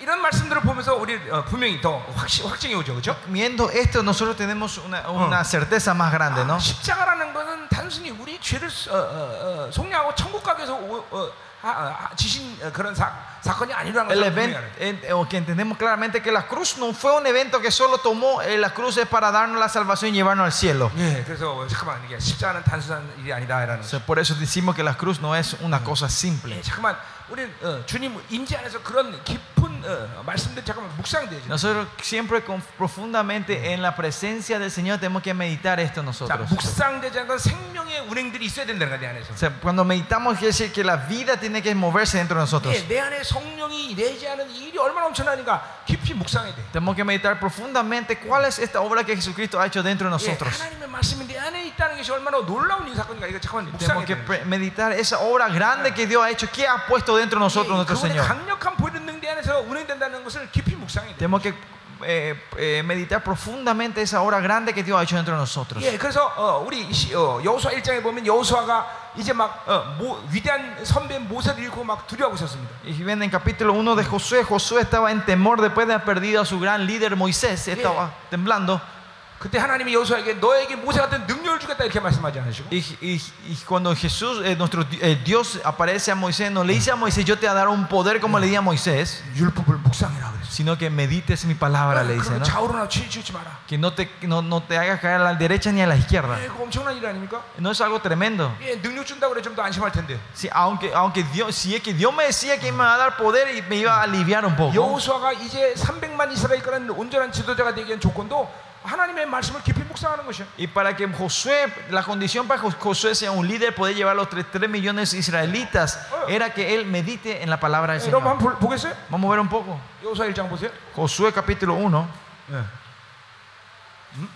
이런 말씀들을 보면서 우리 어, 분명히 더 확시, 확증이 오죠, 그렇죠? Viendo esto, nosotros tenemos una, una certeza más grande, ¿no? 십자가라는 것은 단순히 우리 죄를 어, 어, 어, 속량하고 천국 가기 위해서 오, 어, 하, 하, 지신 어, 그런 사, 사건이 아니라는 El 것을 evento, 분명히 알아요. en- o que entendemos claramente que la cruz no fue un evento que solo tomó, eh, la cruz es para darnos la salvación y llevarnos al cielo. 예, 그래서 잠깐만 이게 십자가는 단순한 일이 아니다라는 O 거죠. sea, por eso decimos que la cruz no es una cosa simple. 예, 잠깐만 우리는 어, 주님 임재 안에서 그런 깊은 어, 말씀들 잠깐만 묵상돼야죠. Nosotros siempre con- profundamente en la presencia del Señor tenemos que meditar esto 자, nosotros. 묵상되지 않은 건 생명의 운행들이 있어야 된다는 거야, 내 안에서. O sea, cuando meditamos quiere decir que la vida tiene que moverse dentro de nosotros. 예, 내 안에 성령이 내지 않은 이 일이 얼마나 엄청나니까 깊이 묵상해야 돼. Tenemos que meditar profundamente cuál es esta obra que Jesucristo ha hecho dentro de 예, nosotros. 하나님의 말씀이 내 안에 있다는 것이 얼마나 놀라운 이 사건인가. 이거 잠깐만 Tenemos 묵상해야 que 돼. pre- meditar esa obra grande que Dios ha hecho, que ha puesto dentro de nosotros nuestro 그분의 Señor. 강력한 보이는 내 안에서 운행된다는 것을 깊이 묵상해야 돼. Tenemos que eh, eh, meditar profundamente esa obra grande que Dios ha hecho dentro de nosotros. 예, 그래서 어, 우리 시- 어, 여호수아 일 장에 보면 여호수아가 이제 막 어, 모, 위대한 선배 모세를 잃고 막 두려워하고 있었습니다. Y ven en capítulo uno de Josué, Josué estaba en temor después de haber perdido a su gran líder Moisés, estaba temblando. 그때 하나님이 여호수아에게 너에게 모세 같은 능력을 주겠다 이렇게 말씀하지 않으시고 Y, y- y cuando Jesús, eh, nuestro eh, Dios aparece a Moisés, no le dice a Moisés, yo te voy a dar un poder como le di a Moisés, 율법을 묵상해라 그랬어. sino que medites mi palabra, le dice, 그럼 ¿no? 좌우로나 치우치지 마라. Que no te, no, no te hagas caer a la derecha ni a la izquierda. 예, 그거 엄청난 일 아닙니까? No es algo tremendo. 예, 능력 준다고 그래 좀 더 안심할 텐데. Sí, aunque, aunque Dios, si es que Dios me decía que me iba a dar poder y me iba a aliviar un poco. 여호수아가 이제 삼백만 이스라엘 거는 온전한 지도자가 되기 위한 조건도 하나님의 말씀을 깊이 묵상하는 것이야. Y para que Josué, la condición para que Josué sea un líder, poder llevar los tres, tres millones de israelitas, era que él medite en la palabra del 예, 여러분 Señor. 한번 볼- 보겠어요? Vamos a ver un poco. 여호수아 일 장 보세요. Josué capítulo uno. 예. 음?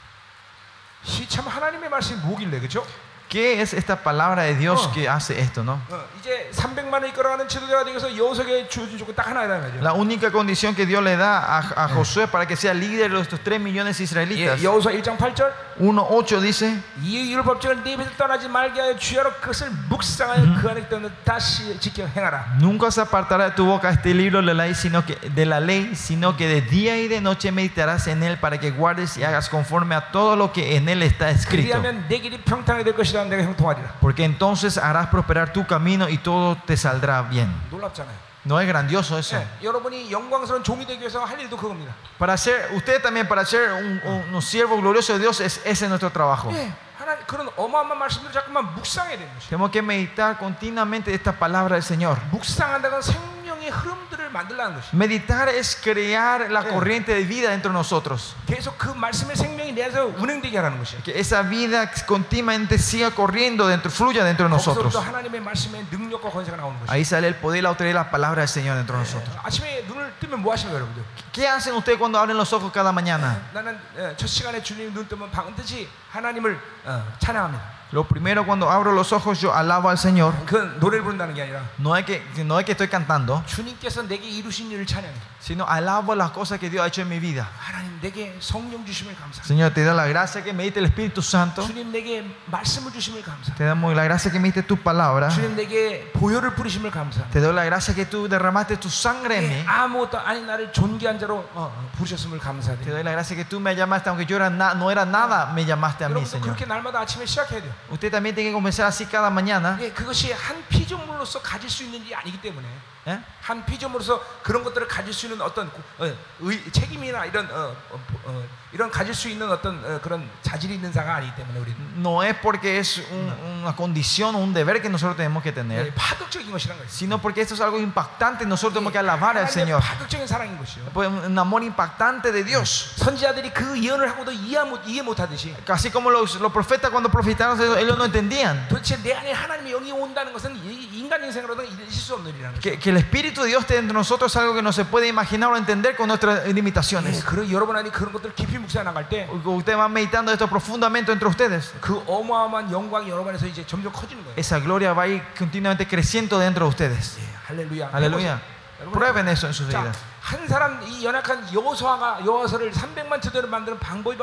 시 참 하나님의 말씀이 뭐길래 그렇죠? ¿Qué es esta palabra de Dios Oh. que hace esto, no? 어, 이제 삼백만을 이끌어가는 지도자가 되기 위해서 여호수아에게 주어진 조건 딱 하나이라는 거죠. La única condición que Dios le da a, a Josué para que sea líder de estos tres millones de 예, israelitas. 여호수아 일 장 팔 절 uno ocho dice, 이 율법책을 네 입에서 떠나지 말게 하여 주야로 그것을 묵상하여 그 안에 있는 다시 지켜 행하라. nunca se apartará de tu boca este libro de la ley, sino que, de la ley, sino que de día y de noche meditarás en él para que guardes y hagas conforme a todo lo que en él está escrito. 그리하면 내 길이 평탄하게 될 것이라 내가 형통하리라. Porque entonces harás prosperar tu camino y todo te saldrá bien. 놀랍잖아요. ¿No es grandioso eso? 예, 여러분이 영광스러운 종이 되기 위해서 할 일도 그겁니다. Para ser, usted también para ser un, un, un siervo glorioso de Dios, es, ese es nuestro trabajo. 예, 하나님 그런 어마어마한 말씀들을 자꾸만 묵상해야 되는 것이에요. Tenemos que meditar continuamente esta palabra del Señor. 묵상한다는 건 생명의 흐름들을 만들라는 것이에요. Meditar es crear la corriente de vida dentro de nosotros. 계속 그 말씀의 생명이 내 안에서 운행되게 하라는 것이에요. Que esa vida continuamente siga corriendo dentro, fluya dentro de nosotros. 거기서부터 하나님의 말씀의 능력과 권세가 나오는 것이에요. Ahí sale el poder y la autoridad de la palabra del Señor dentro de nosotros. 아침에 눈을 뜨면 뭐 하시는 거예요, 여러분들? ¿Qué hacen ustedes cuando abren los ojos cada mañana? 나는 예, 첫 시간에 주님 눈 뜨면 반드시 하나님을 어, 찬양합니다. Lo primero, cuando abro los ojos, yo alabo al Señor. 그 노래를 부른다는 게 아니라 No es que, no es que estoy cantando, 주님께서 내게 이루신 일을 찬양해. sino alabo las cosas que Dios ha hecho en mi vida. 하나님 내게 성령 주심을 감사합니다. Señor, te doy la gracia que me diste el Espíritu Santo. 주님 내게 말씀을 주심을 감사합니다. Te damos la gracia que me diste tu palabra. 주님 내게 보혈을 뿌리심을 감사합니다. Te doy la gracia que tú derramaste tu sangre en 예, mí. 아무것도 아닌 나를 존귀한 자로 어, 어, 부르셨음을 Te 감사드립니다. doy la gracia que tú me llamaste, aunque yo era na- no era nada, me llamaste a mí, 여러분도 Señor. 그렇게 날마다 아침에 시작해야 돼요. Usted también tiene que comenzar así cada mañana. 예, 그것이 한 피조물로서 가질 수 있는 일이 아니기 때문에 ¿eh? 한 피조물로서 그런 것들을 가질 수 있는 어떤 어, 의, 책임이나 이런 어, 어, 어, 이런 가질 수 있는 어떤 어, 그런 자질이 있는 자가 아니기 때문에 우리는 No es porque es un- una condición o un deber que nosotros tenemos que 예, tener, 파격적인 것이란 거예요. sino porque esto es algo impactante. Nosotros tenemos que alabar al 하나님의 Señor. 파격적인 사랑인 것이요. Pues un amor impactante de Dios. 선지자들이 그 예언을 하고도 이해 못 이해 못하듯이 Así como los, los profetas cuando profetaron, ellos no entendían 도대체 내 안에 하나님의 영이 온다는 것은 이- 인간 인생으로는 있을 수 없는 일이라는 거죠. que, que el Espíritu de Dios esté entre nosotros es algo que no se puede imaginar o entender con nuestras 예, limitaciones. 그런 여러분 안에 그런 것들 깊이 묵상해 나갈 때 그 Usted va meditando esto profundamente entre ustedes. 어마어마한 영광이 여러분 안에서 이제 점점 커지는 거예요. Esa gloria va a ir continuamente creciendo dentro de ustedes. 예, 할렐루야. Aleluya. 여러분, Prueben eso en sus 자, vidas. 한 사람 이 연약한 여호수아가 여호수아를 삼백만 제대로 만드는 방법이 바로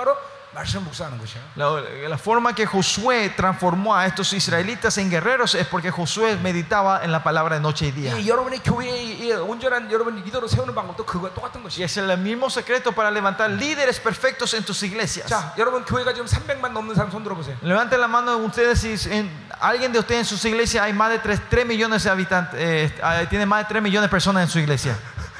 말씀 묵상하는 것이야. La, la forma que Josué transformó a estos israelitas en guerreros es porque Josué meditaba en la palabra de noche y día. 이 여러분의 교회의 이 온전한 여러분 리더로 세우는 방법도 그거 똑같은 Y 것이야. es el mismo secreto para levantar líderes perfectos en tus iglesias. 자, 여러분 교회가 지금 삼백만 넘는 사람 손 들어보세요. Levanten la mano de ustedes si en, alguien de ustedes en sus iglesias hay más de tres millones de habitantes, eh, tiene más de tres millones de personas en su iglesia.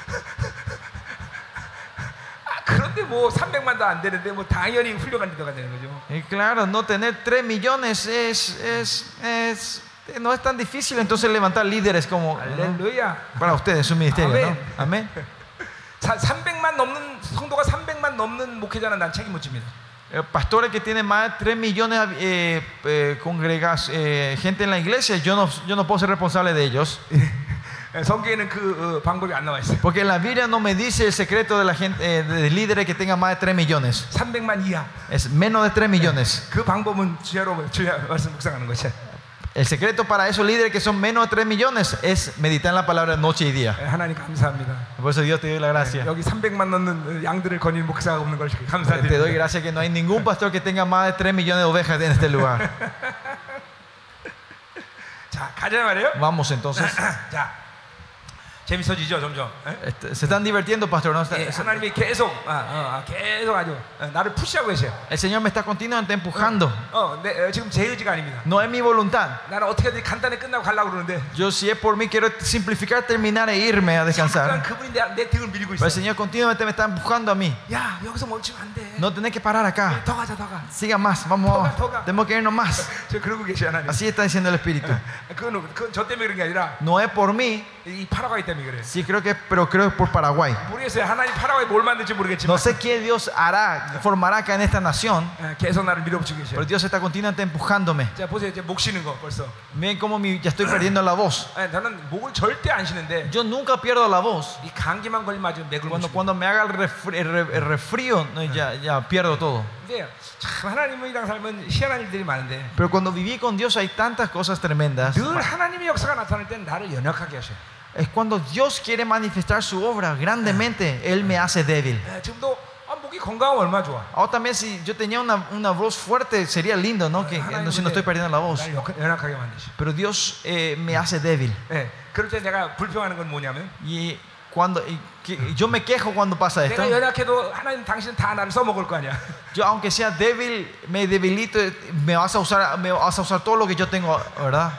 그런데 뭐 삼백만도 안 되는데 뭐 당연히 훌륭한 리더가 되는 거죠. Y claro, no tener tres millones es, es, es, no es tan difícil entonces levantar líderes como 할렐루야. para ustedes en su ministerio, ¿no? Amén. 삼백만 넘는 성도가 삼백만 넘는 목회자는 난 책임 못 집니다. Eh, pastores que tienen más de tres millones eh, eh, congregas, eh, gente en la iglesia, yo no, yo no puedo ser responsable de ellos. 성경에는 그 어, 방법이 안 나와 있어요. Porque en la Biblia no me dice el secreto de la gente, eh, de líderes que tengan más de tres millones. 삼백만 이하. Es menos de tres millones. 그 방법은 주야로 주야 말씀 묵상하는 것이야. El secreto para esos líderes que son menos de tres millones es meditar en la palabra noche y día. 하나님 감사합니다. Por eso Dios te doy la gracia. 여기 삼백만 넘는 양들을 거닌 목사가 없는 걸 Te doy 감사드립니다. gracias que no hay ningún pastor que tenga más de tres millones de ovejas en este lugar. 자, 가자 말이에요. Vamos entonces. 자, 재밌어지죠 점점. 에? Este, se están divirtiendo, pastor, ¿no? 예, 하나님이 계속 아, 어, 계속 아주 어, 나를 푸시하고 계세요. El Señor me está continuamente empujando. 어, 내, 어, 지금 제 의지가 아닙니다. No es mi voluntad. 나는 어떻게든 간단히 끝나고 가려고 그러는데 Yo, si es por mí, quiero simplificar, terminar e irme a 그냥 descansar. 그분이 내, 내 등을 밀고 Pero el 있어요. Señor continuamente me está empujando a mí. 야, 여기서 멈추면 안 돼. No tenés que parar acá. 더 가자, 더 가. Siga más, vamos. Tenemos que irnos más. 저 그러고 계시 하나님. Así está diciendo el Espíritu. 그건, 그건 저 때문에 그런 게 아니라 No es por mí, 이 파라과이 때문에 그래. sí creo que, pero creo que es por Paraguay. 모르겠어요. 하나님 파라과이 뭘 만들지 모르겠지만 No sé qué Dios hará, formará acá en esta nación, 어, 계속 나를 밀어붙이고 계셔. pero Dios está continuamente empujándome. 자, 보세요. 이제 목 쉬는 거 벌써. Miren cómo mi- ya estoy perdiendo la voz. 아니, 저는 목을 절대 안 쉬는데 Yo nunca pierdo la voz. 이 감기만 걸리면 아주 맥을 못 Cuando, 쉬고. cuando me haga el, refri- el re- el resfrío, no, ya, ya pierdo todo. 근데 참 하나님이랑 살면 희한한 일들이 많은데 Pero cuando viví con Dios hay tantas cosas tremendas. 늘 하나님의 역사가 나타날 때는 나를 연약하게 하셔요. Es cuando Dios quiere manifestar su obra grandemente, Él me hace débil. 예, 지금도 아, 목이 건강하면 얼마나 좋아. Ahora también si yo tenía una, una voz fuerte, sería lindo, ¿no? Que, no, si no estoy perdiendo la voz. 날 역- 연약하게 만드셔. Pero Dios eh, me hace débil. 예, 그럴 때 내가 불평하는 건 뭐냐면 Y cuando y que- yo me quejo cuando pasa esto. 내가 연약해도 하나님 당신은 다 나를 써먹을 거 아니야. Yo aunque sea débil, me debilito, me vas a usar, me vas a usar todo lo que yo tengo, ¿verdad?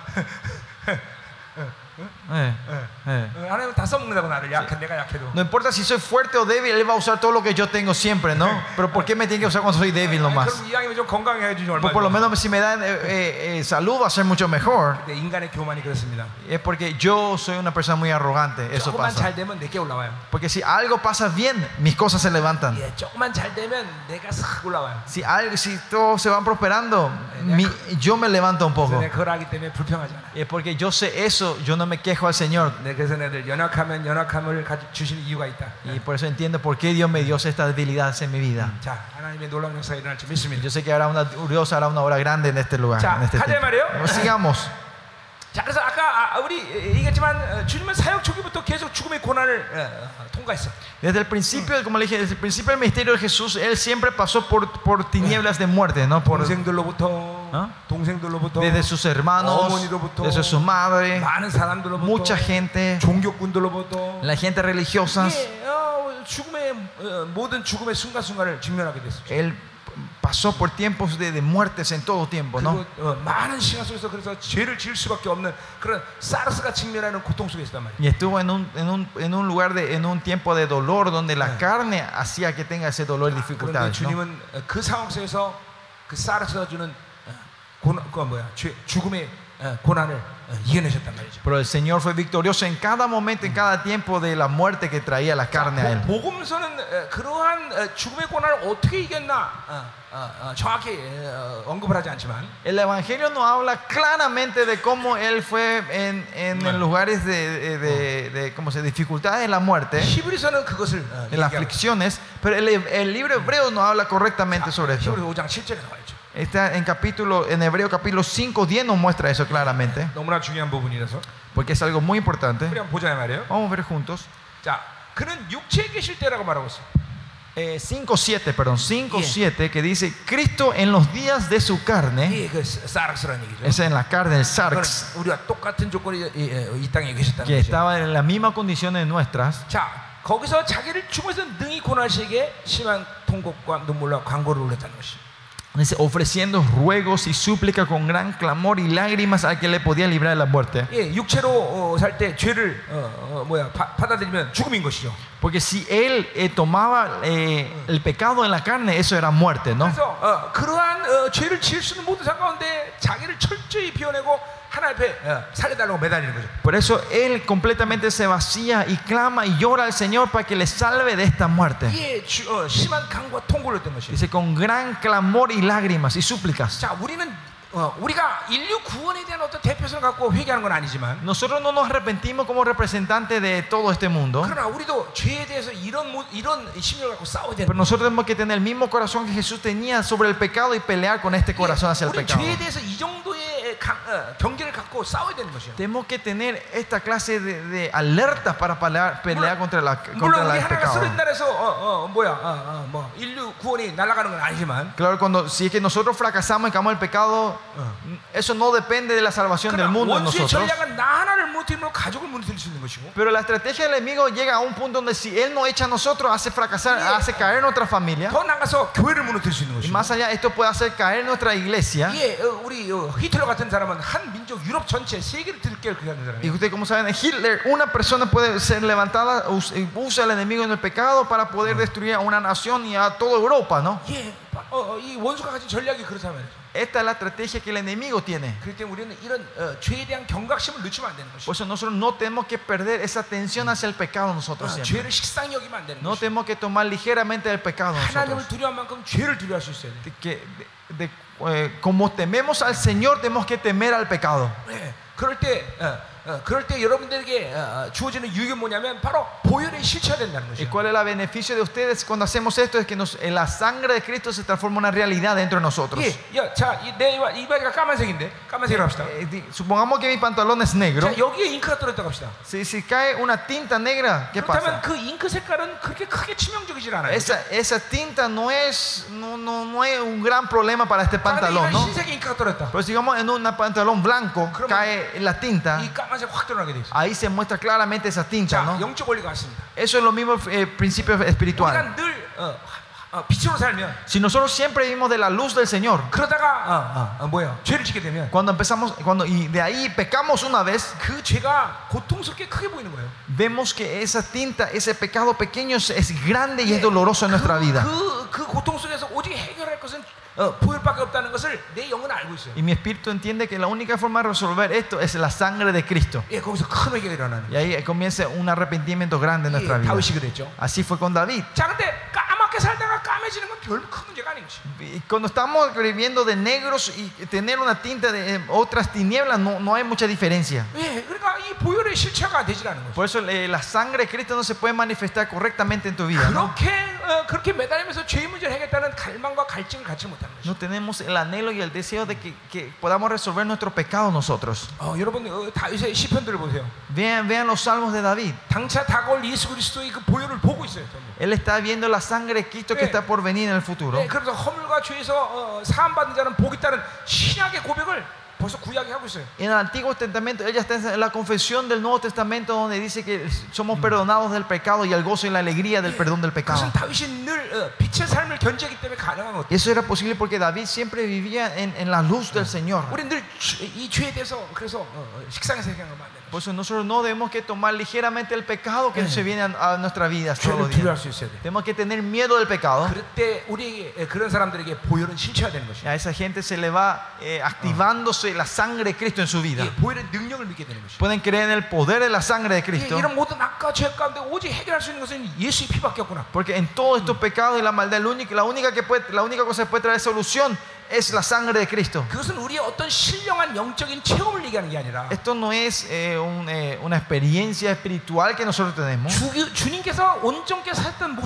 Eh, eh. 어, 하나님은 다 써먹는다고 나를 약한 내가 약해도. No importa si soy fuerte o débil, Él va a usar todo lo que yo tengo siempre, ¿no? Pero ¿por qué me tiene que usar cuando soy débil 아니, nomás? 그럼 이왕이면 좀 건강해 주지 얼마나. Pues por lo menos si me dan eh, eh, eh, salud va a ser mucho mejor. 근데 인간의 교만이 그렇습니다. Es porque yo soy una persona muy arrogante, eso 조금만 pasa. 잘 되면 내게 올라와요. Porque si algo pasa bien, mis cosas se levantan. 예, 조금만 잘 되면 내가 싹 올라와요. Si algo, si todos se van prosperando, mi- yo me levanto un 그래서 poco. 내가 그걸 하기 때문에 불평하지 않아. Es porque yo sé eso, yo no me quejo al Señor. 네, 그래서 내들 연약하면 연약함을 가지, 주시는 이유가 있다. Y por eso entiendo por qué Dios me dio esta debilidad en mi vida. 자, 하나님의 놀라운 역사가 일어날 줄 믿습니다. Yo sé que hará una, Dios hará una obra grande en este lugar. 자, En este 가자 tiempo. 말이에요. Sigamos. 자, 그래서 아까 아, 우리 얘기했지만 어, 주님은 사역 초기부터 계속 죽음의 고난을 어, 어, 통과했어. Desde el principio, como le dije, desde el principio del ministerio de Jesús, Él siempre pasó por, por tinieblas de muerte, ¿no? Por, 동생들로부터, 어? 동생들로부터, desde sus hermanos, 어머니로부터, desde su madre, 많은 사람들로부터, mucha gente, 종교꾼들로부터, la gente religiosa. 예, 어, 죽음의 어, 모든 죽음의 순간순간을 직면하게 됐어. Él pasó por tiempos de, de muertes en todo tiempo, ¿no? 그리고 어, 많은 시간 속에서 그래서 죄를 지을 수밖에 없는 그런 사르스가 직면하는 고통 속에 있단 말이야. Y estuvo en un, en un, en un lugar, de, en un tiempo de dolor donde la carne hacía que tenga ese dolor y 그런데 dificultades, ¿no? 주님은 어, 그 상황 속에서 그 사르스가 주는 어, 고난, 그 뭐야, 죄, 죽음의 어, 고난을 어, 이겨내셨단 말이죠. Pero el Señor fue victorioso en cada momento, en cada tiempo de la muerte que traía la carne a Él. 보- 복음서는 어, 그러한 어, 죽음의 고난을 어떻게 이겼나 어, 어, 어, 정확히 어, 언급을 하지 않지만 El Evangelio nos habla claramente de cómo Él fue en, en, en lugares de, de, de, de ¿cómo se, dificultades de la muerte, 히브리서는 그것을 어, de las 얘기하고 aflicciones, pero el, el libro hebreo nos habla correctamente sobre esto. 히브리서 오 장 칠 절에 나와 있죠. Está en capítulo, en Hebreo capítulo cinco, diez nos muestra eso claramente, 너무나 중요한 부분이라서 porque es algo muy importante. 우리 한번 보자 말이에요. Vamos a ver juntos. 자, 그는 육체에 계실 때라고 말하고 있어요. Eh, cinco siete, perdón, cinco Yeah. siete, que dice: Cristo en los días de su carne, 예, 그 사락스라는 얘기죠. es en la carne del 그건 sarx, 우리가 똑같은 조건이 이, 이, 이 땅에 계셨다는 que 거죠. estaba en las mismas condiciones nuestras. 자, 거기서 자기를 죽어서 능히 고난시에게 심한 통곡과 눈물과 간구를 올렸다는 것이. Dice, ofreciendo ruegos y súplica con gran clamor y lágrimas al que le podía librar de la muerte. 예, 육체로 어, 살 때 죄를 어, 어, 뭐야 바, 받아들이면 죽음인 것이죠. Porque si él eh, tomaba eh, el pecado en la carne, eso era muerte, ¿no? 그래서 어, 그러한 어, 죄를 지을 수 있는 모든 상황 가운데 자기를 철저히 비워내고 하나님 앞에 어, 살려달라고 매달리는 거죠. Por eso él completamente se vacía y clama y llora al Señor para que le salve de esta muerte. 이게 주, 어, 심한 간구와 통곡을 했던 것이에요. Dice, con gran clamor y lágrimas y súplicas. 자, 우리는 어, 우리가 인류 구원에 대한 어떤 대표성을 갖고 회개하는 건 아니지만, Nosotros no nos arrepentimos como representantes de todo este mundo, 그러나 우리도 죄에 대해서 이런 모- 이런 심령을 갖고 싸워야 되는 pero 거예요. nosotros tenemos que tener el mismo corazón que Jesús tenía sobre el pecado y pelear con este corazón hacia el 우리 pecado. 죄에 대해서 이 정도의 강, 어, 경계를 갖고 싸워야 되는 것이에요. Tenemos que tener esta clase de, de alertas para pelear, pelear contra, la, contra 물론 la- 우리 el 하나가 pecado. 쓰러진 날에서 어, 어, 뭐야 어, 어, 뭐 인류 구원이 날아가는 건 아니지만, Claro, cuando si es que nosotros fracasamos y caemos en el pecado, eso no depende de la salvación del 그러나 mundo en 원수의 nosotros. 전략은 나 하나를 무너뜨리면 가족을 무너뜨릴 수 있는 것이고, Pero la estrategia del enemigo llega a un punto donde si él no echa a nosotros, hace fracasar, hace caer nuestra familia. 더 나가서 교회를 무너뜨릴 수 있는 Y 것이고. más allá, esto puede hacer caer nuestra iglesia. 예, 어, 우리 어, 히틀러 같은 사람은 한 민족 유럽 전체 세계를 들게 그렇게 하는 Y 사람이에요. ustedes como saben, Hitler, una persona puede ser levantada, us- usa al enemigo en el pecado para poder destruir a una nación y a toda Europa, ¿no? 예, 어, 어, 이 원수가 가진 전략이 그렇단 말이죠. Esta es la estrategia que el enemigo tiene. 그렇기 때문에 우리는 이런 어, 죄에 대한 경각심을 늦추면 안 되는 Por 것이죠. eso nosotros no tenemos que perder esa atención hacia el pecado nosotros 어, siempre. 죄를 식상히 여기면 안 되는 No 것이죠. tenemos que tomar ligeramente el pecado 하나님을 nosotros. 두려워할 만큼 죄를 두려워할 수 있어야 돼. Que, de- de- eh, como tememos al Señor, tenemos que temer al pecado. 예, 그럴 때, 어, 어, 그럴 때 여러분들에게 어, 어, 주어지는 유익은 뭐냐면 바로 보혈에 실체가 된다는 ¿Y 것이죠. cuál es el beneficio de ustedes cuando hacemos esto? Es que nos- eh, la sangre de Cristo se transforma en una realidad dentro de nosotros. 예, 야, 자, 이, 내 이마- 이마가 까만색인데 까만색으로 합시다. Eh, di- supongamos que mi pantalón es negro. 자, 여기에 잉크가 떨어졌다고 합시다. Si, si cae una tinta negra, ¿qué 그렇다면 pasa? 그 잉크 색깔은 그렇게 크게 치명적이질 않아요. Esa, esa tinta no es, no, no, no es un gran problema para este 자, 근데 pantalón, 이런 ¿no? 흰색에 잉크가 떨어졌다. Pero digamos en un pantalón blanco 그러면 cae la tinta, 이 까만색 확 드러나게 돼 있어. ahí se muestra claramente esa tinta, 자, ¿no? 영적 원리가 같습니다. Eso es lo mismo eh, principio espiritual. 우리가 늘 어, 어, 빛으로 살면 Si nosotros siempre vivimos de la luz del Señor, 그러다가 어, 어, 어, 뭐야 죄를 짓게 되면 cuando empezamos, cuando y de ahí pecamos una vez, 그 죄가 고통스럽게 크게 보이는 거예요. vemos que esa tinta, ese pecado pequeño es, es grande y es doloroso en nuestra vida. 그, 그 고통 속에서 오직 해결할 것은 어, 보혈밖에 없다는 것을 내 영은 알고 있어요. Y mi espíritu entiende que la única forma de resolver esto es la sangre de Cristo. 예, 거기서 큰 회개가 일어나는 Y ahí comienza un arrepentimiento grande en 거예요. nuestra 예, vida. 다윗이 그랬죠. Así fue con David. 자, 근데 까맣게 살다가 까매지는 건 별 큰 문제가 아닌 것이. Y cuando estamos viviendo de negros y tener una tinta de eh, otras tinieblas, no, no hay mucha diferencia. 예, 그러니까 이 보혈의 실체가 되질 않은 거죠. Por eso eh, la sangre de Cristo no se puede manifestar correctamente en tu vida, ¿no? 그렇게 어, 그렇게 매달리면서 죄의 문제를 해결했다는 갈망과 갈증을 갖지 못하는 거죠. No tenemos el anhelo y el deseo de que, que podamos resolver nuestro pecado nosotros. 어, 여러분 어, 다윗의 시편들을 보세요. Vean, vean los salmos de David. 당차 다가올 예수 그리스도의 그 보혈을 보고 있어요. 전부. Él está viendo la sangre de Cristo que está por venir en el futuro. 네, 그래서 허물과 죄에서 어, 사함 받는 자는 복이 있다는 신약의 고백을 벌써 구약이 하고 있어요. En el Antiguo Testamento, ella está en la confesión del Nuevo Testamento donde dice que somos perdonados del pecado y el gozo y la alegría del perdón del pecado. 그것은 다윗이 늘 어, 빛의 삶을 견제하기 때문에 가능한 것. Eso era posible porque David siempre vivía en, en la luz del Señor. 우리 늘 이 죄에 대해서 그래서 어, 식상에서 생각하면 안 되는 Por eso nosotros no debemos que tomar ligeramente el pecado que Sí. se viene a, a nuestra vida todos 죄를 los 두려워할 días. 수 있어야 돼. Tenemos que tener miedo del pecado. 그럴 때 우리에게 예, 그런 사람들에게 보혈은 실체가 되는 것이야. A esa gente se le va eh, activándose la sangre de Cristo en su vida. 예, 보혈의 능력을 믿게 되는 것이야. Pueden creer en el poder de la sangre de 예, Cristo. 이런 모든 악과 죄 가운데 오직 해결할 수 있는 것은 예수의 피밖에 없구나. Porque en todos estos pecados y la maldad, la única, la única, que puede, la única cosa que puede traer solución es la sangre de Cristo. 그것은 우리의 어떤 신령한 영적인 체험을 얘기하는 게 아니라 Esto no es eh, un, eh, una experiencia espiritual que nosotros tenemos, 주, 주님께서 온전케 살던 모습 자체를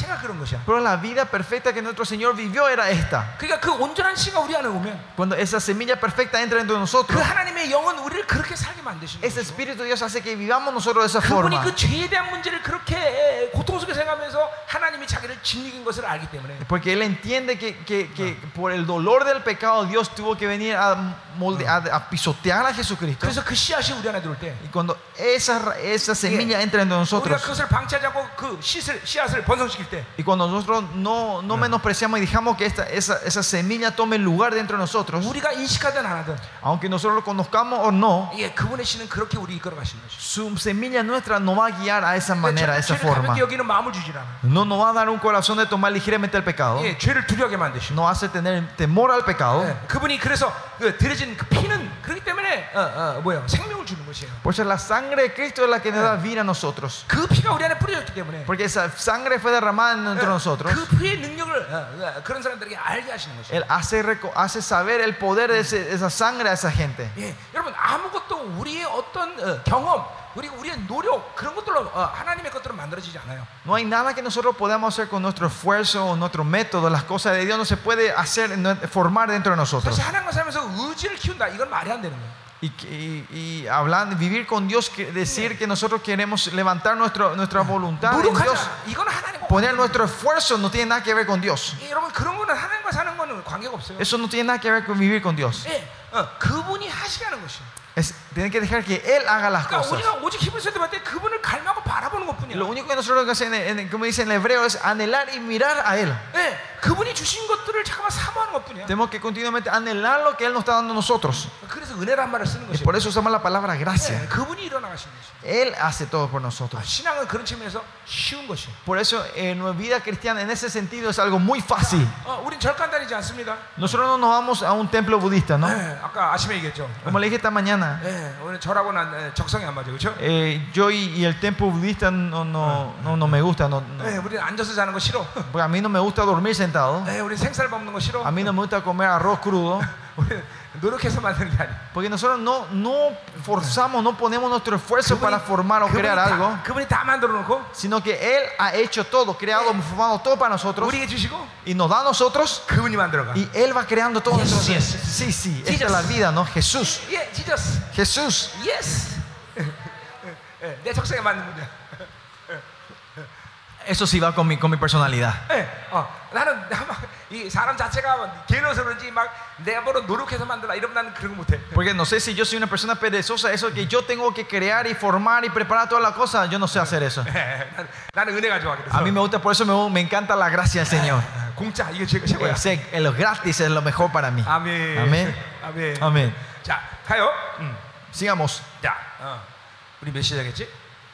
자체가 그런 것이야. Pero la vida perfecta que nuestro Señor vivió era esta. 그러니까 그 온전한 씨가 우리 안에 오면 Cuando esa semilla perfecta entra dentro de 그 nosotros, 하나님의 영은 우리를 그렇게 살게 만드시는 ese 거죠. Espíritu de Dios hace que vivamos nosotros de esa 그분이 forma. 그 죄에 대한 문제를 그렇게 고통 속에 생각하면서 하나님이 자기를 짓이긴 것을 알기 때문에 Porque Él entiende que, que, que por el dolor del pecado Dios tuvo que venir a, molde, a, a pisotear a Jesucristo. 그래서 그 씨앗이 우리 안에 들어올 때 Y cuando esa, ra- esa semilla entra 우리가 entre nosotros, 그것을 방치하지 않고 그 씨앗을, 씨앗을 번성시킬 때 y cuando nosotros no, no menospreciamos y dejamos que esta, esa, esa semilla tome lugar dentro de nosotros, 우리가 인식하든 안 하든 aunque nosotros lo conozcamos o no, 예, 그분의 씨는 그렇게 우리 이끌어 가시는 것이죠. su semilla nuestra no va a guiar a esa manera, a esa 죄를 forma. 가볍게 여기는 마음을 주질 않아. No nos va a dar un corazón de tomar ligeramente el pecado. 예, 죄를 두려워하게 만드시고. No hace tener temor al pecado. 예, 그분이 그래서 그 들여진 그 피는 그렇기 때문에 어, 어, 뭐야 생명을 주는 것이에요. Por eso la sangre de Cristo es la que nos da vida a nosotros. 그 피가 우리 안에 뿌려졌기 때문에 Porque esa sangre fue derramada dentro de nosotros. 그 피의 능력을 어, 어, 그런 사람들에게 알게 하시는 것이에요. Él hace, reco- hace saber el poder de ese- esa sangre a esa gente. 예, 여러분 아무것도 우리의 어떤 어, 경험 그리고 우리의 노력 그런 것들로 어, 하나님의 것들은 만들어지지 않아요. No hay nada que nosotros podamos hacer con nuestro esfuerzo o nuestro método. Las cosas de Dios no se puede hacer, no- formar dentro de nosotros. 사실 하나님과 살면서 의지를 키운다 이건 말이 안 되는 거예요. Y, y, y hablando, vivir con Dios, que- decir que nosotros queremos levantar nuestro, nuestra voluntad en Dios, 노력하자 이건 하나님과 poner nuestro esfuerzo no tiene nada que ver con Dios. 예, 여러분 그런 거는 하나님과 사는 거는 관계가 없어요. Eso no tiene nada que ver con vivir con Dios. 예, 어, 그분이 하시게 하는 것이에요. Es, tienen que dejar que Él haga las 그러니까 cosas. 우리가 오직 히브리서 때때 그분을 갈망하고 바라보는 것뿐이야. Lo único que nosotros hacemos, en, en- como dice en el hebreo, es anhelar y mirar a Él. 예, 그분이 주신 것들을 잠깐만 사모하는 것뿐이야. Tenemos que continuamente anhelar lo que Él nos está dando a nosotros. 그래서 은혜란 말을 쓰는 Y 것이에요. por eso usamos la palabra 예, gracia. 그분이 일어나 가시는 것이에요. Él hace todo por 아, nosotros. 신앙은 그런 측면에서 쉬운 것이에요. Por eso en nuestra vida cristiana en ese sentido es algo muy fácil. 어, 우린 절간 다니지 않습니다. Nosotros no nos vamos a un templo budista, ¿no? 예, 아까 아침에 얘기했죠. Como le dije esta mañana, 예, 오늘 절하고는 예, 적성이 안 맞아요, 그렇죠? eh, yo y, y el templo budista no, no, no, no me gusta. No, no. 예, 우리는 앉아서 자는 거 싫어. Porque a mí no me gusta dormir sentado. 예, 우리 생쌀 먹는 거 싫어. A mí no me gusta comer arroz crudo. 우리 노력해서 만드는 게 아니야. Porque nosotros no, no forzamos, no ponemos nuestro esfuerzo para formar o crear 다, algo, 그분이 다 만들어 놓고 sino que Él ha hecho todo, creado, formado todo para nosotros 우리에게 주시고 y nos da a nosotros 그분이 만들어가. y Él va creando todo. Yes, Entonces, yes. sí, sí, Jesus. esta es la vida, ¿no? Jesús, 예, 지저스. Jesús. 예스. 예, 내 적성에 맞는 문제야. Eso sí va con mi, con mi personalidad. 예, 어, 나는 막 이 사람 자체가 게을러서 그런지 막 내가 뭐로 노력해서 만들라 이러면 나는 그런 거 못해. Porque no sé si yo soy una persona perezosa, eso que yo tengo que crear y formar y preparar todas las cosas, yo no sé hacer eso. 예, 나는, 나는 은혜가 좋아 그래서. A mí me gusta, por eso me, me encanta la gracia del Señor. 예, 공짜 이게 최고 최고야. Eh, sé que lo gratis es lo mejor para mí. 아멘. 아멘. 아멘. Amén. 자, 가요. 음. Sigamos. 자, 어. 우리 몇 시작했지?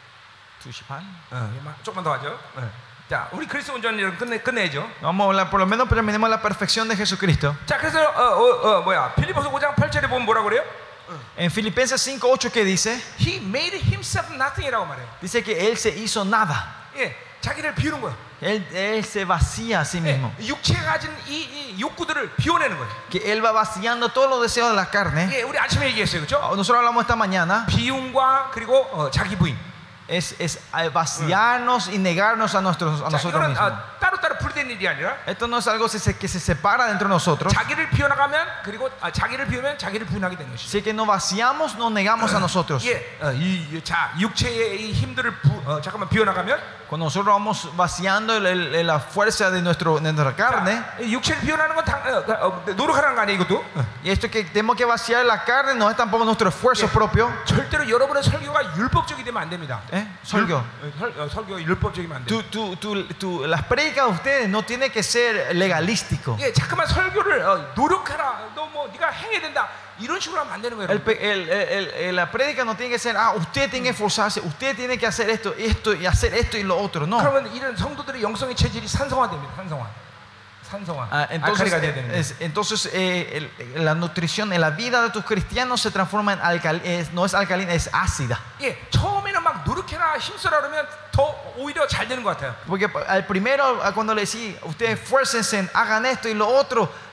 어, 막 조금만 더 하죠. 어. 자, 우리 그리스도 온전히 끝내 끝내죠. Vamos a hablar, por lo menos terminemos la perfección de Jesucristo. 자, 그래서 어, 어, 어, 뭐야? 빌립보서 오 장 팔 절에 보면 뭐라 그래요? En Filipenses cinco ocho, ¿qué dice? He made himself nothing이라고 말해요. Dice que Él se hizo nada. 예, 자기를 비우는 거예요. Él, él se vacía a sí mismo. 예, 육체가 가진 이, 이 욕구들을 비워내는 거예요. Que Él va vaciando todos los deseos de la carne. 예, 우리 아침에 얘기했어요, 그렇죠? Nosotros hablamos esta mañana. 비움과 그리고 어, 자기 부인. Es, es vaciarnos y negarnos a, nuestros, a 자, nosotros 이거는 mismos. 어, 따로따로 분리된 일이 아니라 Esto no es algo que se, que se separa dentro de nosotros. 자기를 비워나가면 그리고 아, 자기를 비우면 자기를 부인하게 되는 것이죠. Si que nos vaciamos, nos negamos a nosotros. 예, 어, 이, 이, 자, 육체의 이 힘들을 부, 어, 잠깐만 비워나가면 Cuando nosotros vamos vaciando el- el- la fuerza de, nuestro, de nuestra carne, 자, 이 육체를 비워나는 건 당, 어, 어, 노력하는 거 아니에요, 이것도? 어. y esto que tenemos que vaciar la carne no es tampoco nuestro esfuerzo Yeah. propio. 절대로 여러분의 설교가 율법적이 되면 안 됩니다. ¿Eh? Solgo. 율- 어, 설, 어, 설교가 율법적이면 안 돼요. Tu, tu, tu, tu- las prédicas de ustedes no tienen que ser legalístico. 예, 자꾸만 설교를 어, 노력하라. 너 뭐 네가 행해야 된다. 이런 식으로 하면 안 되는 거예요. El pe- el- el- el- la prédica no tiene que ser, ah, usted tiene que esforzarse, usted tiene que hacer esto, esto y hacer esto y lo otro. No. 그러면 이런 성도들의 영성의 체질이 산성화됩니다. 산성화. 산성화. Ah, entonces, 알칼리가 돼야 되는 거예요. es- entonces eh, el- la nutrición en la vida de tus cristianos se transforma en alcalina, no es alcalina, es ácida. 예, 처음에는 막 노력해라, 힘써라 그러면 더 오히려 잘 되는 것 같아요. Porque al primero, a cuando le decís, ustedes esfuércense, hagan esto y lo otro,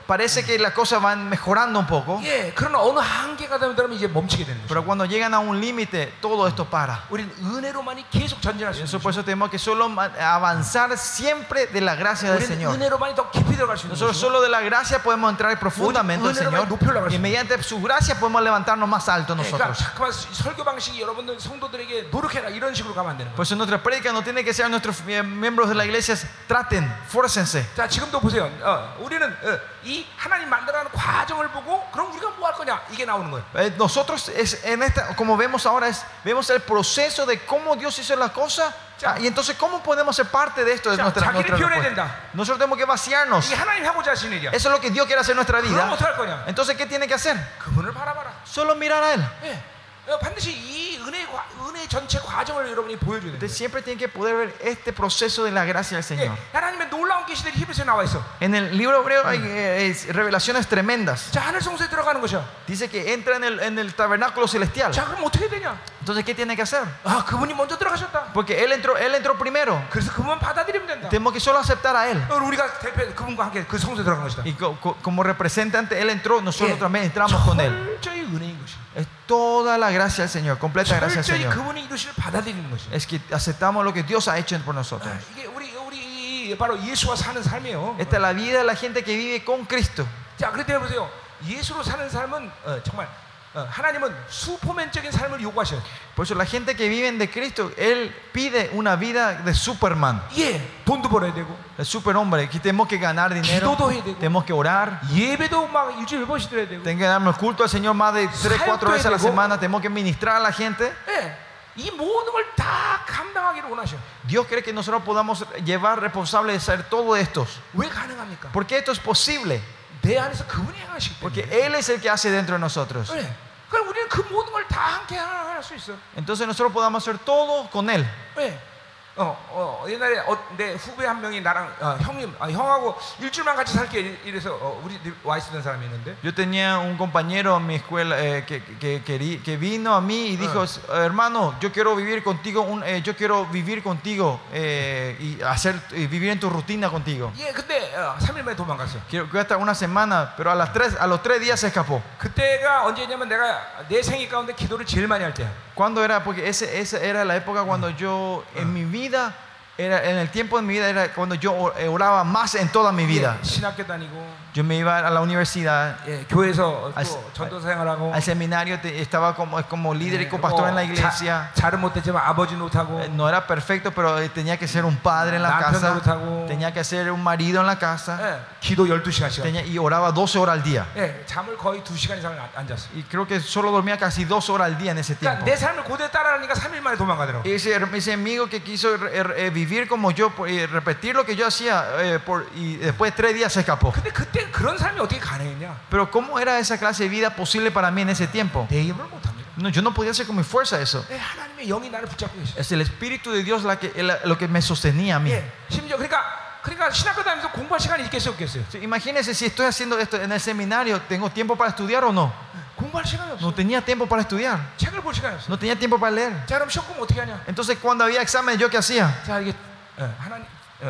parece que las cosas van mejorando un poco, 예, 그러나 어느 한계가 되면 이제 멈추게 되는 pero 거죠. cuando llegan a un límite, todo esto para. 우리는 은혜로만이 계속 전진할 수 Eso, 있는 por eso tenemos que solo ma- avanzar siempre de la gracia del 우리는 Señor. 은혜로만이 더 깊이 들어갈 수 있는 Nosotros 거죠. solo de la gracia podemos entrar profundamente al Señor, y mediante su gracia podemos levantarnos más alto 예, 그러니까 nosotros. 잠깐만 설교 방식이 여러분들 성도들에게 노력해라 이런 식으로 가면 안 되는 Por 거예요. eso nuestra prédica no tiene que ser a nuestros eh, miembros de la iglesia, traten, fórcense. 자, 지금도 보세요. 어, 우리는 어, 이 하나님 만들어가는 과정을 보고 그럼 우리가 뭐 할 거냐 이게 나오는 거예요. Eh, nosotros es, en esta, como vemos ahora, es, vemos el proceso de cómo Dios hizo las cosas. Ya. Ah, y entonces, ¿cómo podemos ser parte de esto? De Ya, nuestra, 자기를 nuestra 비워내야 respuesta? 된다. Nosotros tenemos que vaciarnos. 이게 하나님 하고자 하시는 일이야. Eso es lo que Dios quiere hacer en nuestra 그럼 vida. 어떻게 할 거냐? Entonces, ¿qué tiene que hacer? 그분을 바라봐라. Solo mirar a Él. 예. 어, 반드시 이 은혜 과- 은혜 전체 과정을 여러분이 보여줘야 Usted 돼요. siempre tiene que poder ver este proceso de la gracia del 예, Señor. 하나님의 놀라운 계시들이 히브리서에 나와 있어. En el libro hebreo hay eh, es- revelaciones tremendas. 자, 하늘 성소에 들어가는 것이야. Dice que entra en el, en el tabernáculo celestial. 자, 그럼 어떻게 되냐? Entonces, ¿qué tiene que hacer? 아, 그분이 먼저 들어가셨다. Porque Él entró, él entró primero. 그래서 그분만 받아들이면 된다. Tenemos que solo aceptar a Él. 어, 우리가 대표 그분과 함께 그 성소에 들어간 것이다. Y co- co- como representante, Él entró, nosotros 예, también entramos con Él. 철저히 은혜인 것이. Es toda la gracia del Señor, completa gracia del 철저히 Señor. 그분의 이루심을 받아들이는 것이. Es que aceptamos lo que Dios ha hecho por nosotros. 아, 이게 우리 우리 바로 예수와 사는 삶이에요. Esta es la vida de la gente que vive con Cristo. 자, 그럴 때 보세요. 예수로 사는 삶은 어, 정말 어, 하나님은 수포맨적인 삶을 요구하셔요. Por eso la gente que vive de Cristo, Él pide una vida de Superman, 예, 돈도 벌어야 되고, de superhombre. Que tenemos que ganar dinero, 기도도 해야 되고, tenemos que orar, 예배도 막 일주일에 몇 번씩 드려야 되고. tenemos que darnos culto al Señor más de tres, cuatro veces a la semana, tenemos que ministrar a la gente. 예, 이 모든 걸 다 감당하기를 원하셔. Dios quiere que nosotros podamos llevar responsable de ser todo esto. 왜 가능합니까? ¿Por qué esto es posible? 내 안에서 그분이 행하시기 Porque 때문에. Él es el que hace dentro de nosotros. 예, 그럼 우리는 그 모든 걸 다 함께 할 수 있어. Entonces nosotros podamos hacer todo con Él. 예. 어, 어, 옛날에 어, 내 후배 한 명이 나랑 어, 형님, 아, 형하고 일주일만 같이 살게 이래서 어, 우리 집 와 있었던 사람이 있는데. Yo tenía un compañero en mi escuela eh, que, que, que, que vino a mí y dijo, hermano, yo quiero vivir contigo, un, eh, yo quiero vivir contigo eh, y hacer y vivir en tu rutina contigo. 예, 근데 어, 삼 일 만에 도망갔어. Quiero que hasta una semana, pero a, las tres, a los tres días se escapó. 그때가 언제냐면 내가 내 생애 가운데 기도를 제일 많이 할 때야. ¿Cuándo era? Porque ese, esa era la época cuando yo en mi vida, era, en el tiempo de mi vida era cuando yo oraba más en toda mi vida. 예, 신학교 다니고, Yo me iba a la universidad, 예, 교회에서 al, 또 전도 생활하고, al seminario, te- estaba como, como líder y copastor en la iglesia. 자, 잘은 못했지만 아버지 노릇하고, Eh, No era perfecto, pero eh, tenía que ser un padre en la 남편 casa, 노릇하고, tenía que ser un marido en la casa, 예, 기도 열두 시간씩. tenía, y oraba doce horas al día. 예, 잠을 거의 두 시간 이상을 안- 안 잤어. Y creo que solo dormía casi dos horas al día en ese 그러니까 tiempo. 내 삶을 고대 따라하니까 삼 일 만에 도망가더라고. Y ese, ese amigo que quiso eh, eh, vivir como yo por- y repetir lo que yo hacía, eh, por- y después de tres días se escapó. 근데 그때 그런 삶이 어떻게 가능했냐? Pero ¿cómo era esa clase de vida posible para mí en ese tiempo? 내 힘을 못합니다. No, yo no podía hacer con mi fuerza eso. 예, 하나님의 영이 나를 붙잡고 계셔. Es el Espíritu de Dios la que, la- lo que me sostenía a mí. 예, 심지어 그러니까 그러니까 신학교 다니면서 공부할 시간이 있겠어요, 없겠어요? Sí, imagínense si estoy haciendo esto en el seminario, ¿tengo tiempo para estudiar o no? 공부할 시간이 없어. No tenía tiempo para estudiar, 책을 볼 시간이 없어. no tenía tiempo para leer. 자, 그럼 시험 보면 어떻게 하냐? Entonces cuando había examen, ¿yo qué hacía? 자, 이게 어, 하나님 어,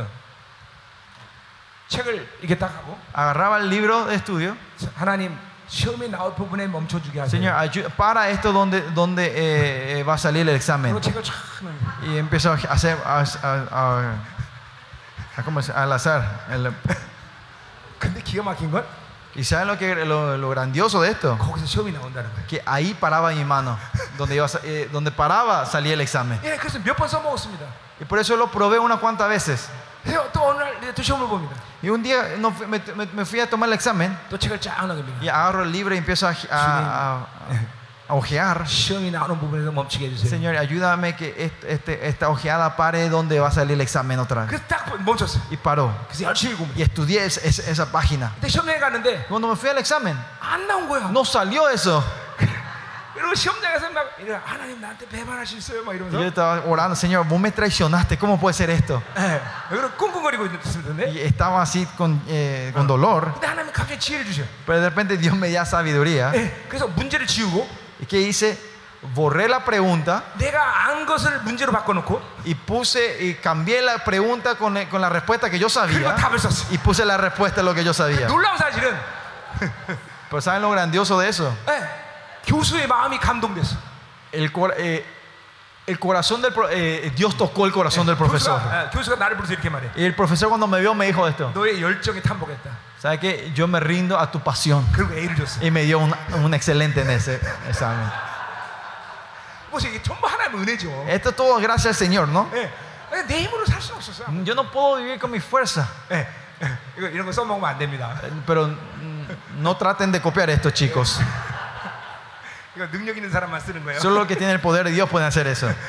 책을 이렇게 딱 하고, Agarraba el libro de estudio. 자, 하나님 시험에 나올 부분에 멈춰주게 하세요. Señor, ayu- para esto donde, donde eh, eh, va a salir el examen. 그리고 책을 쫙 하면 Y empezó a hacer a, a- a- a- ¿cómo se- al azar. El- 근데 기가 막힌 건 ¿Y saben lo, que, lo, lo grandioso de esto? 거기서 시험이 나온다는 거예요. Que ahí paraba mi mano. Donde, iba a sa- eh, donde paraba salía el examen. 예, 그래서 몇 번 써먹었습니다. Y por eso lo probé unas cuantas veces. 그래서 또 어느 날 또 시험을 봅니다. Y un día no fui- me, me- me fui a tomar el examen 또 책을 쫙 나갑니다. y agarro el libro y empiezo a, a, a- a ojear. 시험이 나오는 부분에서 멈추게 해주세요. Señor, ayúdame que este, este- esta ojeada pare donde va a salir el examen otra vez. 그래서 딱 멈췄어요. Y paró. 그래서 열심히 읽고 Y estudié es- es- esa página. 근데 시험장에 갔는데 Cuando me fui al examen, 안 나온 거야. no salió eso. 그리고 시험장에서 막 이래, 하나님 나한테 배반하셨어요 막 Y yo 이러면서 estaba orando, Señor, vos me traicionaste, ¿cómo puede ser esto? 예, 그리고 꿍꿍거리고 있었는데 Y estaba así con, eh, con dolor, 근데 하나님이 갑자기 지혜를 주셔. pero de repente Dios me dio sabiduría. 예, 그래서 문제를 지우고 ¿Y qué hice? borré la pregunta 내가 안 것을 문제로 바꿔놓고 y puse y cambié la pregunta con, con la respuesta que yo 그리고 sabía 답을 썼어. y puse la respuesta de lo que yo sabía. 놀라운 사실은 Pero ¿saben lo grandioso de eso? 예, 교수의 마음이 감동됐어. El, cor- eh, el corazón del pro- eh, Dios tocó el corazón del profesor. 교수가, 예, 교수가 나를 부르서 이렇게 말해. Y el profesor cuando me vio me dijo esto. 너의 열정에 탐복했다. ¿Sabe qué? Yo me rindo a tu pasión. 그리고 A를 줬어. Y me dio un, un excelente en ese examen. 뭐지 이게 전부 하나님의 은혜죠. Esto todo gracias al Señor, ¿no? 예, 내 힘으로 살 수 없었어. Yo no puedo vivir con mi fuerza. 예, 예, 이거 이런 거 써먹으면 안 됩니다. Pero mm, no traten de copiar esto, chicos. 이거 능력 있는 사람만 쓰는 거예요. Solo los que tienen el poder de Dios pueden hacer eso.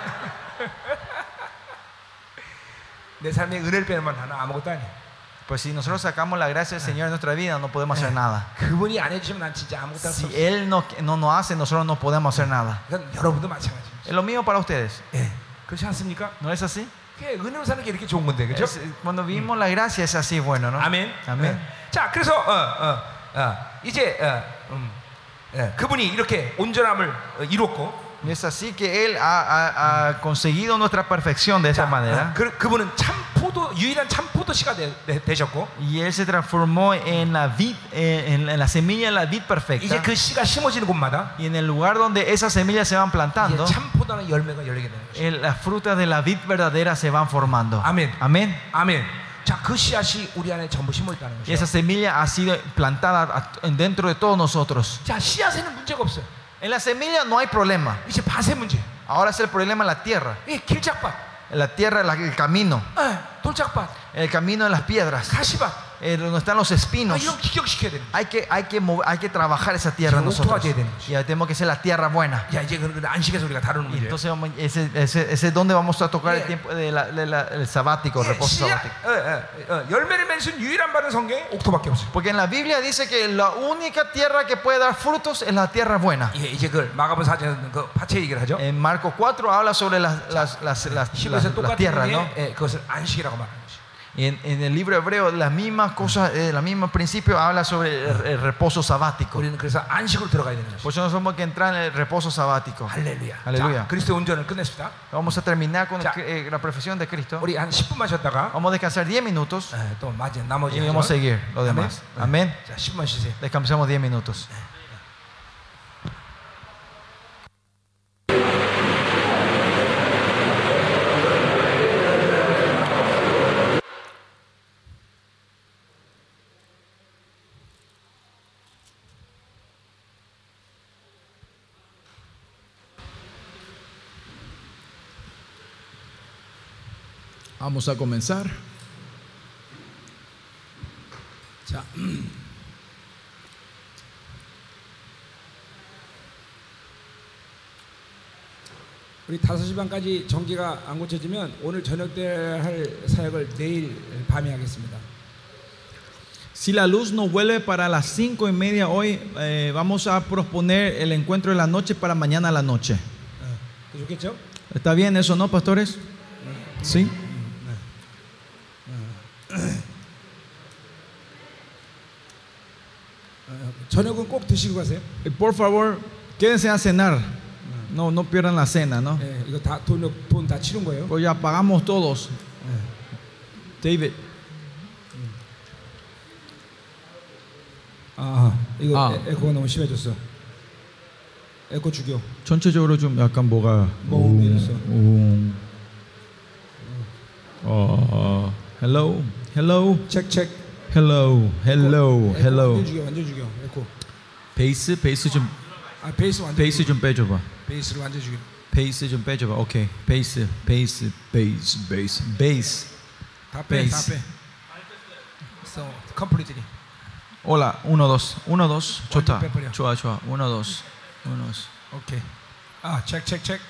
내 삶에 은혜를 빼면 나는 아무것도 아니야. Pues si nosotros sacamos la gracia del Señor en nuestra vida, no podemos hacer nada. 그분이 안 해주시면 난 진짜 아무것도 할 수 Si 없어. Él no, no nos hace, nosotros no podemos hacer nada. 이건 여러분도 마찬가지예요. Es lo mismo para ustedes. 예, 그렇지 않습니까? ¿No es así? 그게 은혜로 사는 게 이렇게 좋은 건데, 그렇죠? Es- cuando vivimos la gracia es así bueno, ¿no? 아멘. Amén. 예. 자, 그래서 어, 어, 어, 이제 어, 음, 예, 그분이 이렇게 온전함을 어, 이뤘고, Y es así que Él ha, ha- ha conseguido nuestra perfección de esa 자, manera. 어, 그, 그분은 참 포도 유일한 참 포도씨가 되, 되, 되셨고, Y Él se transformó en la vid, eh, en, en la semilla de la vid 이제 perfecta. 그 씨가 심어지는 곳마다 Y en el lugar donde esas semillas se van 이제 plantando, 참 포도는 열매가 열리게 되는 것이죠. el- las frutas de la vid verdadera se van formando. Amén. Amén. 아멘. 자, 그 씨앗이 우리 안에 전부 심어 있다는 Y esa 것이죠. semilla ha sido plantada a- dentro de todos nosotros. 자, 씨앗에는 문제가 없어요. En la semilla no hay problema. 이제 밭의 문제. Ahora es el problema en la tierra. 이 길작밭, En la tierra, la- el camino. 예, 돌짝밭, El camino de las piedras. 가시밭. eh, donde están los 아, espinos. 이런 기격시켜야 되는 거예요. Hay que, hay que, mover- hay que trabajar esa tierra Sí, nosotros. octubre tenemos. Y tenemos que ser la tierra buena. 야, 이제 그 안식에서 우리가 다루는 Y 문제예요. entonces vamos- ese, ese, ese es donde vamos a tocar el Yeah. tiempo de la- de la- el sabático, el 예, reposo 씨앗, sabático. 어, 어, 어, 열매를 맺을 수 있는 유일한 바는 성경에 옥토밖에 없어요. Porque en la Biblia dice que la única tierra que puede dar frutos es la tierra buena. 예, 이제 그 마가복음 사전 그 파체 얘기를 하죠. En Marcos cuatro habla sobre las, las, las, las, las, 히브리서 las 똑같은 tierras, ¿no? 의미에 예, 그것을 안식이라고 말하는 것이. Y en, en el libro hebreo, las mismas cosas, eh, el mismo principio habla sobre el, el reposo sabático. 우리는 그래서 안식으로 들어가야 되는 것이. Por eso nosotros tenemos que entrar en el reposo sabático. 할렐루야. 할렐루야. 자, 그리스도 운전을 끝냈습니다. Vamos a terminar con el- 자. eh, la profesión de Cristo. 우리 한 십 분만 쉬었다가 Vamos a descansar diez minutos 예, 또 맞은 나머지 y vamos a 하죠. seguir lo demás. 아멘. Amén. 자, 십 분만 쉬세요. Descansamos diez minutos. Vamos a comenzar. 자, 우리 다섯 시 반까지 전기가 안 고쳐지면 오늘 저녁 때 할 사역을 내일 밤에 하겠습니다. Si la luz no vuelve para las cinco y media hoy, eh, vamos a posponer el encuentro de la noche para mañana a la noche. 어, 좋겠죠? ¿Está bien eso, no, pastores? Sí. 저녁은 꼭 드시고 가세요. Y por favor, quédense a cenar. No, no pierdan la cena, ¿no? 예, 이거 다 돈 돈 다 치른 거예요. Pues ya pagamos todos. David. 아, 이거 아. 에, 에코가 너무 심해졌어. 에코 죽여. 전체적으로 좀 약간 뭐가 뭐 옮겨졌어. 음. 어, hello, hello, 책 책. hello, hello, hello. 완전 죽여, 완전 죽여. 에코. 베이스, 베이스 좀, 아, 베이스 완전. 베이스 죽여. 좀 빼줘봐. 베이스를 완전 죽여. 베이스 좀 빼줘봐. 오케이. 베이스, 베이스, 베이스, 베이스, 베이스. 다 빼, 다 베이스. 빼. So, completely. Hola, uno, dos, uno, dos. 좋다. 빼버려. 좋아, 좋아. uno, dos, uno, dos. 오케이. 아, 책, 책, 책.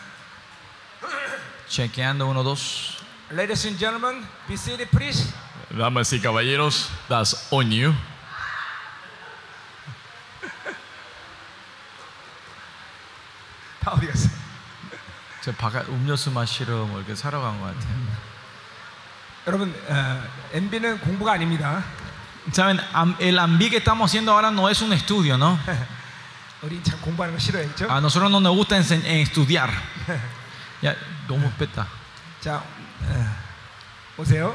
Chequeando, uno, dos. Ladies and gentlemen, be seated, please. Damas y caballeros, that's on you. 다 어디 갔어? 저 바깥 음료수 마시러 뭐 이렇게 사러 간 것 같아요. 여러분, 어, 엠비는 공부가 아닙니다. Saben, am- el ambi que estamos haciendo ahora no es un estudio, ¿no? 우리 참 공부하는 거 싫어해, 그렇죠? A nosotros no nos gusta ense- eh, estudiar. Ya, ¿cómo peta? 자, 어, 오세요.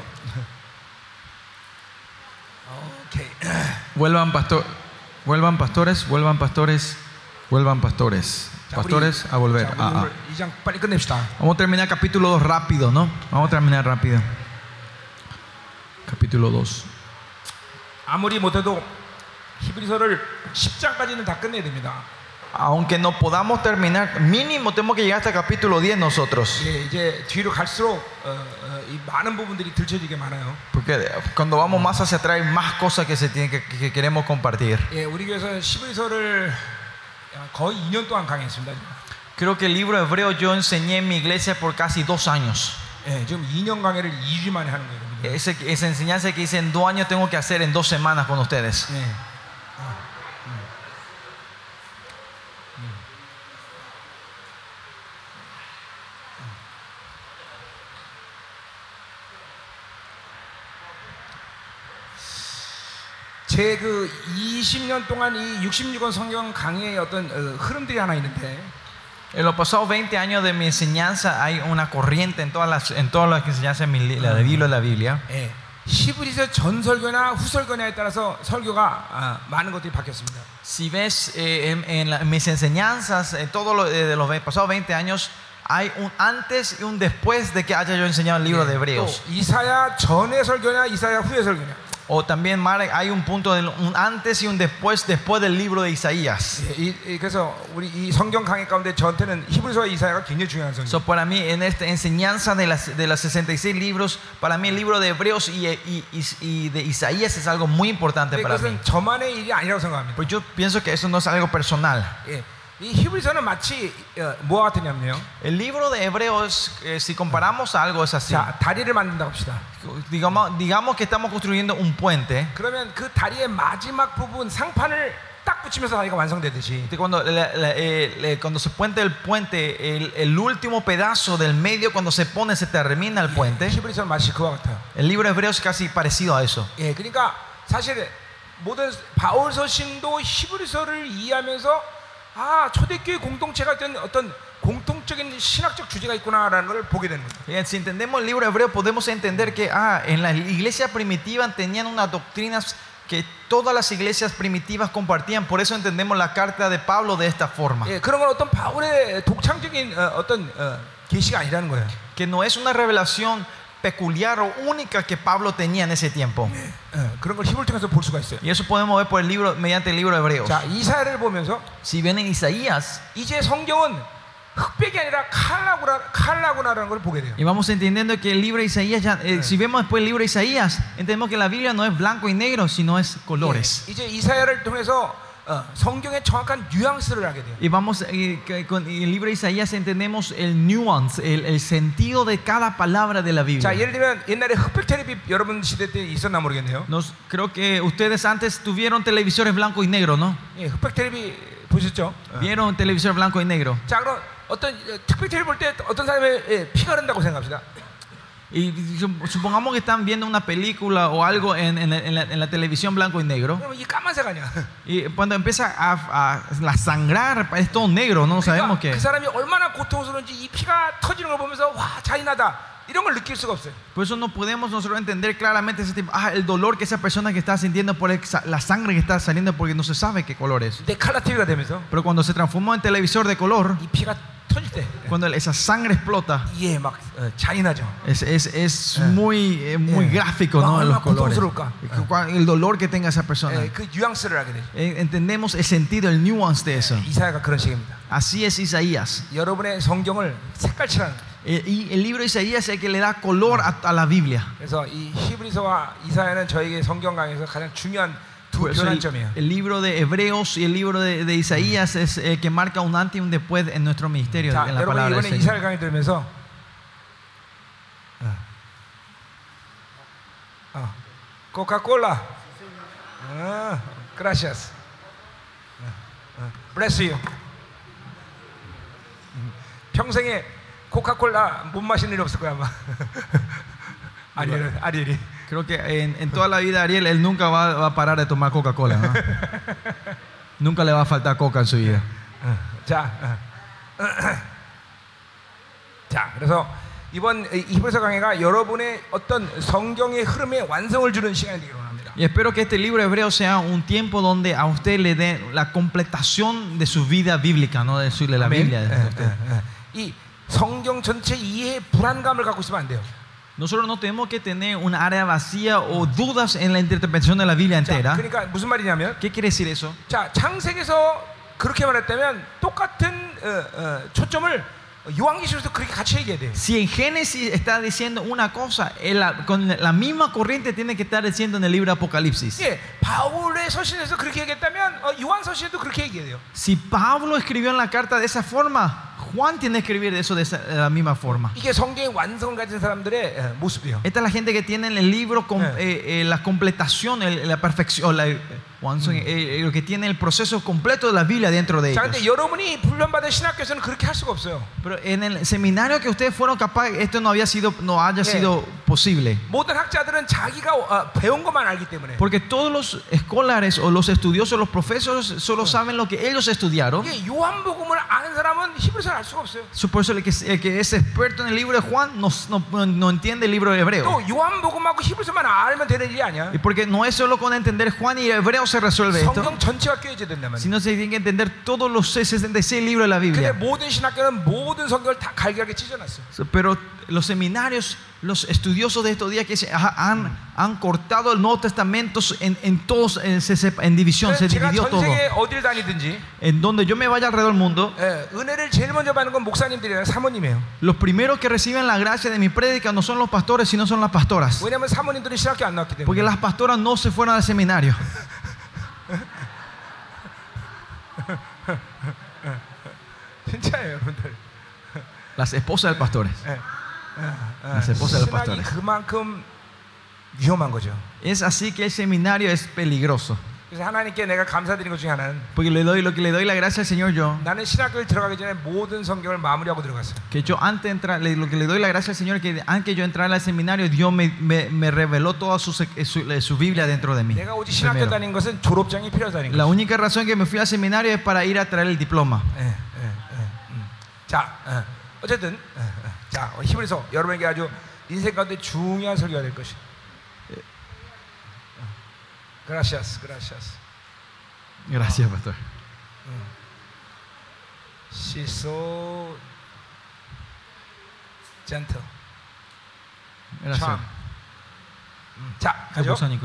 오케이. Vuelvan, pastor, vuelvan pastores, vuelvan pastores, vuelvan pastores. 자, Pastores a volver. 자, Ah, ah. 오늘 이 장 빨리 끝냅시다. Vamos a terminar capítulo dos rápido, ¿no? Vamos a terminar rápido. Capítulo dos. 아무리 못해도 히브리서를 십 장까지는 다 끝내야 됩니다. Aunque no podamos terminar, mínimo tenemos que llegar hasta capítulo diez nosotros. 예, 이제 뒤로 갈수록 어, 어, 이 많은 부분들이 들춰지게 많아요. Porque cuando vamos más hacia atrás hay más cosas que, se tienen que, que queremos compartir. 예, 우리 교회에서 히브리서를 거의 이 년 동안 강의했습니다. Creo que el libro hebreo yo enseñé en mi iglesia por casi dos años. 예, 지금 이 년 강의를 이 주 만에 하는 거예요. 여러분들. Ese, esa enseñanza que hice en dos años tengo que hacer en dos semanas con ustedes. 예. 제 그 이십 년 동안 이 육십육 권 성경 강의의 어떤 어, 흐름들이 하나 있는데 En los pasados veinte años de mi enseñanza hay una corriente en todas las, en todas las enseñanzas de mi li- la de Biblia, la Biblia. 예, 히브리서 전설교나 후설교냐에 따라서 설교가 아, 많은 것들이 바뀌었습니다. Si ves eh, en, en la- en mis enseñanzas, en todos los, eh, de los ve- pasados veinte años, hay un antes y un después de que haya yo enseñado el libro de 또 Hebreos. 이사야 전의 설교냐 이사야 후의 설교냐. O también, Marek, hay un punto, de, un antes y un después, después del libro de Isaías. 예, 이, 이, 그래서 우리 이 성경 강의 가운데 저한테는 히브리서와 이사야가 굉장히 중요한 성경. So, para mí, en esta enseñanza de las, de las sesenta y seis libros, para mí el libro de Hebreos y, y, y, y de Isaías es algo muy importante para mí. 그것은 저만의 일이 아니라고 생각합니다. Pues yo pienso que eso no es algo personal. 예, 이 히브리서는 마치 어, 뭐와 같으냐면요. El libro de Hebreos, eh, si comparamos algo, es así. 자, 다리를 만든다고 합시다. Digamos, digamos que estamos construyendo un puente. 그러면 그 다리의 마지막 부분 상판을 딱 붙이면서 다리가 완성되듯이 Cuando, la- la- eh, le- cuando se puente el puente, el, el último pedazo del medio, cuando se pone, se termina el puente. 히브리서는 마치 그와 같아요. El libro de Hebreos es casi parecido a eso. 예, 그러니까 사실 모든 바울 서신도 히브리서를 이해하면서 아 초대교회 공동체가 된 어떤 공통적인 신학적 주제가 있구나라는 걸 보게 되는 거예요. Bien, si entendemos el libro de Hebreos, podemos entender que ah, en la iglesia primitiva tenían unas doctrinas que todas las iglesias primitivas compartían. Por eso entendemos la carta de Pablo de esta forma. 예, 그런 건 어떤 바울의 독창적인 어, 어떤 어, 계시가 아니라는 거예요. Que no es una revelación peculiar o única que Pablo tenía en ese tiempo. 어, 그런 걸 히브리를 통해서 볼 수가 있어요. Y eso podemos ver por el libro, mediante el libro de Hebreos. 자, 이사야를 보면서 Si ven en Isaías, 이제 성경은 흑백이 아니라 칼라구나, 칼라구나라는 걸 보게 돼요. y vamos entendiendo que el libro de Isaías, ya, eh, si vemos después el libro de Isaías, entendemos que la Biblia no es blanco y negro, sino es colores. 예, 이제 이사야를 통해서 어, 성경의 정확한 뉘앙스를 하게 돼요. Y vamos, eh, que con el libro de Isaías entendemos el nuance, el, el sentido de cada palabra de la 자, Biblia. 예를 들면 옛날에 흑백 텔레비 여러분 시대 때 있었나 모르겠네요. Nos, creo que ustedes antes tuvieron televisores blanco y negro, ¿no? 예, 흑백 텔레비 보셨죠? Vieron televisor blanco y negro. 자, 그럼 어떤 어, 흑백 텔레비 볼 때 어떤 사람의 예, 피가 흐른다고 생각합시다. Y supongamos que están viendo una película o algo en, en la, en la- en la televisión blanco y negro. 그럼 이 까만색 아니야. Y cuando empieza a, a, a sangrar, es todo negro, no sabemos 그러니까 qué. 그 사람이 얼마나 고통스러운지 이 피가 터지는 걸 보면서 와 잔인하다 이런 걸 느낄 수가 없어요. Por eso no podemos nosotros entender claramente ese tipo, ah, el dolor que esa persona que está sintiendo por el- la sangre que está saliendo porque no se sabe qué color es. 근데 칼라 티비가 되면서 Pero cuando se transformó en televisor de color, 이 피가 터질 때 cuando esa sangre explota, 이게 막 어, 잔인하죠. es, es, es muy, eh, muy Eh. gráfico, ¿no? En los Ah, colores. 고통스러울까? El dolor que tenga esa persona. 예, 그 뉘앙스를 하게 되죠. Eh, Entendemos el sentido, el nuance de eso. 이사야가 그런 식입니다. Así es Isaías. 여러분의 성경을 색깔칠하는 거예요. Eh, Y el libro de Isaías es el que le da color a, a la Biblia. 그래서 이 히브리서와 이사야는 저에게 성경 강에서 가장 중요한 두 Por eso el, 교란점이에요. el libro de Hebreos y el libro de, de Isaías es el que marca un antes y un después en nuestro ministerio, 자, en la 여러분 palabra 이번에 del 이사야 Señor. 강의 들으면서 어. 어. 코카콜라 어, gracias 어, 어. bless you 음. 평생에 코카콜라 못 마시는 일 없을 거야 아마 아리엘 아리엘이 Creo que en, en toda la vida Ariel, él nunca va, va a parar de tomar Coca-Cola, ¿no? Nunca le va a faltar coca en su vida. 어, 자, 어. 자, 그래서 이번 히브리서 강해가 여러분의 어떤 성경의 흐름에 완성을 주는 시간이 되기를 원합니다. Y espero que este libro hebreo sea un tiempo donde a usted le dé la completación de su vida bíblica, no de, su, de la 아멘. Biblia. de 예, usted. 예, 예. 이 성경 전체 이해에 불안감을 갖고 있으면 안 돼요. Nosotros no tenemos que tener un área vacía o dudas en la interpretación de la Biblia 자, entera. 그러니까 무슨 말이냐면, ¿Qué quiere decir eso? 자, 창세기에서 그렇게 말했다면 똑같은 어, 어, 초점을 요한계시록에서 그렇게 같이 얘기해야 돼요. Si en Génesis está diciendo una cosa, en la- con la misma corriente tiene que estar diciendo en el libro de Apocalipsis. 예, 바울의 서신에서 그렇게 얘기했다면 어, 요한 서신에도 그렇게 얘기해야 돼요. Si Pablo escribió en la carta de esa forma, Juan tiene que escribir eso de, esa- de la misma forma. 이게 성경의 완성을 가진 사람들의 어, 모습이에요. Esta es la gente que tiene en el libro com- Eh. eh, eh, la completación, el- la perfección, la, Juan, eh, eh, lo que tiene el proceso completo de la Biblia dentro de 자, ellos. 근데 여러분이 훈련받은 신학교에서는 그렇게 할 수가 없어요. Pero en el seminario que ustedes fueron capaces, esto no había sido, no haya Eh. sido posible. 모든 학자들은 자기가 어, 배운 것만 알기 때문에. Porque todos los escolares o los estudiosos, los profesores, solo saben lo que ellos estudiaron. 이게 요한복음을 아는 사람은 히브리서를 알 수가 없어요. Por eso el que, el que es experto en el libro de Juan no, no, no entiende el libro de hebreo. 또 요한복음하고 히브리서만 알면 되는 일이 아니야. Y porque no es solo con entender Juan y hebreo se resuelve esto, 성경 전체가 꿰어져야 된단 말이야. sino se tiene que entender todos los sesenta y seis libros de la 근데 Biblia. 모든 신학교는 모든 성경을 다 갈기하게 찢어놨어. Pero los seminarios, los estudiosos de estos días que se ha- han, han cortado el Nuevo Testamento en, en todos, en, se sep- en división, se 제가 dividió 전 todo. 세계 어딜 다니든지 En donde yo me vaya alrededor del mundo, 예, 은혜를 제일 먼저 받는 건 목사님들이랑 사모님이에요. los primeros que reciben la gracia de mi prédica no son los pastores, sino son las pastoras. 왜냐하면 사모님들은 신학교 안 나왔기 Porque 때문에. las pastoras no se fueron al seminario. 진짜예요, 여러분들. Las esposas de pastores. 예. Las esposas de los 신학이 pastores. 그만큼 위험한 거죠. Es así que el seminario es peligroso. 그래서 하나님께 내가 감사드린 것 중에 하나는 Porque le doy lo que le doy la gracia al Señor yo. 나는 신학교를 들어가기 전에 모든 성경을 마무리하고 들어갔어요. Que yo antes de entrar, le- lo que le doy la gracia al Señor, que antes que yo entrara al seminario, Dios me, me, me reveló toda su, sec- su, su Biblia dentro de mí. 내가 오직 신학교 Primero. 다닌 것은 졸업장이 필요하다는 La 거죠. única razón que me fui al seminario es para ir a traer el diploma. 예, 예, 예, 음. 자, 어, 어쨌든 어, 어. 자, 히브리서 여러분에게 아주 인생 가운데 중요한 설교가 될 것이. 그라시아스, 그라시아스. Gracias, pastor. She's so gentle. Gracias. 참. 음, 자, ¿Qué 가죠. cosa, Nico?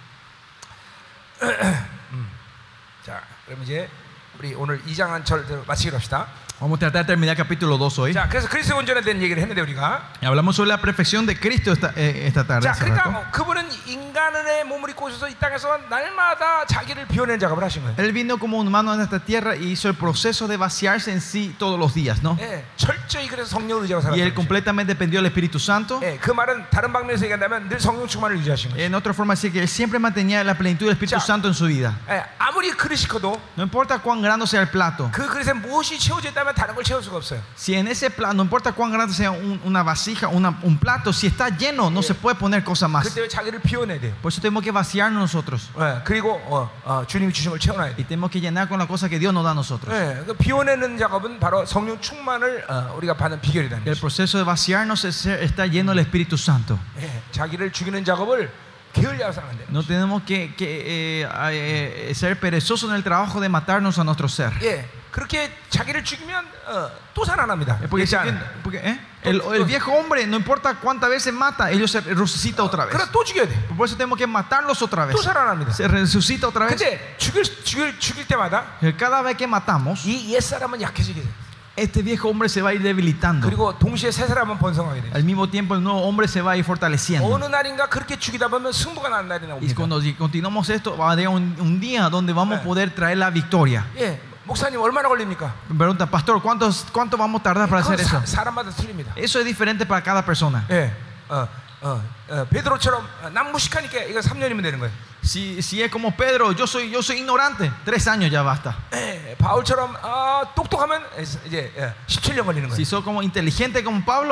자, 그럼 이제 우리 오늘 이 장 한 절 마치기로 합시다. Vamos a tratar de terminar capítulo dos hoy. 자, 그래서 그리스도 온전에 대한 얘기를 했는데 우리가. Y hablamos sobre la perfección de Cristo esta, eh, esta tarde. 자, hace 그러니까 rato. 뭐 그분은 인간의 몸을 입고 오셔서 이 땅에서 날마다 자기를 비워내는 작업을 하신 거예요. Él vino como humano en esta tierra y hizo el proceso de vaciarse en sí todos los días, ¿no? 예, 철저히 그래서 성령을 의지하고 Y él 살았어요. completamente dependió del Espíritu Santo. 예, 그 말은 다른 방면에서 얘기한다면 늘 성령 충만을 유지하신 거예요. En otra forma, decir que él siempre mantenía la plenitud del Espíritu Ya. Santo en su vida. 예, 아무리 그릇이 커도 No importa cuán grande sea el plato. 그 그릇에 무엇이 채워져 있다면 다른 걸 채울 수가 없어요. Si en ese plato, no importa cuán grande sea un- una vasija, una- un plato, si está lleno, no se puede poner cosa más. 그때 자기를 비워내야 돼요. Por eso tenemos que vaciarnos nosotros. 예, 그리고 어, 어, 주님이 주신 걸 채워놔야 Y 돼요. tenemos que llenar con la cosa que Dios nos da a nosotros. 예, 그 비워내는 작업은 바로 성령 충만을 어, 우리가 받는 비결이라는 El 거죠. proceso de vaciarnos es ser- estar lleno del Espíritu Santo. 예, 자기를 죽이는 작업을 게을리하게 하면 안 돼요. No tenemos que, que, eh, eh, ser perezosos en el trabajo de matarnos a nuestro ser. 예, 그렇게 자기를 죽이면 어, 또 살아납니다. Eh, Porque, 그렇지 않아요? porque, ¿eh? el, el viejo hombre, no importa cuántas veces mata, ellos se resucita otra vez. 그래 또 죽여야 돼. Por eso tenemos que matarlos otra vez. 또 살아납니다. Se resucita otra vez. 근데 죽일 죽일 죽일 때마다 Cada vez que matamos, 이 옛 사람은 약해지게 돼. este viejo hombre se va a ir debilitando. 그리고 동시에 새 사람은 번성하게 돼. Al mismo tiempo, el nuevo hombre se va a ir fortaleciendo. 어느 날인가 그렇게 죽이다 보면 승부가 나는 날이 Y 나옵니다. cuando si continuamos esto, va a haber un, un día donde vamos a poder traer la victoria. 예, 목사님 얼마나 걸립니까? Me pregunta, pastor, ¿cuánto, ¿cuánto vamos a tardar para hacer 그건 eso? 사, 사람마다 틀립니다. Eso es diferente para cada persona. 예, 어, 어, 어, 베드로처럼 난 무식하니까 이거 삼 년이면 되는 거예요. Si, si es como Pedro, yo soy, yo soy ignorante, tres años ya basta. 예, 바울처럼 어, 똑똑하면 이제 예, 십칠 년 걸리는 Si 거예요. soy como inteligente como Pablo,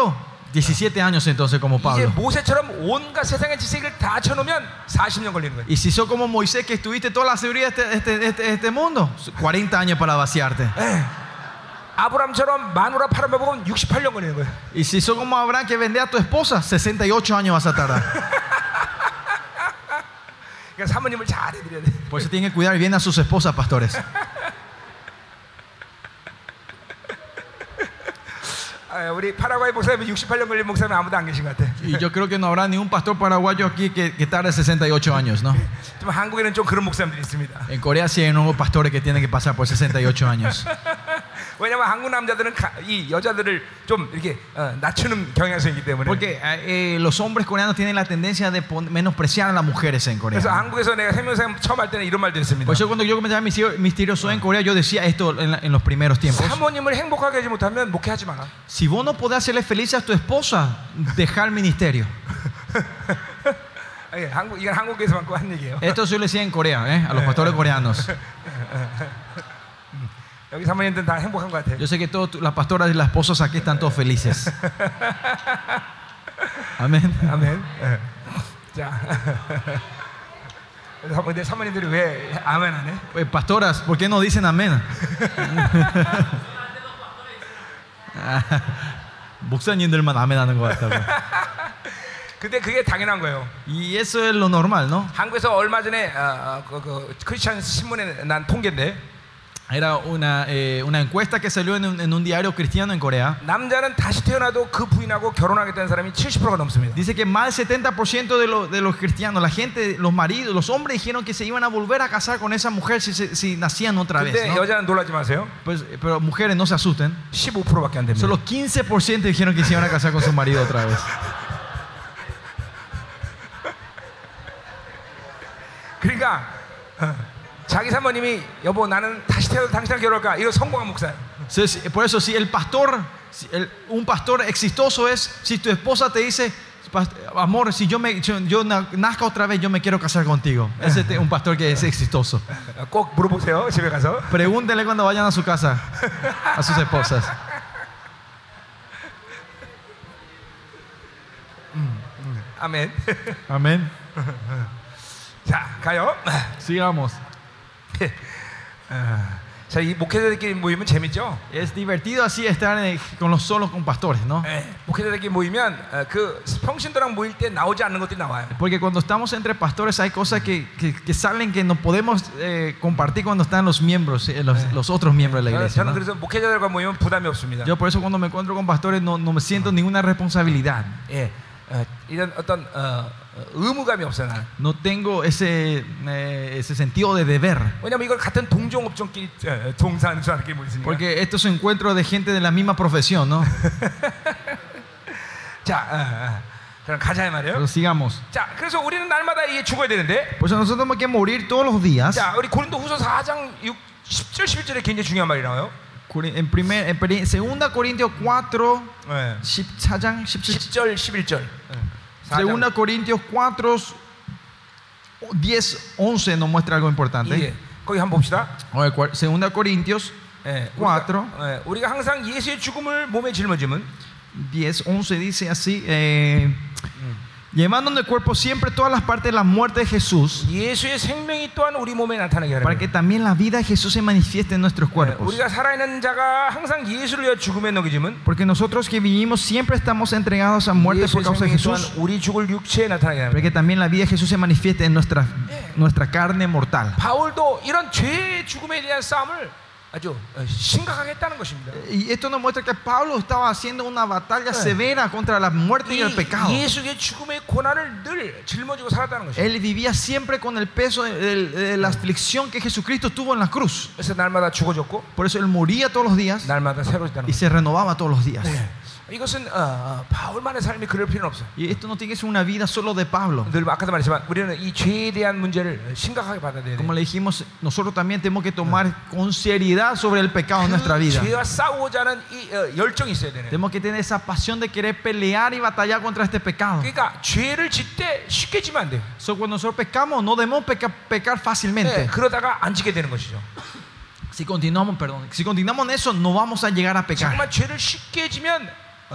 diecisiete años entonces como 이제 Pablo. 모세처럼 온갖 세상의 지식을 다 쳐놓으면 사십 년 걸리는 거예요. Y si sos como Moisés que estuviste toda la sabiduría de este, este, este, este mundo, cuarenta años para vaciarte. 아브람처럼 마누라 팔아먹으면 육십팔 년 걸리는 거예요. Y si sos como Abraham que vende a tu esposa, sesenta y ocho años vas a tardar. 그러니까 사모님을 잘 해드려야 돼. Por eso tienen que cuidar bien a sus esposas, pastores. 아, 우리 파라과이 목사님 육십팔 년 걸린 목사님 아무도 안 계신 것 같아. Y yo creo que no habrá ni un pastor paraguayo aquí que, que tarde sesenta y ocho años, ¿no? 좀 한국에는 좀 그런 목사님들이 있습니다. En Corea sí hay nuevos pastores que tienen que pasar por sesenta y ocho años. 왜냐면 한국 남자들은 가, 이 여자들을 좀 이렇게 어, 낮추는 경향성이기 때문에. Porque eh, los hombres coreanos tienen la tendencia de pon- menospreciar a las mujeres en Corea. 그래서 한국에서 내가 생명상 처음 할 때는 이런 말도 했습니다. Por eso cuando yo comenzaba mis misterioso en Corea, yo decía esto en, la- en los primeros tiempos. 사모님을 행복하게 하지 못하면 목회하지 마라. Si vos no podés hacerle feliz a tu esposa, deja el ministerio. 예, 한국 이건 한국에서만 한 얘기예요. Esto yo le decía en Corea, ¿eh? A los pastores coreanos. 여기 사모님들은 다 행복한 것 같아요. Yo sé que todas las pastoras y las esposas aquí están todos felices. Amén. 아멘. 예. 자, 근데 사모님들이 왜 아멘 안 해? Eh, Pastoras, ¿por qué no dicen amén? 목사님들만 아멘 하는 것 같다고. 근데 그게 당연한 거예요. Y eso es lo normal, ¿no? 한국에서 얼마 전에 어, 어, 그, 그 크리스천 신문에 난 통계인데 Era una, eh, una encuesta que salió en un, en un diario cristiano en Corea. 남자는 다시 태어나도 그 부인하고 결혼하겠다는 사람이 칠십 퍼센트가 넘습니다. Dice que más del setenta por ciento de, lo- de los cristianos, la gente, los maridos, los hombres dijeron que se iban a volver a casar con esa mujer si, se- si nacían otra vez, 근데 ¿no? 여자는 놀라지 마세요. Pues, pero mujeres no se asusten. 십오 퍼센트밖에 안 됩니다. Solo quince por ciento dijeron que se iban a casar con su marido otra vez. 그러니까 어, 자기 사모님이 여보 나는 다시 태어나도 당신이랑 결혼할까? 이거 성공한 목사예요. Entonces, por eso, si el pastor, si el- un pastor exitoso es si tu esposa te dice, "Past- amor, si yo, me, yo, yo na- nazca otra vez, yo me quiero casar contigo. Ese es un pastor que es exitoso. 어, 꼭 물어보세요. 집에 가서. Pregúntenle cuando vayan a su casa a sus esposas. 아멘. Amén. 자 가요. Sigamos. 자, 이 목회자들끼리 모이면 재밌죠? Es divertido así estar en- con los solos con pastores, ¿no? 예, 목회자들끼리 모이면 어, 그 평신도랑 모일 때 나오지 않는 것들이 나와요. Porque cuando estamos entre pastores hay cosas que, que, que salen que no podemos eh, compartir cuando están los miembros, eh, los, los otros miembros de la 저는, iglesia, 저는 ¿no? 그래서 목회자들과 모이면 부담이 없습니다. Yo por eso cuando me encuentro con pastores no, no me siento ninguna responsabilidad. 예, 어, 이런 어떤 어, 어, 의무감이 없어요. 나는. No tengo ese, eh, ese sentido de deber. 왜냐면 이걸 같은 동종업종끼리 어, 동사하는 사람끼리 모이니까. Porque estos son encuentros de gente de la misma profesión, ¿no? 자, 어, 어. 그럼 가자 이 말이에요. Pero sigamos. 자, 그래서 우리는 날마다 이게 죽어야 되는데. Pues nosotros tenemos que morir todos los días. 자, 우리 고린도후서 사 장 육, 십 절 십일 절에 굉장히 중요한 말이 나와요. En primer, en pri- segunda Corintios cuatro, 네. 십사 장, 십칠, 십 절 십일 절. 사 장. segunda Corintios cuatro, diez, once nos muestra algo importante. 예, 거기 한번 봅시다. A ver, cua- segunda Corintios 예, cuatro, 우리가, 예, 우리가 항상 예수의 죽음을 몸에 짊어짐은 diez, once dice así, eh, llevando en el cuerpo siempre todas las partes de la muerte de Jesús, 예수의 생명이 또한 우리 몸에 나타나게 하라. para que también la vida de Jesús se manifieste en nuestros cuerpos. 우리가 살아있는 자가 항상 예수를 위하여 죽음에 넘겨짐은 Porque nosotros que vivimos siempre estamos entregados a muerte por 예수의 causa de 생명이 또한 Jesús, 우리 죽을 육체에 나타나게 para 합니다. que también la vida de Jesús se manifieste en nuestra, nuestra carne mortal. 바울도 이런 죄의 죽음에 대한 싸움을 아주 어, 심각하게 했다는 것입니다. Y esto nos muestra que Pablo estaba haciendo una batalla severa contra la muerte y el pecado. 이 예수의 죽음의 고난을 늘 짊어지고 살았다는 것입니다. Él vivía siempre con el peso de, de- de la aflicción que Jesucristo tuvo en la cruz. 그래서 날마다 죽어졌고 Por eso él moría todos los días 날마다 새로워졌다는 y 것입니다. se renovaba todos los días. 이것은 어, 어, 바울만의 삶이 그럴 필요는 없어요. Y esto no tiene que ser una vida solo de Pablo. 늘 아까도 말했지만 우리는 이 죄에 대한 문제를 심각하게 받아들여야 Como 돼요. le dijimos, nosotros también tenemos que tomar con seriedad sobre el pecado en nuestra 그 vida. 죄와 싸우고자 하는 이 어, 열정이 있어야 되네. Tenemos que tener esa pasión de querer pelear y batallar contra este pecado. 그러니까 죄를 짓 때 쉽게 지면 안 돼요. So, cuando nosotros pecamos, no debemos peca- pecar 네, fácilmente. 그러다가 안 지게 되는 것이죠. Si continuamos, perdón, si continuamos en eso, no vamos a llegar a pecar. 정말 죄를 쉽게 지면 어,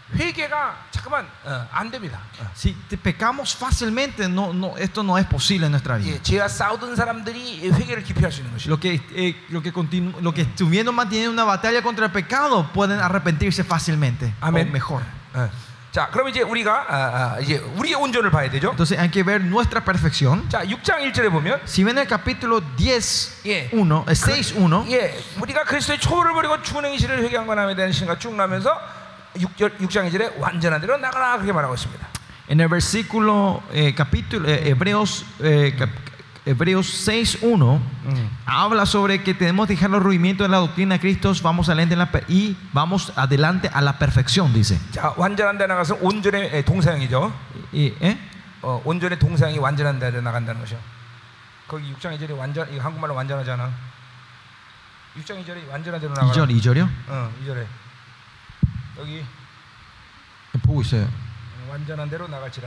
회개가 잠깐만 어, 안 됩니다. 어. Si te pecamos fácilmente, no, no, esto no es posible en nuestra vida. 예, 죄와 싸우던 사람들이 회개를 깊이 할 수 있는 것이죠. Lo que, eh, lo, que continu- lo que estuvieron manteniendo una batalla contra el pecado pueden arrepentirse fácilmente. Amén. O mejor. 어. 자, 그럼 이제 우리가 아, 아, 이제 우리의 온전을 봐야 되죠. Entonces hay que ver nuestra perfección. 자, 육 장 일 절에 보면 Si ven el capítulo diez, 예. uno, eh, seis, uno, 예, 우리가 그리스도의 초월을 버리고 죽은 행실을 회개한 것함에 대한 신가 쭉 나면서 육 장 이 절에 완전한 대로 나가라 그렇게 말하고 있습니다. en el versículo, eh, capítulo, eh, Hebreos, eh, cap- Hebreos seis, uno, habla sobre que tenemos que dejar los rudimentos de la doctrina de Cristo, vamos adelante en la per- y vamos adelante a la perfección, dice. 자, 완전한 데 나가서 온전의 예, 동사형이죠. Y, ¿eh? 어, 온전의 동사형이 완전한 데 나간다는 것이요. 거기 육 장 이 절에 완전 이거 한국말로 완전하잖아. 육 장 이 절에 완전한 대로 나가라. 이절, 이절이요? 어, 이 절에 여기 보고 있어요. 완전한 대로 나갈지라.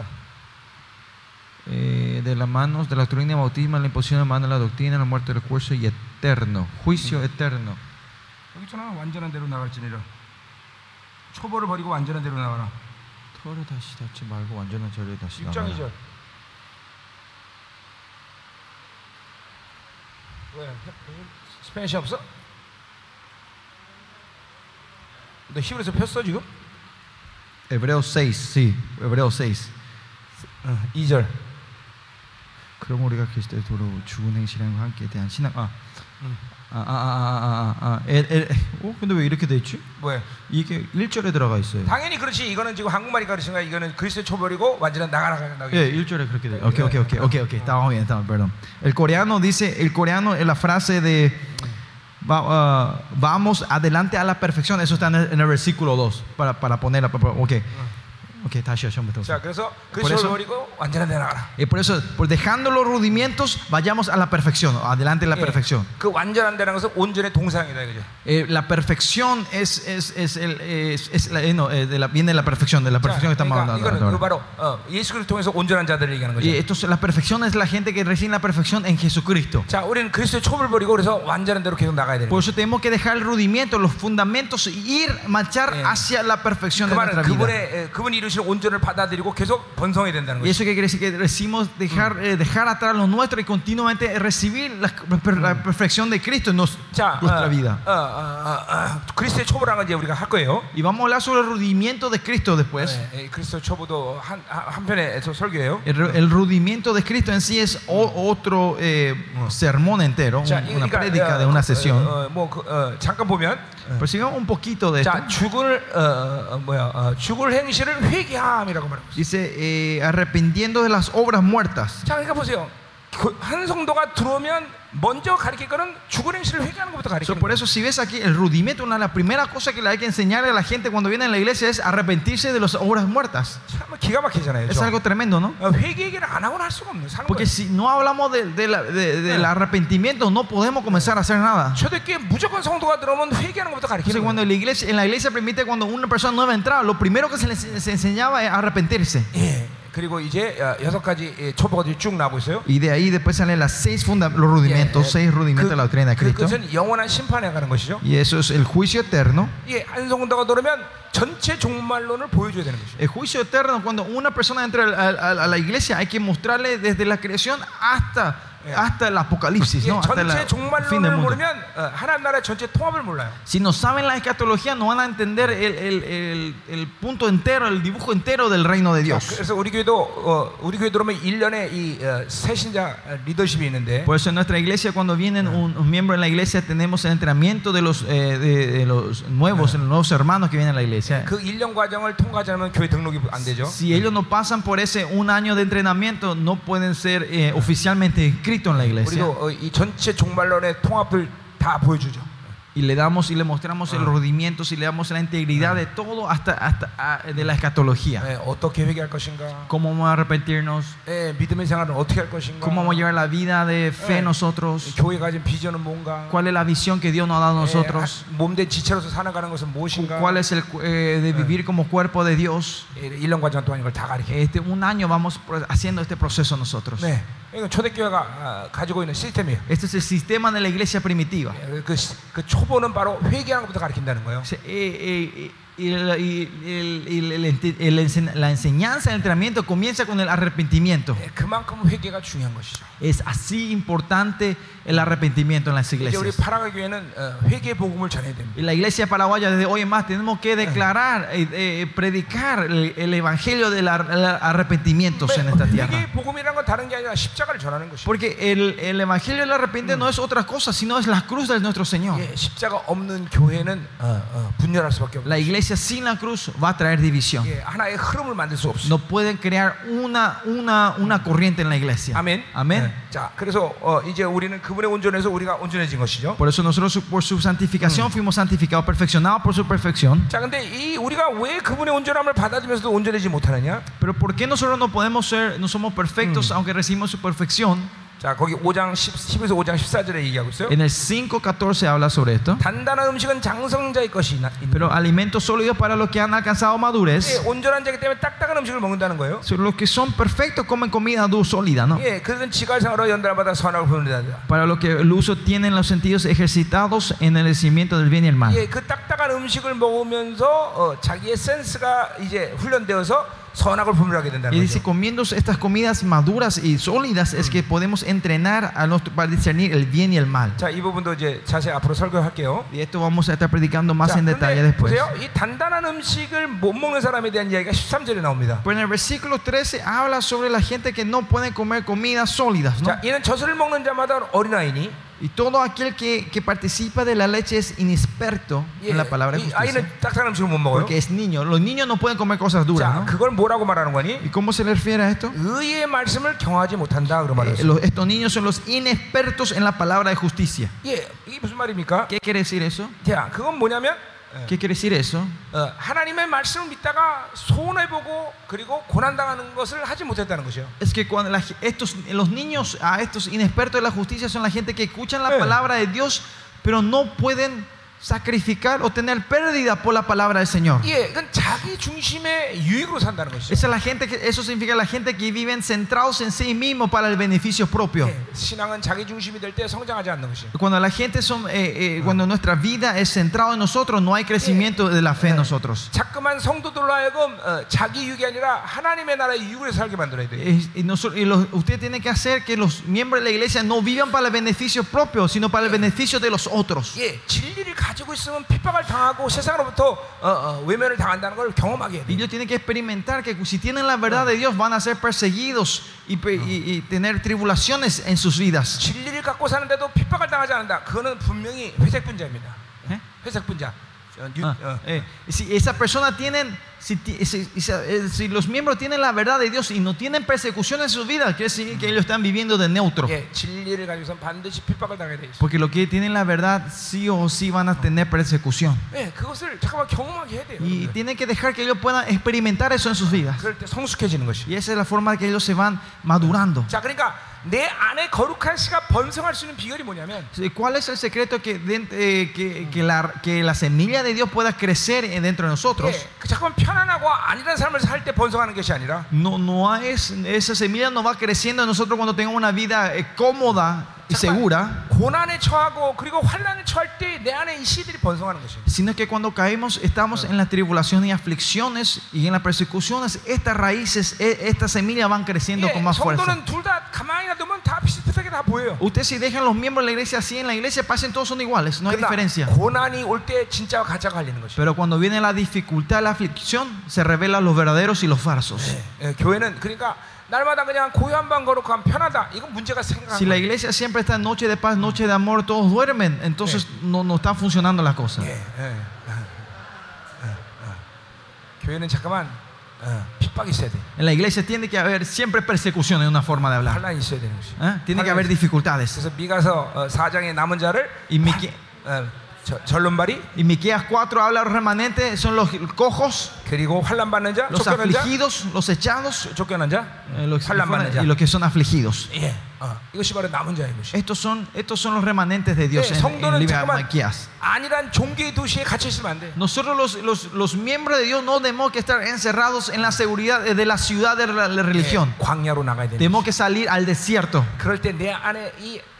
Eh, de las manos de la doctrina bautismal, la imposición de mano de la doctrina, la muerte del juicio y eterno, juicio eterno. 여기 있잖아. 완전한 대로 나갈지니라. 초보를 버리고 완전한 대로 나가라. 토를 다시 닫지 말고 완전한 절에 다시 육 장 이 나가라. 절. 왜? 스페니시 없어? 너 히브리서 폈어 지금? Hebreos seis, sí, Hebreos seis. 어, 이 절. 그럼 우리가 그리스도의 도로 죽은 행실과 함께 대한 신앙. 아, 음. 아, 아, 아, 아, 아, 아. 에, 에, 어, 근데 왜 이렇게 돼 있지? 왜? 이게 일 절에 들어가 있어요. 당연히 그렇지. 이거는 지금 한국말이 가르치는 거야. 이거는 그리스도의 초벌이고 완전한 나가라 나가. 예, 일 절에 그렇게 돼. Okay, okay, okay, okay, okay. Estamos bien, estamos, perdón. El coreano dice, el coreano es la frase de va, uh, vamos adelante a la perfección. Eso está en el, en el versículo dos para para ponerla. Okay. Okay, 다시 하시면 자, 그래서 Por 그리스도를 eso- 버리고 완전한 데 나가라. Y por eso, por dejando los rudimentos, vayamos a la perfección, adelante a la 예, perfección. 그 완전한 데라는 것은 온전의 동사형이다 이거죠. Eh, la perfección es, es, es, el, es, es la, eh, no, eh, de la, viene de la perfección, de la 자, perfección que estamos 그러니까 hablando 이거는 그 ahora. 바로 어, 예수 그리스도 통해서 온전한 자들을 얘기하는 거죠. Y esto, es- la perfección es la gente que recibe la perfección en Jesucristo. 자, 우리는 그리스도의 초벌 버리고 그래서 완전한 대로 계속 나가야 되는 Por 거죠. eso tenemos que dejar el rudimento, los fundamentos, y ir, marchar Eh. hacia la perfección 그 de 말은 nuestra vida. 그분의 에, 그분이 이루신 온전을 받아들이고 계속 번성해야 된다는 Y 거죠. eso que quiere decir que decimos dejar, eh, dejar atrás lo nuestro y continuamente recibir la, la perfección de Cristo en nos- 자, nuestra 어, vida. 어, 어, 어, 어, 그리스도의 초보라는 건 이제 우리가 할 거예요. Y vamos a hablar sobre el rudimiento de Cristo después. 네, 그리스도 초보도 한, 한- 한편에 서 설교예요. El, el rudimiento de Cristo en sí es o- otro eh, sermón entero, un- 자, una 그러니까, prédica de 어, una 어, sesión. 어, 뭐 그, 어, 잠깐 보면, Pero sigamos un poquito de esto. 자, 죽을 어, 어, 뭐야, 어, 죽을 행실을 회개함이라고 말하고 있어요. Dice, eh, arrepintiendo de las obras muertas. 자, 그러니까 보세요. 그, 한 성도가 들어오면 먼저 가르칠 거는 죽을 행실을 회개하는 것부터 So, 가르치는 por 거예요. eso, si ves aquí el rudimento, una de las primeras cosas que le hay que enseñar a la gente cuando viene a la iglesia es arrepentirse de las obras muertas. 참 기가 막히잖아요. Es 저. algo tremendo, ¿no? 어, 회개 얘기를 안 하고는 할 수가 없는 사는 Porque 거예요. si no hablamos de- de la- de- del arrepentimiento, no podemos comenzar a hacer nada. 초대교회 무조건 성도가 들어오면 회개하는 것부터 Entonces, 가르치는 cuando 거예요. la iglesia, en la iglesia permite cuando una persona nueva entraba, lo primero que se les se enseñaba es arrepentirse. 예. 그리고 이제 어, 여섯 가지 예, 초보가 쭉 나오고 있어요. Y de ahí después salen las seis funda- los rudimentos, 예, seis rudimentos de la doctrina de 그, Cristo. 그것은 영원한 심판에 가는 것이죠. Y eso es el juicio eterno. 예, 한 성도가 들어오면 전체 종말론을 보여줘야 되는 것이죠. El juicio eterno, cuando una persona entra a, a- a la iglesia, hay que mostrarle desde la creación hasta, hasta el apocalipsis, 예, ¿no? Hasta 전체 el fin del 종말론을 mundo. 모르면 어, 하나님 나라 전체 통합을 몰라요. Si no saben la escatología, no van a entender el, el- el- el punto entero, el dibujo entero del reino de 자, Dios. 그래서 우리 교회도 어, 우리 교회 들어오면 일 년에 이 어, 새신자 리더십이 있는데 Por eso en nuestra iglesia, cuando vienen un, un miembro en la iglesia, tenemos el entrenamiento de los, eh, de, de los nuevos, los nuevos hermanos que vienen a la iglesia. 그 일 년 과정을 통과하지 않으면 교회 등록이 안 되죠. Si ellos no pasan por ese un año de entrenamiento, no pueden ser eh, oficialmente inscritos en la iglesia. 우리도 어, 이 전체 종말론의 통합을 다 보여주죠. Y le damos y le mostramos el rodimiento, y le damos la integridad de todo hasta, hasta ah, de la escatología. 예, 어떻게 회개할 것인가, Cómo vamos a arrepentirnos, 예, 믿음의 생활을 어떻게 할 것인가, cómo vamos a llevar la vida de fe 예, nosotros, 교회 가진 비전은 뭔가, cuál es la visión que Dios nos ha dado a nosotros, 예, 몸된 지체로서 살아가는 것은 무엇인가. cuál es el eh, de vivir como cuerpo de Dios. 예, 일 년 과정 동안 이걸 다 가르쳐. Este, un año vamos pro- haciendo este proceso nosotros. 네, 이건 초대교회가 아, 가지고 있는 시스템이에요. Este es el sistema de la iglesia primitiva. 예, 그, 그 초보는 바로 회개하는 것부터 가르친다는 거예요. O sea, eh, eh, eh, Y, el- y el- y el- el- el ense- la enseñanza, el entrenamiento comienza con el arrepentimiento. 예, 그만큼 회개가 중요한 것이죠. Es así importante el arrepentimiento en las 이제 우리 iglesias. 파라과 교회는 어, 회개 복음을 전해야 됩니다. Y la iglesia paraguaya desde hoy en más tenemos que declarar, eh, eh, predicar el, el evangelio del ar- el arrepentimiento en esta tierra. 회개 복음이란 건 다른 게 아니라 십자가를 전하는 것이죠. Porque el, el evangelio del arrepentimiento no es otra cosa, sino es la cruz de nuestro Señor. 예, 십자가 없는 교회는 어, 어, 분열할 수밖에 없어요. La iglesia sin la cruz va a traer división. 예, 하나의 흐름을 만들 수 없어요. No pueden crear una, una, una corriente en la iglesia. 아멘. Amén. 예, 자, 그래서 어, 이제 우리는 그분의 온전에서 우리가 온전해진 것이죠. Por eso nosotros por su santificación fuimos santificados, perfeccionados por su perfección. 자, 근데 이 우리가 왜 그분의 온전함을 받아들면서도 온전해지지 못하느냐? Pero ¿por qué nosotros no podemos ser, no somos perfectos aunque recibimos su perfección? 자, 거기 오 장 십, 십에서 오 장 십사 절에 얘기하고 있어요. En el cinco catorce habla sobre esto. 단단한 음식은 장성자의 것이 있나? Pero alimentos sólidos para los que han alcanzado 예, madurez. 온전한 자이기 때문에 딱딱한 음식을 먹는다는 거예요. Los que son perfectos comen comida dura, sólida, ¿no? 예, 그들은 지갈상으로 연달아받아 선악을 부른다. Para los que el uso tienen los sentidos ejercitados en el decimiento del bien y el mal. 예, 그 딱딱한 음식을 먹으면서 어, 자기의 센스가 이제 훈련되어서 선악을 분별하게 된다는 Y dice, 거죠. comiendo estas comidas maduras y sólidas es que podemos entrenar a nuestro, para discernir el bien y el mal. 자, 이 부분도 이제 자세히 앞으로 설교할게요. Y esto vamos a estar predicando más 자, en detalle 근데 después. 보세요. 이 단단한 음식을 못 먹는 사람에 대한 이야기가 십삼 절에 나옵니다. Pero en el versículo trece habla sobre la gente que no puede comer comidas sólidas, ¿no? 자, 이는 젖을 먹는 자마다 어린아이니 Y todo aquel que, que participa de la leche es inexperto 예, en la palabra de 이 justicia. 아이는 딱딱한 음식을 못 먹어요. Porque es niño. Los niños no pueden comer cosas duras, 자, ¿no? 그걸 뭐라고 말하는 거니? ¿Y cómo se le refiere a esto? 의의 말씀을 경하지 못한다 그런 Eh, 말이에요. los- estos niños son los inexpertos en la palabra de justicia. 예, 이게 무슨 말입니까? ¿Qué quiere decir eso? 자, 그건 뭐냐면 ¿Qué quiere decir eso? 어, 하나님의 말씀을 믿다가 손해보고 그리고 고난당하는 것을 하지 못했다는 것이요. Es que cuando la- estos, los niños, a estos inexpertos de la justicia son la gente que escuchan la Eh. palabra de Dios, pero no pueden sacrificar o tener pérdida por la palabra del Señor. 예, 그건 자기 중심의 유익으로 산다는 것이죠. Esa es la gente que, eso significa la gente que viven centrados en sí mismos para el beneficio propio. 예, 신앙은 자기 중심이 될 때 성장하지 않는 것이요. Cuando la gente son, eh, eh, cuando nuestra vida es centrada en nosotros, no hay crecimiento de la fe en nosotros. 자꾸만 성도들로 하여금 어, 자기 유익이 아니라 하나님의 나라의 유익을 살게 만들어야 돼요. Eh, Y, nosotros, y los- usted tiene que hacer que los miembros de la iglesia no vivan para el beneficio propio, sino para el beneficio de los otros. 예, 진리를 가지고 있으면 핍박을 당하고 세상으로부터 어, 어, 외면을 당한다는 걸 경험하게 해야 Y 돼요. ellos tienen que experimentar que si tienen la verdad de Dios van a ser perseguidos y, pe- y- y tener tribulaciones en sus vidas. 진리를 갖고 사는데도 핍박을 당하지 않는다. 그거는 분명히 회색 분자입니다. ¿Eh? 회색 분자. 어, 뉴- Ah, 어. eh, si esa persona tienen, si, ti- si- si- eh, si los miembros tienen la verdad de Dios y no tienen persecución en sus vidas, quiere decir que ellos están viviendo de neutro. 예, 진리를 가지고선 반드시 핍박을 당해야 돼 있어. Porque los que tienen la verdad sí o sí van a tener persecución. 예, 그것을 잠깐만 경험하게 해야 돼요. Y 여러분들. tienen que dejar que ellos puedan experimentar eso en sus vidas. 그럴 때 성숙해지는 것이. Y esa es la forma que ellos se van madurando. 자, 그러니까 내 안에 거룩한 씨가 번성할 수 있는 비결이 뭐냐면 ¿Cuál es el secreto que, dent- eh, que, que la, que la semilla de Dios pueda crecer en- dentro de nosotros? 예, 그 잠깐만 편안하고 안일한 삶을 살 때 번성하는 것이 아니라 No, no es, esa semilla no va creciendo en nosotros cuando tengamos una vida eh, cómoda y segura, 고난에 처하고 그리고 환난에 처할 때 내 안에 이 씨들이 번성하는 것이에요. sino que cuando caemos, estamos en la tribulación y aflicciones y en las persecuciones, estas raíces, eh, estas semillas van creciendo 예, con más fuerza. 성도는 둘 다 가만히 놔두면 다 비슷비슷하게 다 보여요. Ustedes si dejan los miembros de la iglesia así en la iglesia, pasen todos son iguales, no hay 그러나 diferencia. 고난이 올 때 진짜와 가짜가 갈리는 것이에요. Pero cuando viene la dificultad, la aflicción, se revelan los verdaderos y los falsos. 예, 교회는 그러니까 날마다 그냥 고요한 거룩한 편하다. 이건 문제가 생각하는 Si la 거예요. iglesia siempre está en noche de paz, noche de amor, todos duermen, entonces no, no están funcionando las cosas. 예, 예, 어, 어, 어. 교회는 잠깐만 어, 핍박이 있어야 돼. En la iglesia tiene que haber siempre persecución en una forma de hablar. 환란이 있어야 되는 것이. ¿Eh? Tiene que haber dificultades. 그래서 미가서 어, 사 장의 남은 자를 Y, Mique- 어, 저, 절론발이 y Miqueas cuatro habla de los remanentes, son los cojos, 그리고 환란 받는 자, los 쫓겨난 자, afligidos, los echados, 쫓겨난 자, eh, los, 환란 받는 자. y los que son afligidos. 예, 어, 이것이 바로 남은 자인 것이. Estos son, estos son los remanentes de Dios 예, en, en el 성도는 libro de 잠깐만 Miqueas. 안일한 종교의 도시에 갇혀 있으면 안 돼. Nosotros los, los, los miembros de Dios no tenemos que estar encerrados en la seguridad de la ciudad de la, la religión. 예, 광야로 나가야 돼. Tenemos que salir al desierto. 그럴 때 내 안에 이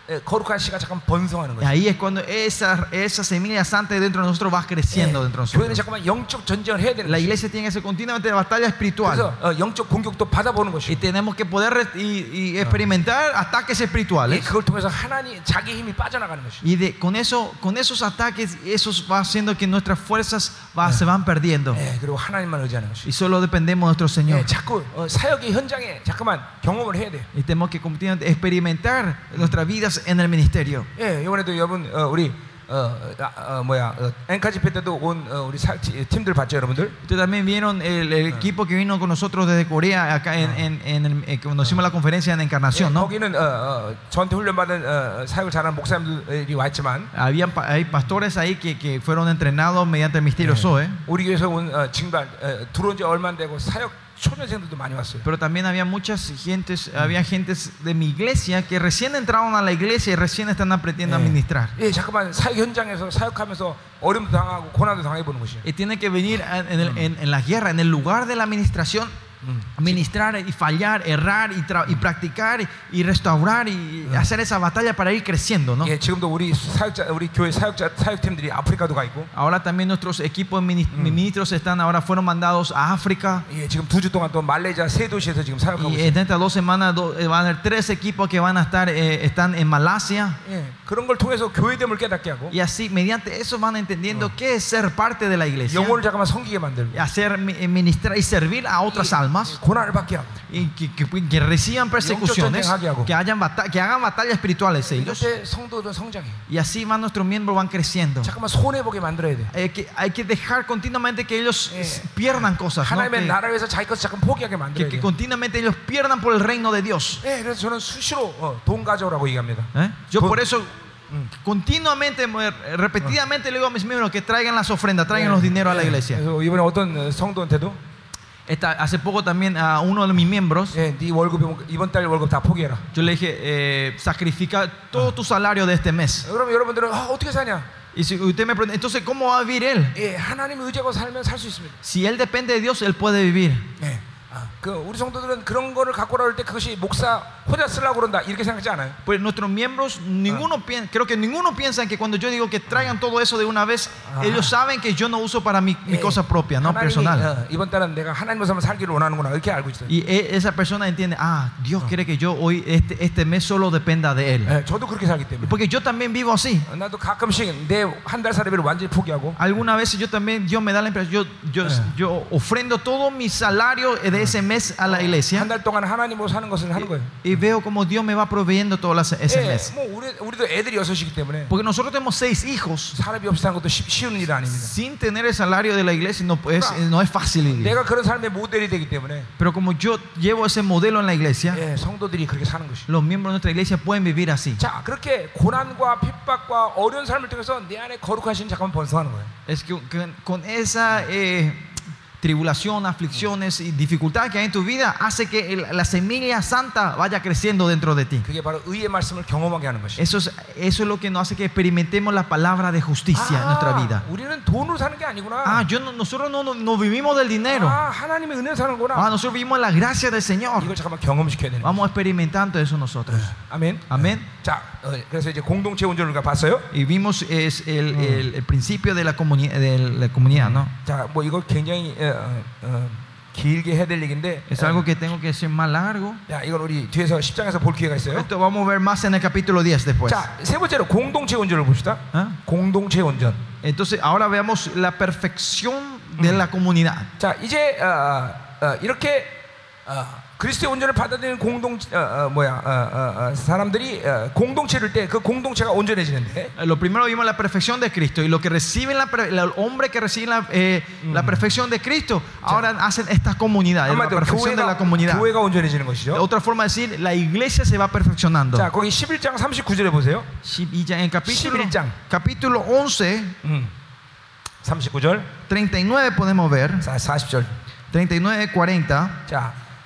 에, 거룩한 씨가 잠깐 번성하는 Y 거죠. ahí es cuando esa, esa semilla santa dentro de nosotros va creciendo dentro de 교회는 nosotros. 잠깐만 영적 전쟁을 해야 되는 La 거죠. iglesia tiene que hacer continuamente batalla espiritual. 그래서 어, 영적 공격도 받아보는 Y 것이고, tenemos que poder re- y, y experimentar ataques 예, espirituales. 그걸 통해서 하나님 자기 힘이 빠져나가는 것이죠. Y de, con, eso, con esos ataques, eso va haciendo que nuestras fuerzas va- se van perdiendo. 예, 그리고 하나님만 의지하는 것이죠. Y solo dependemos de nuestro Señor. 예, 자꾸 어, 사역의 현장에 잠깐만 경험을 해야 돼. Y tenemos que continuamente experimentar nuestras vidas en el ministerio. 예, 이번에도 여러분 어, 우리 어, 아, 어, 뭐야 어, 앵카 집회 때도 온 어, 우리 사, 티- 팀들 봤죠, 여러분들? Ustedes también vieron el, el equipo que vino con nosotros desde Corea acá en, en, en el- eh, cuando hicimos la conferencia en 예, Encarnación, ¿no? 거기는 어, 어, 전투 훈련 받은 어, 사역을 잘하는 목사님들이 왔지만 Habían pa- hay pastores ahí que, que fueron entrenados mediante el misterio Zoe, 우리 교회에서 온 어, 징발 어, 들어온 지 얼마 안 되고 사역 초년생들도 많이 왔어요. pero también había muchas gentes, había gentes de mi iglesia que recién entraron a la iglesia y recién están aprendiendo a 예. ministrar. 예, 잠깐만 사역 현장에서 사역하면서 어려움도 당하고 고난도 당해보는 것이에요. Y tienen que venir en, en el- en- en la guerra, en el lugar de la administración, ministrar y fallar, errar y, tra- y practicar y, y restaurar y hacer esa batalla para ir creciendo, ¿no? 예, 지금도 우리 사역자, 우리 교회 사역자 사역팀들이 아프리카도 가 있고, Ahora también nuestros equipos minis- ministros están ahora fueron mandados a África 예, 지금 두 주 동안 또 말레이시아 세 도시에서 지금 사역하고 y 있어요. en estas dos semanas do- eh, van a haber tres equipos que van a estar eh, están en Malasia 예, 그런 걸 통해서 교회됨을 깨닫게 하고 y así mediante eso van entendiendo qué es ser parte de la iglesia, 영혼을 잠깐만 섬기게 만들고 y hacer mi- eh, ministrar y servir a otras almas 고난을 받게 하고 y que, que- que reciban persecuciones, que, hayan bata- que hagan batallas espirituales ellos. 이때 성도들은 성장해. Y así van nuestros miembros van creciendo. 잠깐만 손해 보게 만들어야 돼. Hay que, hay que dejar continuamente que ellos 예. pierdan cosas, ¿no? 하나님의 que, 나라를 위해서 자기 것을 잠깐 포기하게 que- 만들어야 que 돼. continuamente ellos pierdan por el reino de Dios. 예, 그래서 저는 수시로 어, 돈 가져오라고 얘기합니다. ¿Eh? Yo Con- por eso continuamente, eh, repetidamente le digo a mis miembros que traigan las ofrendas, traigan los dineros a la iglesia. 그래서 이번에 어떤 어, 성도한테도 Esta, hace poco también a uno de mis miembros, 예, 네 월급 이번 달 월급 다 포기해라. yo le dije, eh, sacrifica todo tu salario de este mes. 그럼 여러분들은 아, 어떻게 사냐? Y si usted me pregunta, entonces, ¿cómo va a vivir él? 예, 하나님 의지하고 살면 살 수 있습니다. Si él depende de Dios, él puede vivir. 예. 아, 그 우리 성도들은 그런 거를 갖고 오라 할 때 그것이 목사 혼자 쓰려고 그런다 이렇게 생각하지 않아요. Pues nuestros miembros, ninguno piensa, creo que ninguno piensa que cuando yo digo que traigan todo eso de una vez, ellos saben que yo no uso para mi, mi 예, cosa propia, no 하나님이, personal. 어, 이번 달은 내가 하나님으로 살면 살기를 원하는구나 이렇게 알고 있어요. Y e- esa persona entiende, ah, Dios quiere que yo hoy, este, este mes solo dependa de Él. 예, 저도 그렇게 살기 때문에. Porque yo también vivo así. 어, 나도 가끔씩 내 한 달 살이비를 완전히 포기하고 Algunas veces yo también, Dios me da la impresión, yo, yo, yo ofrendo todo mi salario de ese mes a la iglesia 한 달 동안 하나님으로 사는 것을 하는 거예요. y veo como Dios me va proveyendo todo las- ese 예, mes. 뭐 우리 우리도 애들이 여섯이기 때문에 Porque nosotros tenemos seis hijos. 사람이 없이 사는 것도 쉽- 쉬운 일 아닙니다. Sin tener el salario de la iglesia no es, no es fácil vivir. 내가 그런 삶의 모델이 되기 때문에 Pero como yo llevo ese modelo en la iglesia, 예, 성도들이 그렇게 사는 것이. los miembros de nuestra iglesia pueden vivir así. 자, 그렇게 고난과 핍박과 어려운 삶을 통해서 내 안에 거룩하신 잠깐 번성하는 거예요. Es que con, con esa eh, tribulación, aflicciones y dificultades que hay en tu vida, hace que el- la semilla santa vaya creciendo dentro de ti. 그게 바로 의의 말씀을 경험하게 하는 것이. Eso es, eso es lo que nos hace que experimentemos la palabra de justicia en nuestra vida. 우리는 돈으로 사는 게 아니구나. Ah, yo no- nosotros no, no, no vivimos del dinero. 아, 하나님의 은혜 사는구나. Ah, nosotros vivimos la gracia del Señor. 이걸 잠깐만 경험시켜야 되는 거예요. Vamos experimentando eso nosotros. 아멘. Amén. 자, 어, 그래서 이제 공동체 온전을 우리가 봤어요. Y vimos es el, el- el principio de la, comuni- de la comunidad, ¿no? 자, 뭐 이거 굉장히 어, 어, 어, 길게 해야 될 얘기인데. Es algo que tengo que decir más largo. 야, 이건 우리 뒤에서 십 장에서 볼 기회가 있어요. Esto vamos a ver más en el capítulo diez después. 자, 세 번째로 공동체 온전을 봅시다. ¿Ah? 공동체 온전. Entonces, ahora veamos la perfección de la comunidad. 자, 이제 어, 어, 이렇게 어, 그리스도의 온전을 받아들이는 공동 어, 어, 뭐야 어, 어, 어, 사람들이 어, 공동체를 때 그 공동체가 온전해지는데. Eh, Lo primero vimos la perfección de Cristo y lo que reciben la, per- el hombre que recibe la, eh, la perfección de Cristo, ahora hacen esta comunidad, la 한마디로 perfección de la 교회가, comunidad. 교회가 온전해지는 것이죠. Otra forma de decir, la iglesia se va perfeccionando. 자, 거기 십일 장 삼십구 절에 보세요. Y ya en capítulo, 십일 장. capítulo once, 음. 삼십구 절, treinta y nueve podemos ver, 자, 사십 절. treinta y nueve, cuarenta. 자,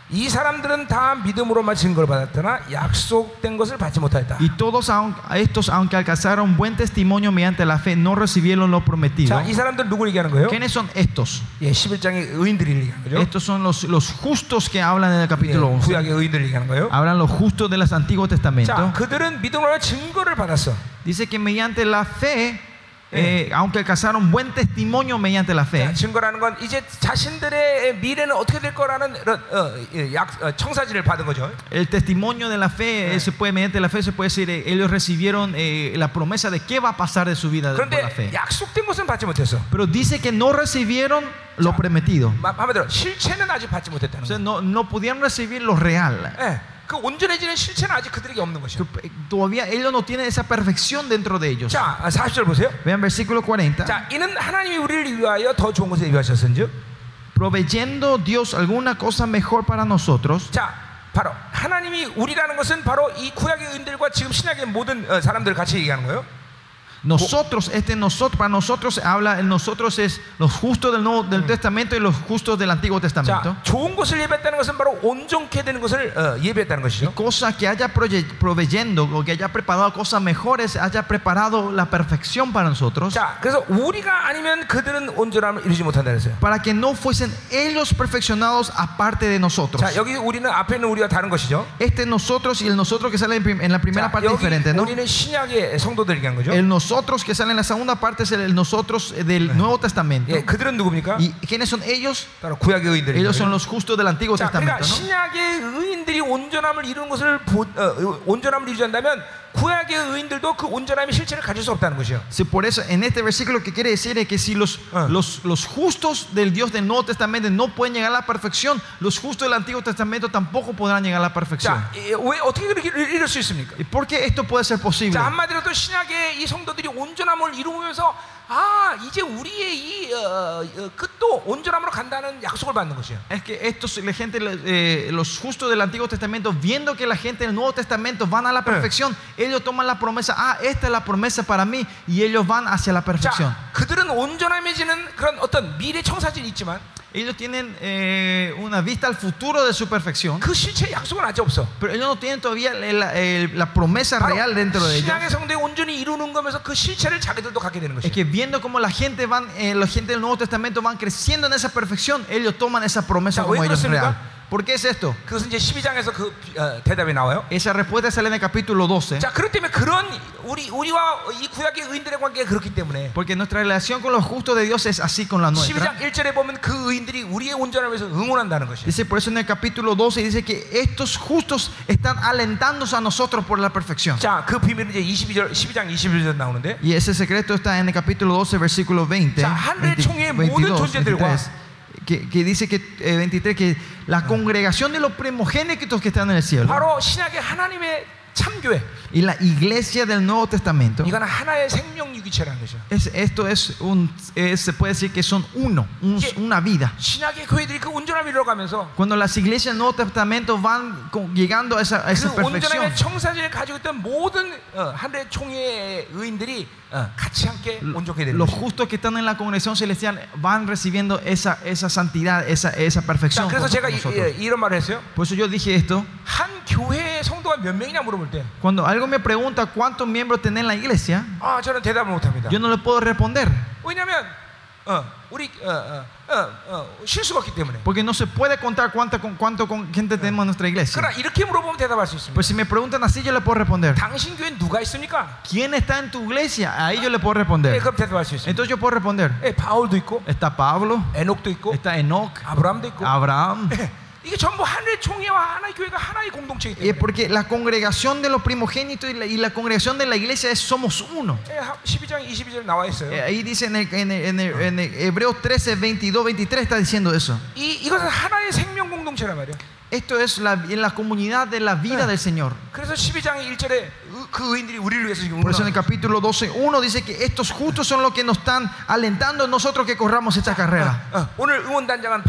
이 사람들은 다 믿음으로만 증거를 받았으나 약속된 것을 받지 못하였다. Y todos aun- estos, aunque alcanzaron buen testimonio mediante la fe, no recibieron lo prometido. 자, 이 사람들 누구 얘기하는 거예요? ¿Quiénes son estos? 예, 십일 장의 의인들이 얘기하는 거죠. Estos son los, los justos que hablan en el 예, capítulo once. 구약의 의인들이 얘기하는 거예요. Hablan los justos del Antiguo Testamento. 자, 그들은 믿음으로만 증거를 받았어. Dice que mediante la fe, eh, aunque alcanzaron buen testimonio mediante la 자, fe, 증거라는 건 이제 자신들의 미래는 어떻게 될 거라는 이런, 어, 예, 약, 어, 청사진을 받은 거죠. el testimonio de la fe, eh, se puede, mediante la fe se puede decir, eh, ellos recibieron eh, la promesa de qué va a pasar de su vida por la 그런데 fe. 약속된 것은 받지 못했어. Pero dice que no recibieron lo prometido. 마- 한마디로 실체는 아직 받지 O 못했다는 sea, 거예요. no, no pudieron recibir lo real. 예, 그 온전해지는 실체는 아직 그들에게 없는 것이야. Que, eh, Todavía ellos no tienen esa perfección dentro de ellos. 자, 사십 절 보세요. Vean versículo cuarenta. 자, 이는 하나님이 우리를 위하여 더 좋은 것을 예비하셨은즉. Proveyendo Dios alguna cosa mejor para nosotros. 자, 바로 하나님이 우리라는 것은 바로 이 구약의 의인들과 지금 신약의 모든 어, 사람들을 같이 얘기하는 거예요. Nosotros, este nosotros, para nosotros habla, el nosotros es los justos del Nuevo del Testamento y los justos del Antiguo Testamento. 자, 좋은 것을 예배했다는 것은 바로 온전케 되는 것을 어, 예배했다는 것이죠. Cosa que haya proye- proveyendo o que haya preparado cosas mejores, haya preparado la perfección para nosotros, 자, 그래서 우리가 아니면 그들은 온전함을 이루지 못한다 그랬어요. para que no fuesen ellos perfeccionados aparte de nosotros. 자, 여기 우리는 앞에 있는 우리와 다른 것이죠. Este nosotros y el nosotros que sale en prim- en la primera 자, parte 여기 diferente, ¿no? 우리는 신약의 성도들 얘기한 거죠. El nosotros que sale en la segunda parte es el nosotros del Nuevo Testamento. 예, 그들은 누굽니까? ¿Y quiénes son ellos? 바로 구약의 의인들이에요. Ellos son los justos del Antiguo 자, 그러니까 Testamento, ¿no? 신약의 의인들이 온전함을 이루는 것을 보, 어, 온전함을 이루지 않다면 구약의 의인들도 그 온전함의 실체를 가질 수 없다는 것이요. Sí, por eso en este versículo lo que quiere decir es que si los, Ah. los, los justos del Dios del Nuevo Testamento no pueden llegar a la perfección, los justos del Antiguo Testamento tampoco podrán llegar a la perfección. 자, 예, 왜 어떻게 그렇게 이룰 이룰 수 있습니까? ¿Y por qué esto puede ser posible? 자, 한마디로 또 신약의 이 성도들이 온전함을 이루면서 아, 이제 우리의 이 어, 어, 끝도 온전함으로 간다는 약속을 받는 것이에요. Es que estos, la gente, eh, los justos del Antiguo Testamento, viendo que la gente del Nuevo Testamento van a la perfección, ellos toman la promesa, ah, esta es la promesa para mí, y ellos van hacia la perfección. 자, 그들은 온전함해지는 그런 어떤 미래 청사진이 있지만 Ellos tienen eh, una vista al futuro de su perfección, 그 실체 약속은 아직 없어. pero ellos no tienen todavía la, la- la promesa real dentro de ellos. 신약의 성도에 온전히 이루는 거면서 그 실체를 자기들도 갖게 되는 Es 것이에요. que viendo cómo la gente van, eh, la gente del Nuevo Testamento van creciendo en esa perfección, ellos toman esa promesa 자, como 왜 ellos 그렇습니까? real. ¿Por qué es esto? 그것은 이제 십이 장에서 그 어, 대답이 나와요. Esa respuesta sale en el capítulo doce. 자, 그렇기 때문에 그런 우리 우리와 이 구약의 의인들의 관계가 그렇기 때문에 Porque nuestra relación con los justos de Dios es así con la 십이 nuestra. 장 일 절에 보면 그 의인들이 우리의 온전함을 위해서 응원한다는 것이에요. Dice por eso en el capítulo doce dice que estos justos están alentándose a nosotros por la perfección. 자, 그 비밀은 이제 이십이 절, 십이 장 이십일 절 나오는데, Y ese secreto está en el capítulo doce, versículo veinte, 자, 하늘의 총회의 모든 veintidós, 존재들과 veintitrés, que, que dice que eh, veintitrés que la congregación de los primogénitos que están en el cielo 바로 신약의 하나님의 참교회, y la iglesia del Nuevo Testamento, 이건 하나의 생명 유기체라는 것이죠. es, esto es un, es- se puede decir que son uno, un- 이게- una vida. 신약의 교회들이 그 온전함을 이뤄가면서 Cuando las iglesias del Nuevo Testamento van con- llegando a esa, a esa 그 perfección, 온전함의 청사진을 가지고 있던 모든 어, 하늘의 총회의 의인들이 어, 같이 함께 온전하게 되는 los 것이죠. justos que están en la congregación celestial van recibiendo esa, esa santidad, esa, esa 자, perfección. 그래서 junto 제가 con 이, nosotros. 이, 이런 말을 했어요. Por eso yo dije esto. 한 교회의 성도가 몇 명이냐 물어볼 때, Cuando algo me pregunta cuántos miembros tiene la iglesia, 아, 저는 대답을 못합니다. yo no le puedo responder. 왜냐하면 어, 우리 어, 어, 어, 어, 실수가 없기 때문에. Porque no se puede contar cuánto, con, cuánto con gente tenemos en nuestra iglesia. 그러나 이렇게 물어보면 대답할 수 있습니다. Pues si me preguntan así, yo le puedo responder. 당신 교회는 누가 있습니까? ¿Quién está en tu iglesia? Ahí yo le puedo 네, responder. 그럼 대답할 수 있습니다. Entonces yo puedo responder. 예, 바울도 있고, Está Pablo, 에녹도 있고, está Enoch, 아브라함도 있고. Abraham. 예, 이게 전부 하나의 총회와 하나의 교회가 하나의 공동체이기 Y es 때문에. porque la congregación de los primogénitos y la, y la congregación de la iglesia es, somos uno. 예, 십이 장 이십이 절 나와 있어요. Eh, Ahí dice en el, en el- en el- en el Hebreos trece, veintidós, veintitrés está diciendo eso. 이 이것은 하나의 생명 공동체란 말이야. Esto es la, en la comunidad de la vida del Señor. 그래서 십이 장 일 절에 그 의인들이 우리를 위해서 지금 Por eso en el 응원하는 capítulo doce, uno dice que estos justos son los que nos están alentando a nosotros que corramos esta carrera. 어, 오늘 응원단장은 바울.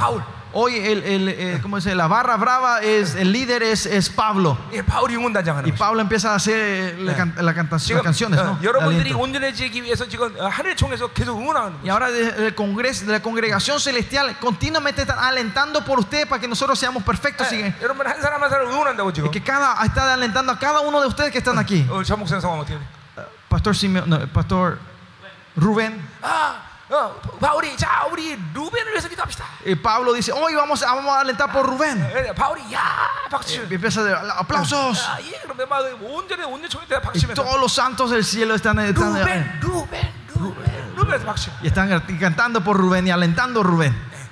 Hoy el, el, el- ¿cómo se dice? La barra brava es el líder es, es Pablo. 예, 바울이 응원단장하는 Y 거죠. Pablo empieza a hacer la can- la canta- las 지금 canciones, 어, ¿no? 여러분들이 Aliento. 온전해지기 위해서 지금 어, 하늘 총에서 계속 응원하는 Y 거죠. ahora de, del congreso, de la congregación celestial continuamente están alentando por ustedes para que nosotros seamos perfectos. y 예, 여러분 한 사람 한 사람 응원한다고 지금. que cada está alentando a cada uno de ustedes que están aquí. 어, 전 목사님 상황 어떻게 돼? Pastor Simeón, no, Pastor Rubén. 아, 어, 바울이 자 우리 루벤을 위해서 기도합시다. Y Pablo dice, hoy vamos, a- vamos a alentar por Rubén. 예, 바울이 야 박수. Y empieza a dar aplausos. 아, 예, 그러면 막 온전히 온전 총에 대한 Y 박수면서 todos los santos del cielo están, están, 루벤, 루벤, 루벤, 루벤에서 박수. y están cantando por Rubén y alentando a Rubén.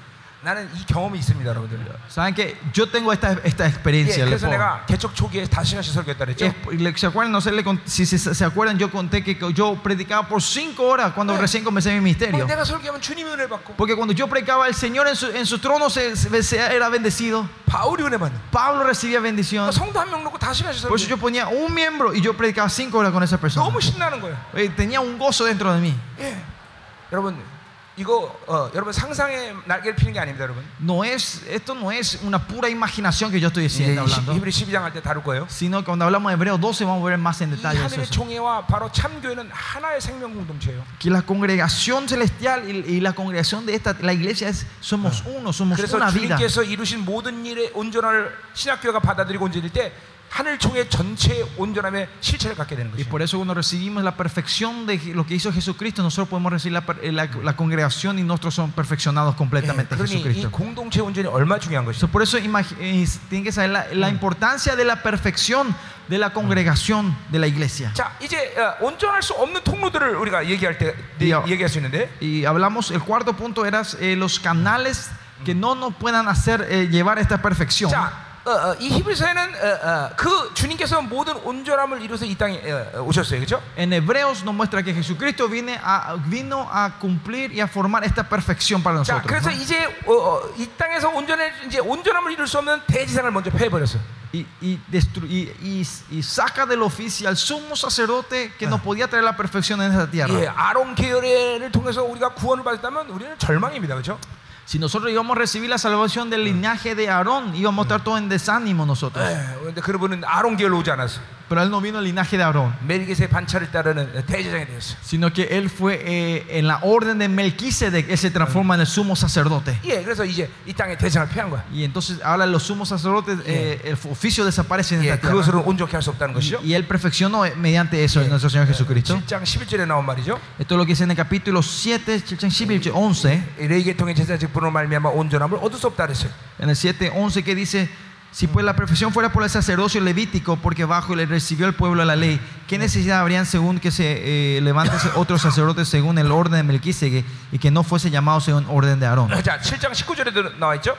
나는 이 경험이 있습니다, 여러분들. Saben que yo tengo esta, esta 예, experiencia. les 그래서 puedo- 내가 개척 초기에 다섯 시간씩 설교했다 그랬죠. Es- le- ¿Se acuerdan? No sé le cont- si se, se acuerdan, yo conté que yo predicaba por cinco horas cuando 네. recién comencé mi 뭐 ministerio. 내가 설교하면 주님이 은혜 받고 Porque cuando yo predicaba, el Señor en su, en su trono se, se- se- era bendecido. 바울이 은혜 받는. Pablo recibía bendición. 성도 한 명 놓고 다섯 시간씩 Por eso 설교. yo ponía un miembro y yo predicaba cinco horas con esa persona. 너무 신나는 거예요. Eh, Tenía un gozo dentro de mí. 예, 여러분 이거 어, 여러분 상상의 날개를 피는 게 아닙니다, 여러분. No es, esto no es una pura imaginación que yo estoy 이제 diciendo, hablando, 히브리 십이 장 할 때 다룰 거예요. sino que cuando hablamos de Hebreos doce vamos a ver más en 이 detalle eso. 하늘의 총회와 바로 참교회는 하나의 생명 공동체예요. Que la congregación celestial y, y la congregación de esta, la iglesia es, somos uno, somos 그래서 una vida. 주님께서 이루신 모든 일의 온전함을 신학교회가 받아들이고 온전일 때 하늘 총회 전체의 온전함의 실체를 갖게 되는 Y 것이죠. por eso cuando recibimos la perfección de lo que hizo Jesucristo, nosotros podemos recibir la, per- la, la congregación y nosotros somos perfeccionados 예, completamente en 그러니 이 Jesucristo. 공동체 온전이 얼마나 중요한 것이죠. So, por eso imagi- eh, tienen que saber la, la importancia de la perfección de la congregación de la iglesia. 자, 이제 어, 온전할 수 없는 통로들을 우리가 얘기할 때 네, 야. 얘기할 수 있는데 Y hablamos, el cuarto punto era eh, los canales que no nos puedan hacer eh, llevar esta perfección. 자, 어, 어, 이 히브리서에는 어, 어, 그 주님께서 모든 온전함을 이루어서 이 땅에 어, 어, 오셨어요, 그렇죠? En Hebreos nos muestra que Jesucristo viene a, vino a cumplir y a formar esta perfección para 자, nosotros. 그래서 ¿no? 이제 어, 어, 이 땅에서 온전해 이제 온전함을 이룰 수 없는 대지상을 먼저 패해버렸어. Y, y, destru- y, y, y saca del oficio al sumo sacerdote que no podía traer la perfección en esta tierra. 예, 아론 계열을 통해서 우리가 구원을 받았다면 우리는 절망입니다, 그렇죠? Si nosotros íbamos a recibir la salvación del linaje de Aarón, íbamos a estar todos en desánimo nosotros. 예, 근데 그분은 아론 계열로 오지 않았어. Pero él no vino el linaje de Aarón, 멜기세 반차를 따르는 대제사장이 되었어. sino que él fue eh, en la orden de Melquisedec, él se transforma en el sumo sacerdote. 예, 그래서 이제 이 땅에 대상을 패한 거야. Y entonces ahora los sumos sacerdotes, eh, el oficio desaparece en 예, esta tierra. 그것으로는 온전케 할 수 없다는 것이죠. Y, y él perfeccionó mediante eso en nuestro Señor Jesucristo. 칠 장 십일 절에 나온 말이죠. Esto es lo que dice en el capítulo siete, once. 레위계통의 제사 직분으로 말미암아 온전함을 얻을 수 없다 그랬어요. En el siete once que dice: si pues la perfección fuera por el sacerdocio levítico, porque bajo le recibió el pueblo la ley, ¿qué necesidad habrían según que se eh, levantase otros sacerdotes según el orden de Melquisedec y que no fuese llamado según orden de Aarón? 자, 칠 장 십구 절에도 나와 있죠.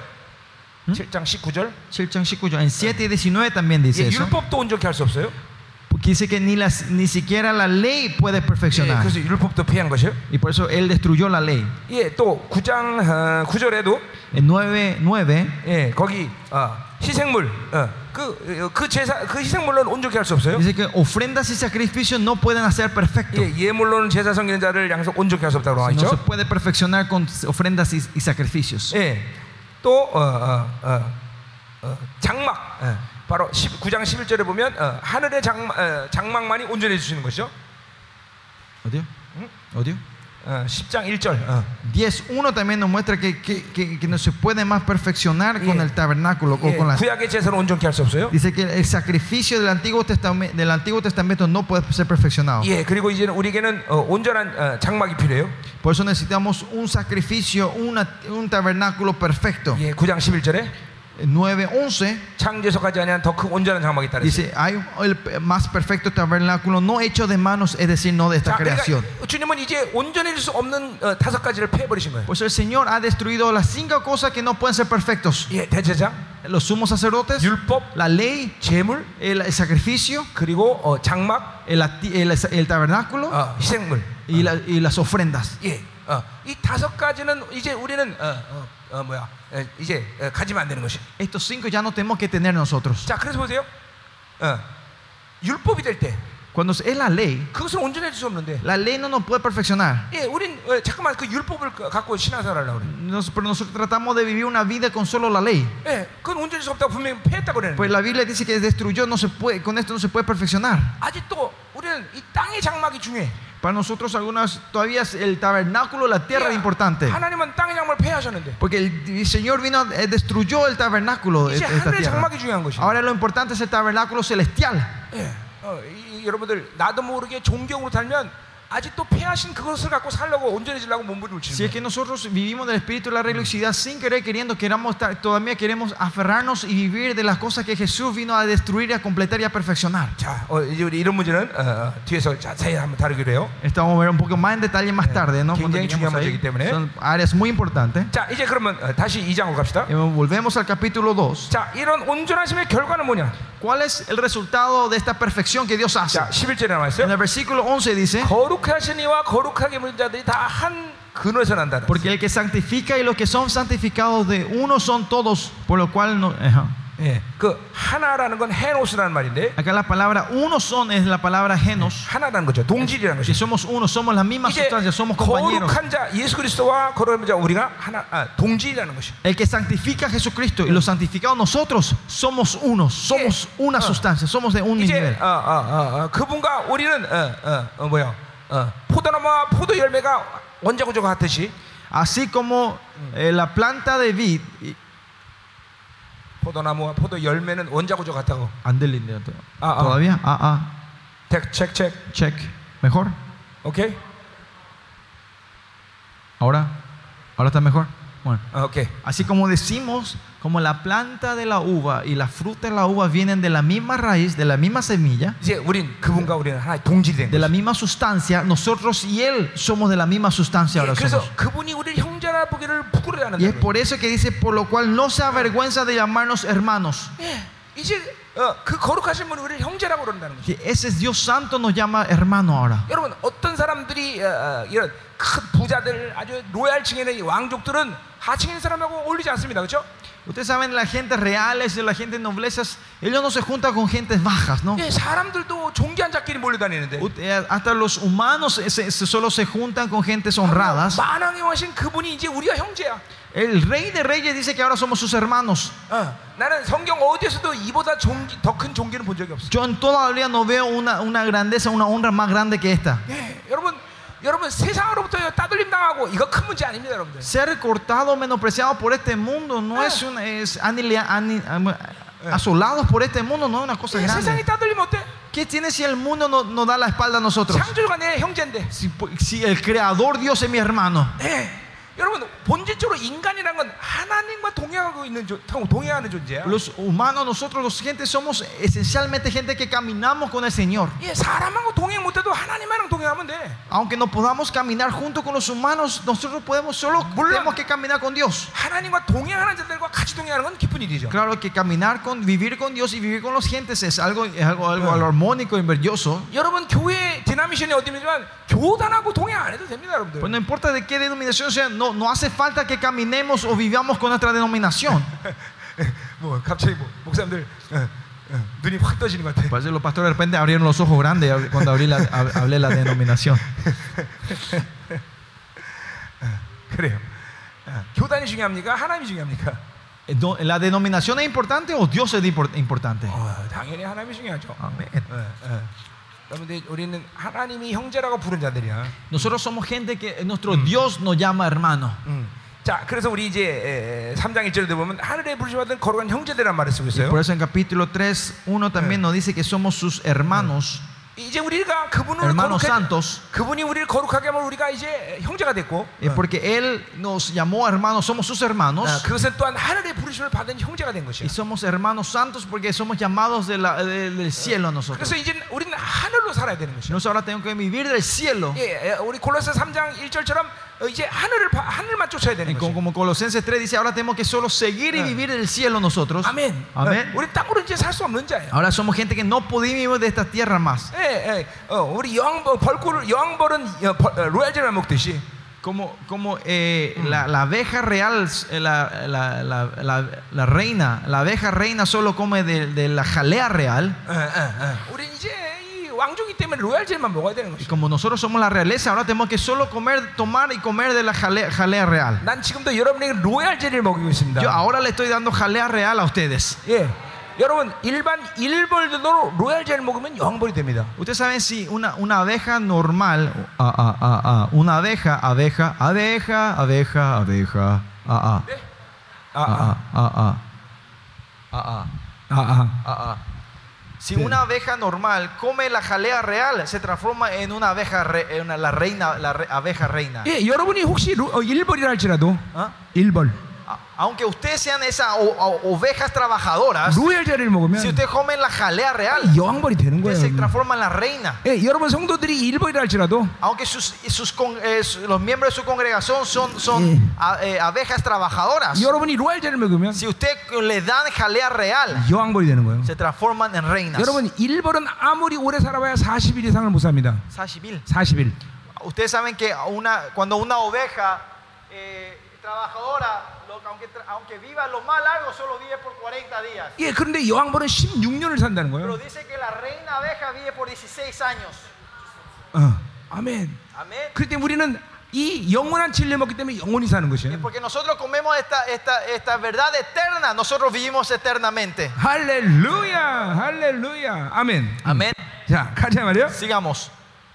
칠 장 십구 절. siete En siete diecinueve también dice 예, eso. 율법도 온전케 할 수 없어요. Porque dice que ni, las, ni siquiera la ley puede 예, perfeccionar. 그래서 율법도 폐한 것이에요. Y por eso él destruyó la ley. 예, 또 구 장 어, 구 절에도 En nueve nueve 예, 거기 어, 희생물 어, 그, 어, 그 제사 그 희생물로는 온전케 할 수 없어요. dice que ofrendas y sacrificios no pueden hacer perfecto. 예, 예물로는 제사 섬기는 자를 양서 온전케 할 수 없다고 나와 No se 있죠. puede perfeccionar con ofrendas y, y sacrificios. 예, 또 어, 어, 어, 어, 장막 예, 바로 구 장 십일 절에 보면 어, 하늘의 장, 어, 장막만이 온전해 주시는 것이죠. ¿Odio? ¿Mm? ¿Odio? 어, 십 장 일 절 어. diez uno también nos muestra que, que, que, que no se puede más perfeccionar con Yeah. el tabernáculo o 예, con las. 구약의 제사는 온전케 할 수 없어요. Dice que el sacrificio del Antiguo Testamento, del Antiguo Testamento no puede ser perfeccionado. 예, 그리고 이제는 우리에게는 어, 온전한 어, 장막이 필요해요. Por eso necesitamos un sacrificio, una, un tabernáculo perfecto. 예, 구 장 십일 절에 nueve once 창조에서 가지 아니한 더 큰 온전한 장막이 있다 그랬어요. dice: hay el más perfecto tabernáculo no hecho de manos, es decir, no de esta 자, creación. 그러니까 주님은 이제 온전해질 수 없는 어, 다섯 가지를 패해버리신 거예요. Pues el Señor ha destruido las cinco cosas que no pueden ser perfectos: 예, 대제장, los sumos sacerdotes, 율법, la ley, 제물, el, el sacrificio, 그리고 어, 장막, el, ati- el, el tabernáculo 어, 희생물. y, la- y las ofrendas. 예, 어, 이 다섯 가지는 이제 우리는 어, 어, 어, 뭐야, 에, 이제 어, 가지면 안 되는 것이. Estos cinco ya no tenemos que tener nosotros. 자, 그래서 보세요. 어, 율법이 될 때, Cuando es la ley, 그것을 온전히 해줄 수 없는데. la ley no nos puede perfeccionar. 예, 우린 어, 잠깐만 그 율법을 갖고 신앙생활하려고 그래. Nos- pero nosotros tratamos de vivir una vida con solo la ley. 예, 그건 온전히 수 없다고 분명히 패했다고 그러는데. Pues la Biblia dice que destruyó, no se puede, con esto no se puede perfeccionar. 아직도 우리는 이 땅의 장막이 중요해. Para nosotros algunas todavía es el tabernáculo, la tierra es 예, importante. 하나님은 땅의 장막을 폐하셨는데. Porque el, el Señor vino, eh, destruyó el tabernáculo de 이제 esta 하늘의 tierra. 장막이 중요한 것이. Ahora lo importante es el tabernáculo celestial. 예, 어, 이, 이, 여러분들 나도 모르게 존경으로 살면 아직도 폐하신 그것을 갖고 살려고 온전해지려고 몸부림을 Si 치는 es que nosotros vivimos del espíritu de la religiosidad sin querer, queriendo, queramos estar, todavía queremos aferrarnos y vivir de las cosas que Jesús vino a destruir, a completar y a perfeccionar. 자, 어, 이제 우리 이런 문제는 어, 어, 뒤에서 자세히 한번 다루기로 해요. Esto vamos a ver un poco más en detalle más tarde, ¿no? Cuando 굉장히 lleguemos 중요한 ahí. 문제이기 때문에. Son áreas muy importantes. 자, 이제 그러면 어, 다시 이 장으로 갑시다. Y volvemos al capítulo dos. 자, 이런 온전하심의 결과는 뭐냐? ¿Cuál es el resultado de esta perfección que Dios hace? 자, 십일 절에 나와 En 있어요. el versículo once dice: 거룩하신 이와 거룩하게 물 자들이 다 한 근원에서 난다. porque el que santifica y los que son santificados de uno son todos, por lo cual no. Ajá. 예, 그 하나라는 건 헤노스라는 말인데 Acá la palabra uno son es la palabra genos. 하나라는 거죠. 동질이라는 Si 것이. somos uno, somos la misma 이제 sustancia, somos compañeros. 거룩한 자 예수 그리스도와 거룩한 자 우리가 하나 아, 동질이라는 것이. El que santifica a Jesucristo y los santificados nosotros somos unos, somos una sustancia, somos de un 이제 nivel. 어, 어, 어, 어, 그분과 우리는 어, 어, 어, 뭐야? 어, 포도나무와 포도 열매가 원자구조가 같듯이 Así como eh, la planta de vid. y- 포도나무와 포도 열매는 원자구조가 같다고. Andele, Ah, ah. ¿Todavía? Ah, ah. tek, check, check. Check. ¿Mejor? 오케이? ¿Ahora? ¿Ahora está mejor? Bueno. 어, 오케이. Así como decimos, como la planta de la uva y la fruta de la uva vienen de la misma raíz, de la misma semilla, 이제 우린 그분과 우리는 하나의 동질이 된 de la 거죠. misma sustancia, nosotros y él somos de la misma sustancia ahora 그래서 somos. 그분이 우리를 형제라 보기를 부끄러워하는 Y es 거예요. por eso que dice, por lo cual no se avergüenza de llamarnos hermanos. 예, 이제 어, 그 거룩하신 분이 우리를 형제라고 그런다는 거죠. Que ese Dios Santo nos llama hermano ahora. 여러분 어떤 사람들이 어, 어, 이런 큰 부자들 아주 로얄층에는 이 왕족들은 하층에 있는 사람하고 어울리지 않습니다. 그렇죠? Ustedes saben, la gente reales y la gente noblezas, ellos no se juntan con gentes bajas, ¿no? 예, 사람들도 존귀한 자끼리 몰려다니는데 Ut- eh, Hasta los humanos se- se- solo se juntan con gentes honradas. 만왕의 왕신 그분이 이제 우리가 형제야. El rey de reyes dice que ahora somos sus hermanos. 어, 나는 성경 어디에서도 이보다 존귀, 더 큰 존귀는 본 적이 없어. Yo en toda la Biblia no veo una, una grandeza, una honra más grande que esta. 예, 여러분, 여러분 세상으로부터 따돌림 당하고 이거 큰 문제 아닙니다, 여러분들. Ser cortado, menospreciado por este mundo no es una, es anilia- ani- am- asolados por este mundo no es una cosa 예, 세상이 grande. 따돌리면 어때? ¿Qué tiene si el mundo no- nos da la espalda a nosotros? 창조주가 내 형제인데. Si, si el creador Dios es mi hermano. 예, 여러분 본질적으로 인간이란 건 하나님과 동행하고 있는 조, 동행하는 존재야. Los humanos, nosotros los gentes somos esencialmente gente que caminamos con el Señor. 예, 사람하고 동행 못해도 하나님이랑 동행하면 돼. Aunque no podamos caminar junto con los humanos, nosotros podemos solo tenemos que caminar con Dios. 하나님과 동행하는 자들과 같이 동행하는 건 기쁜 일이죠. Claro que caminar con, vivir con Dios y vivir con los gentes es algo, es algo, algo armónico y maravilloso. 여러분 교회 디나미션이 어디지만 교단하고 동행 안 해도 됩니다, 여러분들. Pues no importa de qué denominación sea, no, no hace falta que caminemos o vivamos con nuestra denominación. 뭐 갑자기 뭐 목사님들 어, 어, 눈이 확 떠지는 것 같아. Parece que los pastores de repente abrieron los ojos grandes cuando abrí la, hab- hablé la denominación. 그래요. 어, 교단이 중요합니까? 하나님이 중요합니까? Eh, no, ¿La denominación es importante o Dios es impor- importante? 어, 당연히 하나님이 중요하죠. Amén. 어, 어. 여러분들 우리는 하나님이 형제라고 부른 자들이야. Nosotros somos gente que nuestro Dios nos llama hermano. 음. 자, 그래서 우리 이제 삼 장 일 절에 보면 하늘에 부르심받은 거룩한 형제들이란 말을 쓰고 Y 있어요. por eso en capítulo tres, uno también nos dice que somos sus hermanos, 이제 우리가 그분을 hermanos 거룩하게, santos. 그분이 우리를 거룩하게 하면 우리가 이제 형제가 됐고, Eh, porque Él nos llamó hermanos, somos sus hermanos. 아, 그것은 또한 하늘의 부르심을 받은 형제가 된 것이야. Y somos hermanos santos porque somos llamados de la- de- del cielo a nosotros. 그래서 이제 우리는 하늘로 살아야 되는 것이야. Nosotros ahora tenemos que vivir del cielo. 예, 예, 우리 골로새 삼 장 일 절처럼 어, 이제 하늘을 바- 하늘만 쫓아야 되는 Y como, 것이야. como Colosenses tres dice, ahora tenemos que solo seguir y vivir del cielo nosotros. 아멘. 아멘. 어, 우리 땅으로 이제 살 수 없는 자예요. Ahora somos gente que no podemos vivir de esta tierra más. 예, 예, 어, 우리 여왕벌 벌꿀 여왕벌은 어, 벌- 어, 로얄젤을 먹듯이. Como, como eh, la, la abeja real, eh, la, la, la, la, la reina, la abeja reina solo come de, de la jalea real. 예, 예, 예. 우리 이제 이 왕족이 때문에 로얄젤만 먹어야 되는 Y 것이죠. como nosotros somos la realeza, ahora tenemos que solo comer, tomar y comer de la jalea, jalea real. 난 지금도 여러분에게 로얄젤을 먹이고 있습니다. Yo ahora le estoy dando jalea real a ustedes. 예, 여러분 일반 일벌도 로얄젤 먹으면 여왕벌이 됩니다. Ustedes saben si una, una abeja normal, ah, ah, ah, ah, una abeja, abeja, abeja, abeja, abeja, ah, ah, 네? ah, 아, ah, ah, ah, ah, ah, 아, 아. ah, ah. Si Sí. una abeja normal come la jalea real, se transforma en una abeja, re- en una- la reina, la re- abeja reina. 예, 여러분이 혹시 로, 어, 일벌이라 할지라도 ¿Ah? 일벌 A- Aunque ustedes sean esas o- o- ovejas trabajadoras, 로얄젤을 먹으면 si ustedes comen la jalea real, 여왕벌이 되는 ustedes 거예요. se 여러분. transforman en la reina. 예, 여러분 성도들이 일벌이라 할지라도 Aunque sus, sus con- eh, su- los miembros de su congregación son, son Sí. a- eh, abejas trabajadoras, 여러분이 로얄젤을 먹으면 si usted le dan jalea real, 여왕벌이 되는 거예요. se transforman en reinas. 여러분 일벌은 아무리 오래 살아봐야 사십 일 이상을 못 삽니다. Sashivil. 사십 일. Ustedes saben que una, cuando una oveja eh, trabajadora, lo- aunque, tra- aunque viva lo más largo, solo vive por cuarenta días. 예, 그런데 여왕벌은 십육 년을 산다는 Pero 거예요. dice que la reina abeja vive por dieciséis años. 어, 아멘. Amén. 그때 우리는 이 영원한 진리를 먹기 때문에 영원히 사는 Y 것이에요. porque nosotros comemos esta, esta, esta verdad eterna, nosotros vivimos eternamente. 할렐루야, 할렐루야, 아멘. Amén. 자, 가자 말이요. Sigamos.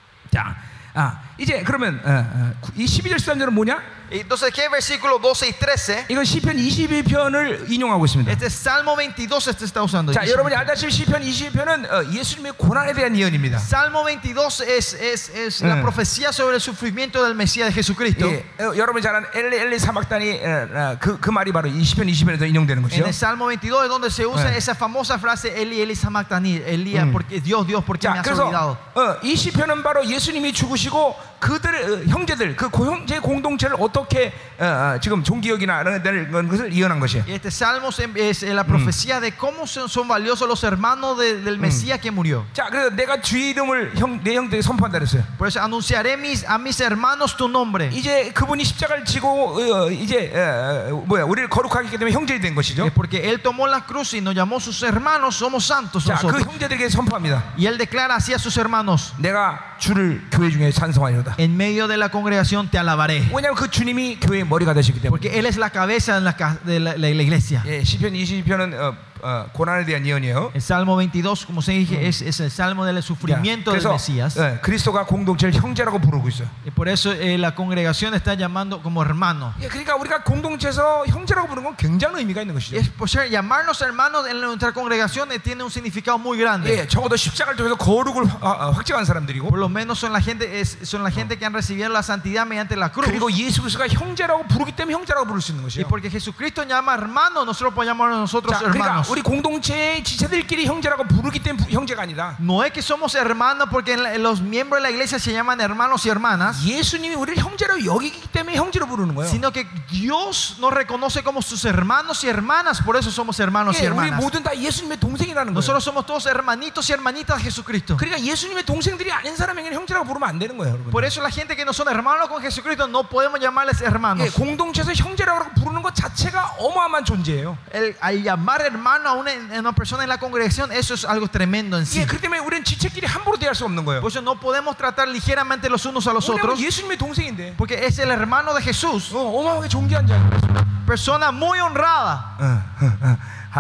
자, 아, 이제 그러면 어, 어, 이 십이 절 십삼 절은 뭐냐? Entonces, ¿qué versículo doce y trece? 이건 시편 이십이 편을 인용하고 있습니다. Este es Salmo veintidós, este está usando. 자, 여러분이 알다시피 시편 이십이 편은 어, 예수님의 고난에 대한 예언입니다. Salmo veintidós es, es, es la Mm. profecía sobre el sufrimiento del Mesías de Jesucristo. 예, 어, 여러분이 잘 아는 엘리 엘리 사막단이 어, 어, 그, 그 말이 바로 이 시편 이십 편에서 인용되는 En 것이죠. el Salmo veintidós es donde se usa Eh. esa famosa frase Eli, Eli, sabactani, Elías, Mm. porque Dios, Dios, ¿por qué me 자, has 그래서 olvidado? 어, 이 시편은 바로 예수님이 죽으시고 그들의 어, 형제들, 그 고- 형제 공동체를 어떻게 어, 어, 지금 종기역이나 이런 데를 그런 것을 예언한 것이에요. Y este Salmo es, es la profecía de cómo son, son valiosos los hermanos de- del Mesías que murió. 자, 그래서 내가 주의 이름을 형, 내 형들에게 선포한다 그랬어요. Por eso anunciaré mis, a mis hermanos tu nombre. 이제 그분이 십자가를 지고 어, 이제 어, 어, 뭐야 우리를 거룩하게 했기 때문에 형제이 된 것이죠. Es porque Él tomó la cruz y nos llamó sus hermanos, somos santos 자, 그 nosotros. 형제들에게 선포합니다. Y Él declara así a sus hermanos: 내가 주를 교회 중에 찬송하리로다. en medio de la congregación te alabaré. 왜냐하면 그 주님이 교회의 머리가 되시기 때문에. Porque Él es la cabeza en la ca- de la, la- la iglesia. 예, 시편 이십 편은 어, 어, 고난에 대한 예언이에요. El Salmo veintidós, como se dije, es, es el salmo del 자, sufrimiento del 그래서 Mesías. 예, 그리스도가 공동체를 형제라고 부르고 있어요. Y por eso eh, la congregación está llamando como hermano. 예, 그러니까 우리가 공동체에서 형제라고 부르는 건 굉장한 의미가 있는 Y 것이죠. es por ser llamarnos hermanos en nuestra congregación eh, tiene un significado muy grande. 예, 적어도 십자가를 통해서 거룩을 화- 아, 아, 확증한 사람들이고, Por lo menos son la gente es, son la gente que han recibido la santidad mediante la cruz. 그리고 예수 그리스도가 형제라고 부르기 때문에 형제라고 부를 수 있는 Y 것이에요. porque Jesucristo llama hermano, nosotros podemos llamar a nosotros 자, 그러니까 hermanos. 우리 공동체의 지체들끼리 형제라고 부르기 때문에 부- 형제가 아니라 No es que somos hermanos porque en la- los miembros de la iglesia se llaman hermanos y hermanas, 예수님이 우리를 형제라고 여기기 때문에 형제로 부르는 거예요. sino que Dios nos reconoce como sus hermanos y hermanas, por eso somos hermanos y 예, 우리 hermanas. 모든 다 예수님의 동생이라는 거예요. Nosotros somos todos hermanitos y hermanitas de Jesucristo. 그러니까 예수님의 동생들이 아닌 사람에게는 형제라고 부르면 안 되는 거예요, 여러분. Por eso la gente que no son hermanos con Jesucristo no podemos llamarles 예, hermanos. 공동체에서 형제라고 부르는 것 자체가 어마어마한 존재예요. El, al llamar hermano a una, a una persona en la congregación, eso es algo tremendo en sí. 예, 그렇기 때문에 우리는 지체끼리 함부로 대할 수 없는 거예요. Por eso no podemos tratar ligeramente los unos a los 왜냐하면 otros, 예수님의 동생인데, porque es el hermano de Jesús, 어, 어마어마하게 존귀한 자예요. persona muy honrada. 어, 어, 어.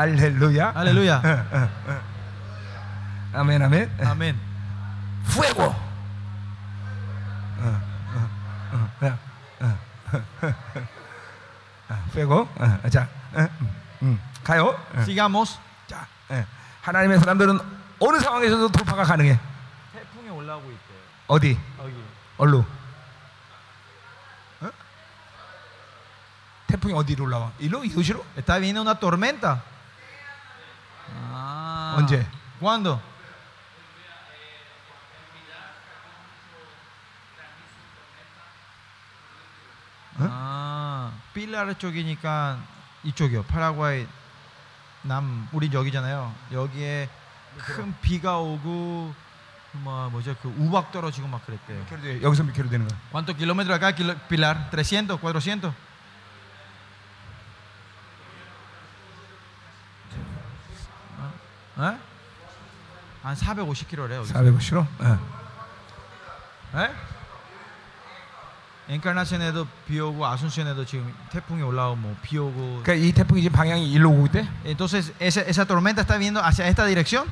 할렐루야. Aleluya. 어, 어, 어. 아멘, 아멘. Amén. fuego. 어, 어, 어, 어, 어, 어, 어, fuego. 어, 자, 어, 음, 음, 가요. 어. Sigamos. 자, 예. 하나님의 사람들은 어느 상황에서도 돌파가 가능해. 태풍이 올라오고 있대요. 어디? 여기. 얼로? 어? 태풍이 어디로 올라와? 일로? 이도시로? Está viendo una tormenta. Ah. 언제? ¿Cuándo? 아, 필라르 쪽이니까 이쪽이요. 파라과이 남 우리 여기잖아요. 여기에 큰 비가 오고 뭐 뭐죠? 그 우박 떨어지고 막 그랬대요. 킬로 돼. 여기서 몇 킬로 되는 거야? ¿Cuántos kilómetros acá, kilo- Pilar? ¿trescientos, cuatrocientos? 어? 한 사백오십 킬로미터래요. 사백오십로? 어. 에? 엔카나션에도 비 오고 아순션에도 지금 태풍이 올라오고 뭐 비 오고. 그러니까 이 태풍이 지금 방향이 일로 오고 있대. Entonces esa, esa tormenta está viendo hacia esta dirección.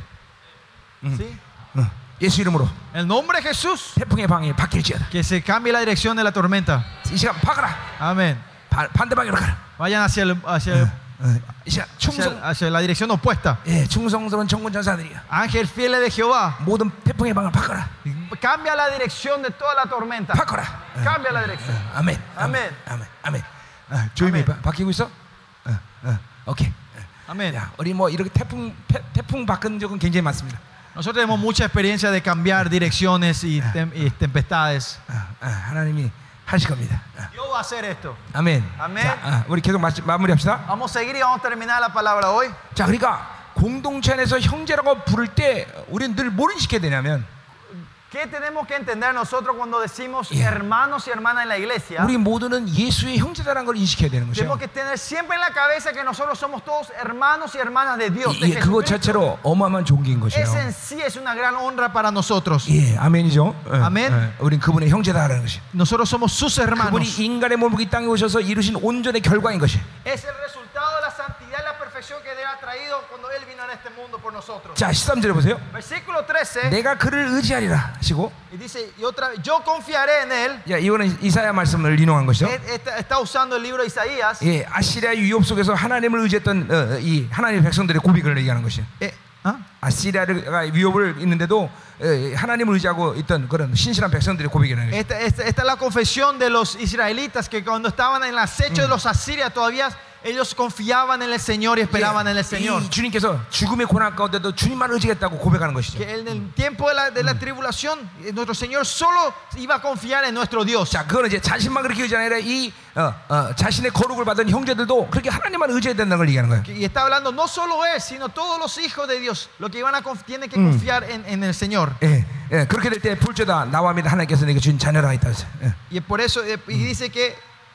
¿Sí? 어. 예수 이름으로 El nombre de Jesús. 태풍의 방향이 바뀔지어다. Que se cambie la dirección de la tormenta. 이 시간 바꿔라. Amén. 바, 반대 방향으로 가라. Vayan hacia, el- hacia, el- 어. 이 시간 hacia, 충성, hacia la dirección opuesta. 예, 충성스러운 정군 전사들이야. Ángel fieles de Jehová. 모든 태풍의 방향을 바꿔라. Cambia la dirección de toda la tormenta. 바꿔라. 어. Cambia la dirección. 아멘. 아멘. 아멘. 아멘. 어, 조용히 아멘. 바, 바뀌고 있어? 어, 어. 오케이. Amén. 야, 우리 뭐 이렇게 태풍 태, 태풍 바꾼 적은 굉장히 많습니다. Nosotros tenemos mucha experiencia de cambiar direcciones y, tem- y tempestades. 어, 어, 하나님이 하실 겁니다. 어. Dios va a hacer esto. 아멘. 아멘. 자, 어, 우리 계속 마, 마무리합시다. Vamos a seguir y vamos a terminar la palabra hoy. 자, 그러니까 공동체 안에서 형제라고 부를 때 우리는 늘 뭘 인식해야 되냐면 ¿Qué tenemos que entender nosotros cuando decimos Yeah. hermanos y hermanas en la iglesia? 우리 모두는 예수의 형제다라는 걸 인식해야 되는 Tenemos 것이죠. que tener siempre en la cabeza que nosotros somos todos hermanos y hermanas de Dios. De 이- 예, 그것 Jesucristo. 자체로 어마어마한 존귀인 것이에요. Ese en sí es una gran honra para nosotros. 예, 아멘이죠. 어, 아멘. 어, 우린 그분의 형제다라는 것이. Nosotros somos sus hermanos. 그분이 인간의 몸을 이 땅에 오셔서 이루신 온전의 결과인 것이. Es el resultado de la santidad y la perfección que Dios ha traído cuando Él vino en este mundo por nosotros. 자, 십삼 절에 보세요. Versículo trece. 내가 그를 의지하리라 하시고, Y dice, y otra vez, yo confiaré en Él. 야, 이거는 이사야 말씀을 인용한 것이죠. Está, está usando el libro de Isaías. 예, 아시리아 유혹 속에서 하나님을 의지했던 어, 이 하나님의 백성들의 고백을 얘기하는 것이에요. Eh, ¿ah? 아시리아가 위협을 있는데도 어, 하나님을 의지하고 있던 그런 신실한 백성들의 고백이라는 것이죠. Esta, esta- esta es la confesión de los israelitas que cuando estaban en el acecho de los asirios todavía ellos confiaban en el Señor y esperaban en el Señor. 이 주님께서 죽음의 고난 가운데도 주님만 의지했다고 고백하는 것이죠. Que en el tiempo de la, de la tribulación eh, nuestro Señor solo iba a confiar en nuestro Dios. 자, 그거는 이제 자신만 그렇게 의지하는 게 아니라 이 어, 어, 자신의 거룩을 받은 형제들도 그렇게 하나님만 의지해야 된다는 걸 얘기하는 거예요. Y está hablando no solo él, sino todos los hijos de Dios, lo que iban a conf- tienen que confiar en, en el Señor. 예, 예, 그렇게 될 때 불죄다 나와 믿는 하나님께서 내게 주신 자녀라 있다. 예. Y por eso eh, y dice que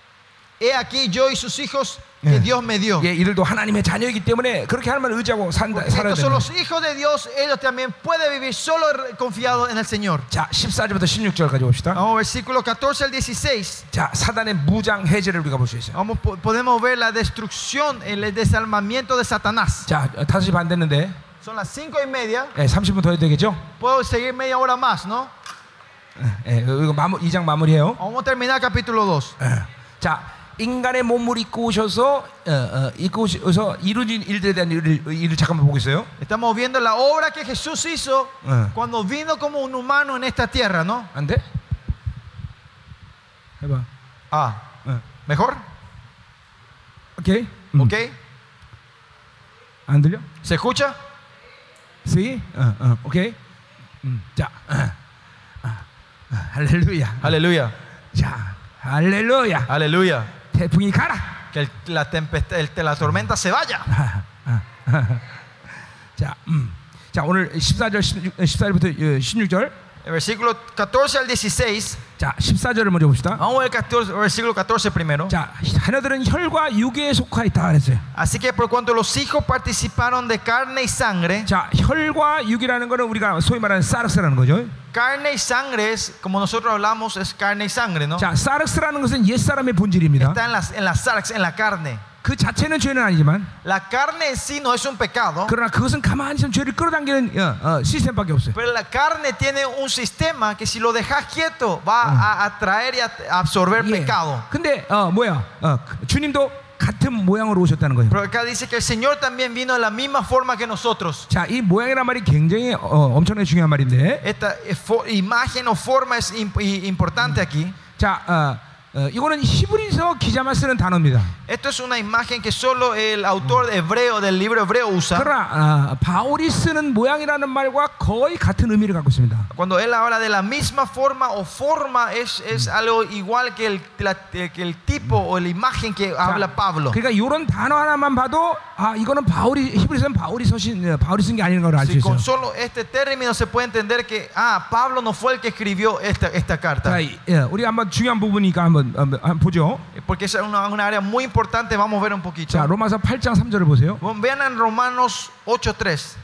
he aquí yo y sus hijos que 예. Dios me dio. 예, 이들도 하나님의 자녀이기 때문에 그렇게 하나님을 의지하고 산다, Porque 살아야 estos son 된다. los hijos de Dios, ellos también pueden vivir solo confiados en el Señor. 자, 십사 절부터 십육 절까지 봅시다. Vamos, versículo catorce al dieciséis. 자, 사단의 무장 해제를 우리가 볼 수 있어요. Vamos, po- podemos ver la destrucción, el desarmamiento de Satanás. 자, 다섯 시 반 됐는데 Son las cinco y media. 예, 삼십 분 더 해도 되겠죠? Puedo seguir media hora más, ¿no? 예, 이거 마무, 이 장 마무리해요. Vamos a terminar capítulo dos. 예. 자, 인간의 몸을 입고 오셔서 어, 어, 입고 오셔서 이루어진 일들에 대한 일을, 일을 잠깐만 보고 있어요. Estamos viendo la obra que Jesús hizo Eh. cuando vino como un humano en esta tierra, ¿no? 안 돼? 해봐. Ah, 어. ¿mejor? 오케이. 음. ¿Ok? 안 들려? ¿Se escucha? See? 어, 어, 오케이. 음. 자, 어, 어, 어, 할렐루야. Aleluya. 자, 할렐루야. Aleluya. 태풍이 가라. Que el- la, tempestad, el- la tormenta se vaya. 자, 음. 자, 오늘 십사 절, 십사 절부터 십육 절. El versículo catorce al dieciséis. 자, 십사 절을 먼저 봅시다. Vamos a ver el catorce, versículo catorce primero. 자, 자녀들은 혈과 육에 속하였다 그랬어요. Así que por cuanto los hijos participaron de carne y sangre, 자, 혈과 육이라는 거는 우리가 소위 말하는 사르스라는 거죠. carne y sangre es, como nosotros hablamos, es carne y sangre, ¿no? 자, 사르스라는 것은 옛 사람의 본질입니다. Está en la, en la sarx, en la carne. 그 자체는 죄는 아니지만 La carne en sí no es un pecado, 그러나 그것은 가만히 있으면 죄를 끌어당기는 어, 어, 시스템밖에 없어요. pero la carne tiene un sistema que si lo dejas quieto va a atraer y a absorber 예. pecado. 근데 어, 뭐야? 어, 주님도 같은 모양으로 오셨다는 거예요. Pero acá dice que el Señor también vino de la misma forma que nosotros. 자, 이 모양이란 말이 굉장히 어, 엄청나게 중요한 말인데, Esta eh, fo- imagen o forma es imp- i- importante aquí. 자, 어, 어, 이거는 히브리서 기자만 쓰는 단어입니다. Esto es una imagen que solo el autor hebreo del libro hebreo usa. 그러나 어, 바울이 쓰는 모양이라는 말과 거의 같은 의미를 갖고 있습니다. Cuando él habla de la misma forma o forma es, es algo igual que el, la- eh, que el tipo o la imagen que habla Pablo. 그러니까 이런 단어 하나만 봐도 아, 이거는 바울이 히브리서는 바울이 서신 어, 바울이 쓴 게 아닌 걸 알 수 Si 있어요. con solo este término se puede entender que ah, Pablo no fue el que escribió esta, esta carta. 자, 이- 예, 우리 한번 중요한 부분이니까 한번, 한번, 한번 보죠. Porque es una, una área muy importante, vamos a ver un poquito. 자, 로마서 팔 장 삼 절을 보세요. Bueno, vean en Romanos ocho tres.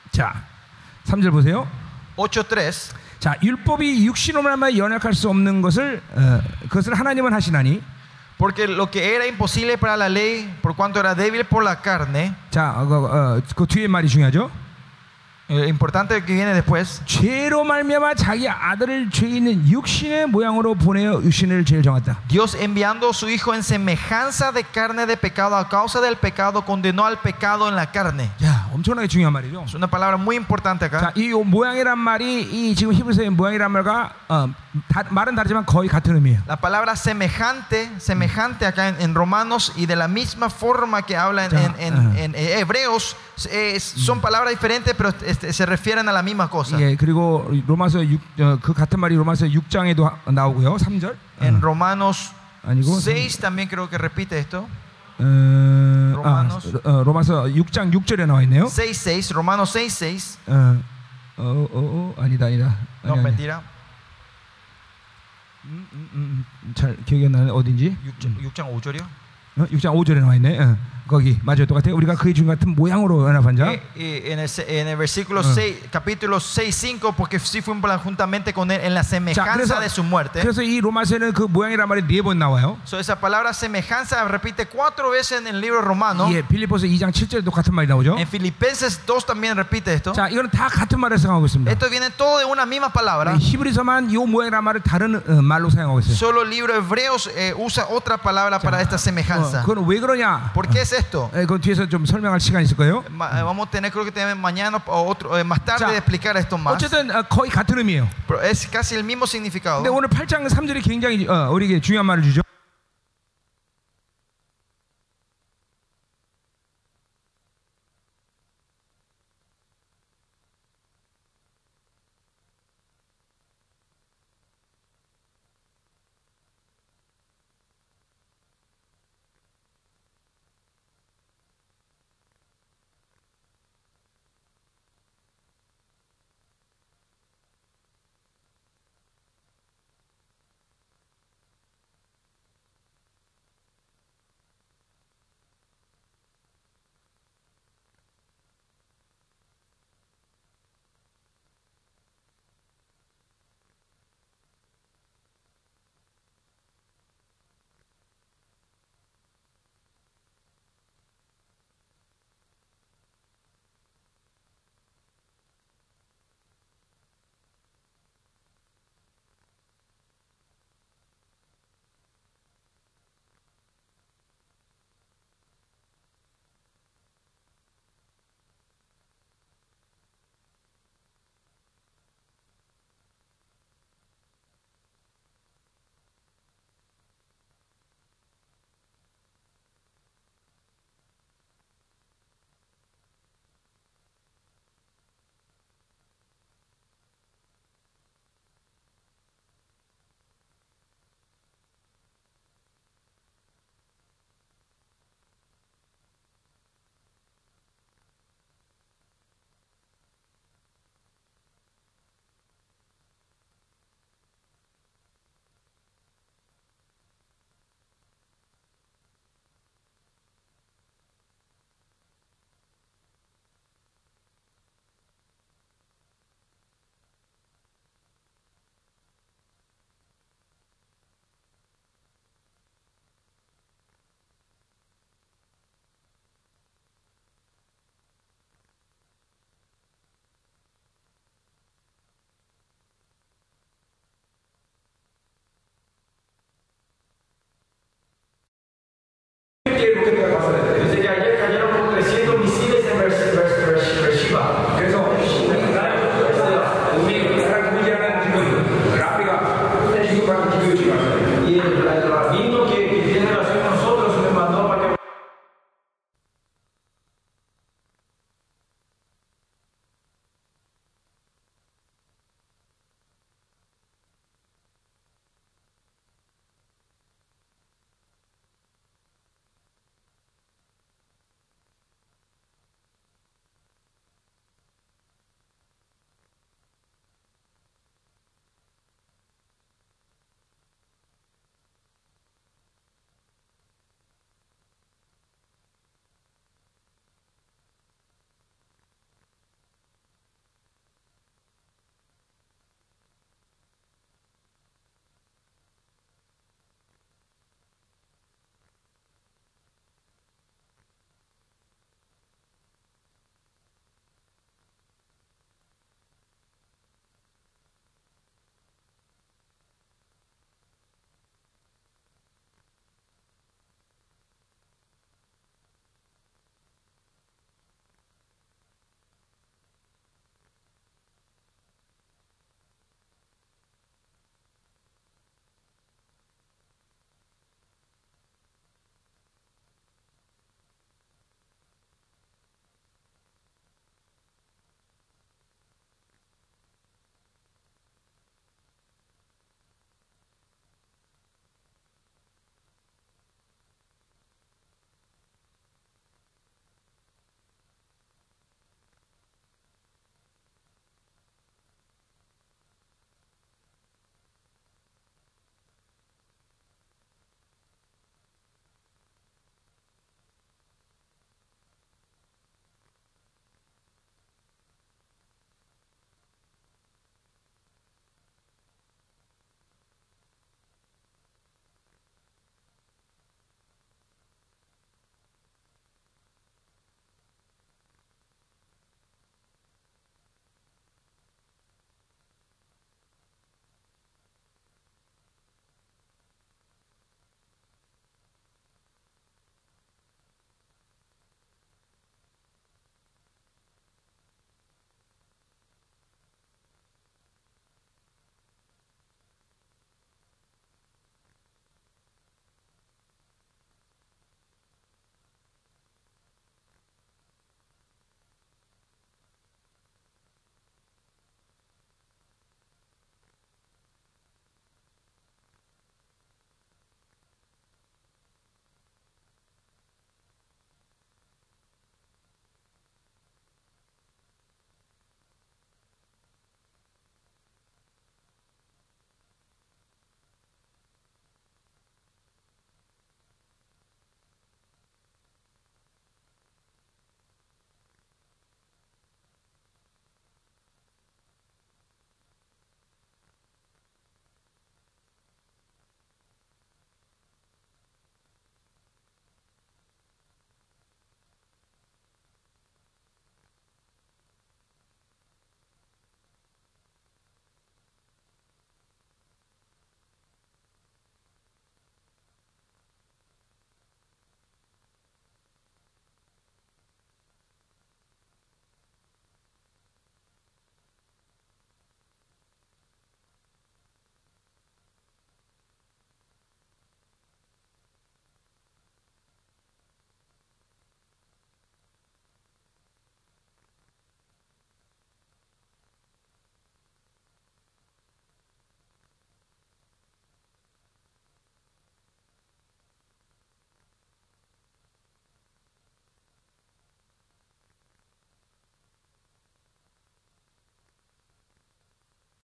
자, 삼 절 보세요. ocho tres. 자, 율법이 육신으로 말미암아 연약할 수 없는 것을 어, 그것을 하나님은 하시나니. Porque lo que era imposible para la ley, por cuanto era débil por la carne, 자, 어, 어, 그 뒤에 말이 중요하죠. eh, importante que viene después, 죄로 말미암아 자기 아들을 죄 있는 육신의 모양으로 보내어 육신을 죄를 정했다. Dios enviando a su Hijo en semejanza de carne de pecado, a causa del pecado, condenó al pecado en la carne. 자, 엄청나게 중요한 말이죠. Es una palabra muy importante acá. 자, 이 모양이란 말이 이 지금 히브리서의 모양이란 말과 어, 다, 말은 다르지만 거의 같은 의미예요. La palabra semejante, semejante acá en, en Romanos y de la misma forma que habla en, en, en, en Hebreos, es, son palabras diferentes, pero este, se refieren a la misma cosa. 예, 그리고 로마서 육, 어, 그 같은 말이 로마서 육 장에도 하, 나오고요. 삼 절. En Romanos 아니고 seis también creo que repite esto. 어, 로마노스. 아, 어, 로마서 육 장 육 절에 나와 있네요. seis seis, Romanos seis seis. 어, 어, 어, 어, 아니다, 아니다. No, 아니, 아니. mentira. 음, 음, 음, 잘 기억이 안 나네. 어딘지? 육 장 오 절이요? 어, 육 장 오 절에 나와 있네. 어, 거기 맞아요. 똑같아요. 우리가 그의 주 같은 모양으로 연합한 자. Eh, eh, en, el, en el versículo Ah. seis, capítulo seis cinco, porque sí fuimos juntamente con él en la 자, semejanza 그래서, de su muerte. 그래서 이 로마서에는 그 모양이란 말이 네 번 나와요. So, esa palabra semejanza repite cuatro veces en el libro romano. 예, 빌립보서 이 장 칠 절에도 같은 말이 나오죠. En Filipenses dos también repite esto. 자, 이거는 다 같은 말을 사용하고 있습니다. Esto viene todo de una misma palabra. 히브리서만 이 모양이란 말을 다른 어, 말로 사용하고 있어요. Solo el libro Hebreos eh, usa otra palabra para esta 어, semejanza. 그건 왜 그러냐? ¿Por qué es esto? 예, 그 뒤에서 좀 설명할 시간이 있을 거예요. Ma- eh, Vamos a tener, creo que tenemos mañana o otro, eh, más tarde 자, de explicar esto más. 어쨌든 어, 거의 같은 의미예요. Pero es casi el mismo significado. 근데 오늘 팔 장 삼 절이 굉장히 어, 우리에게 중요한 말을 주죠.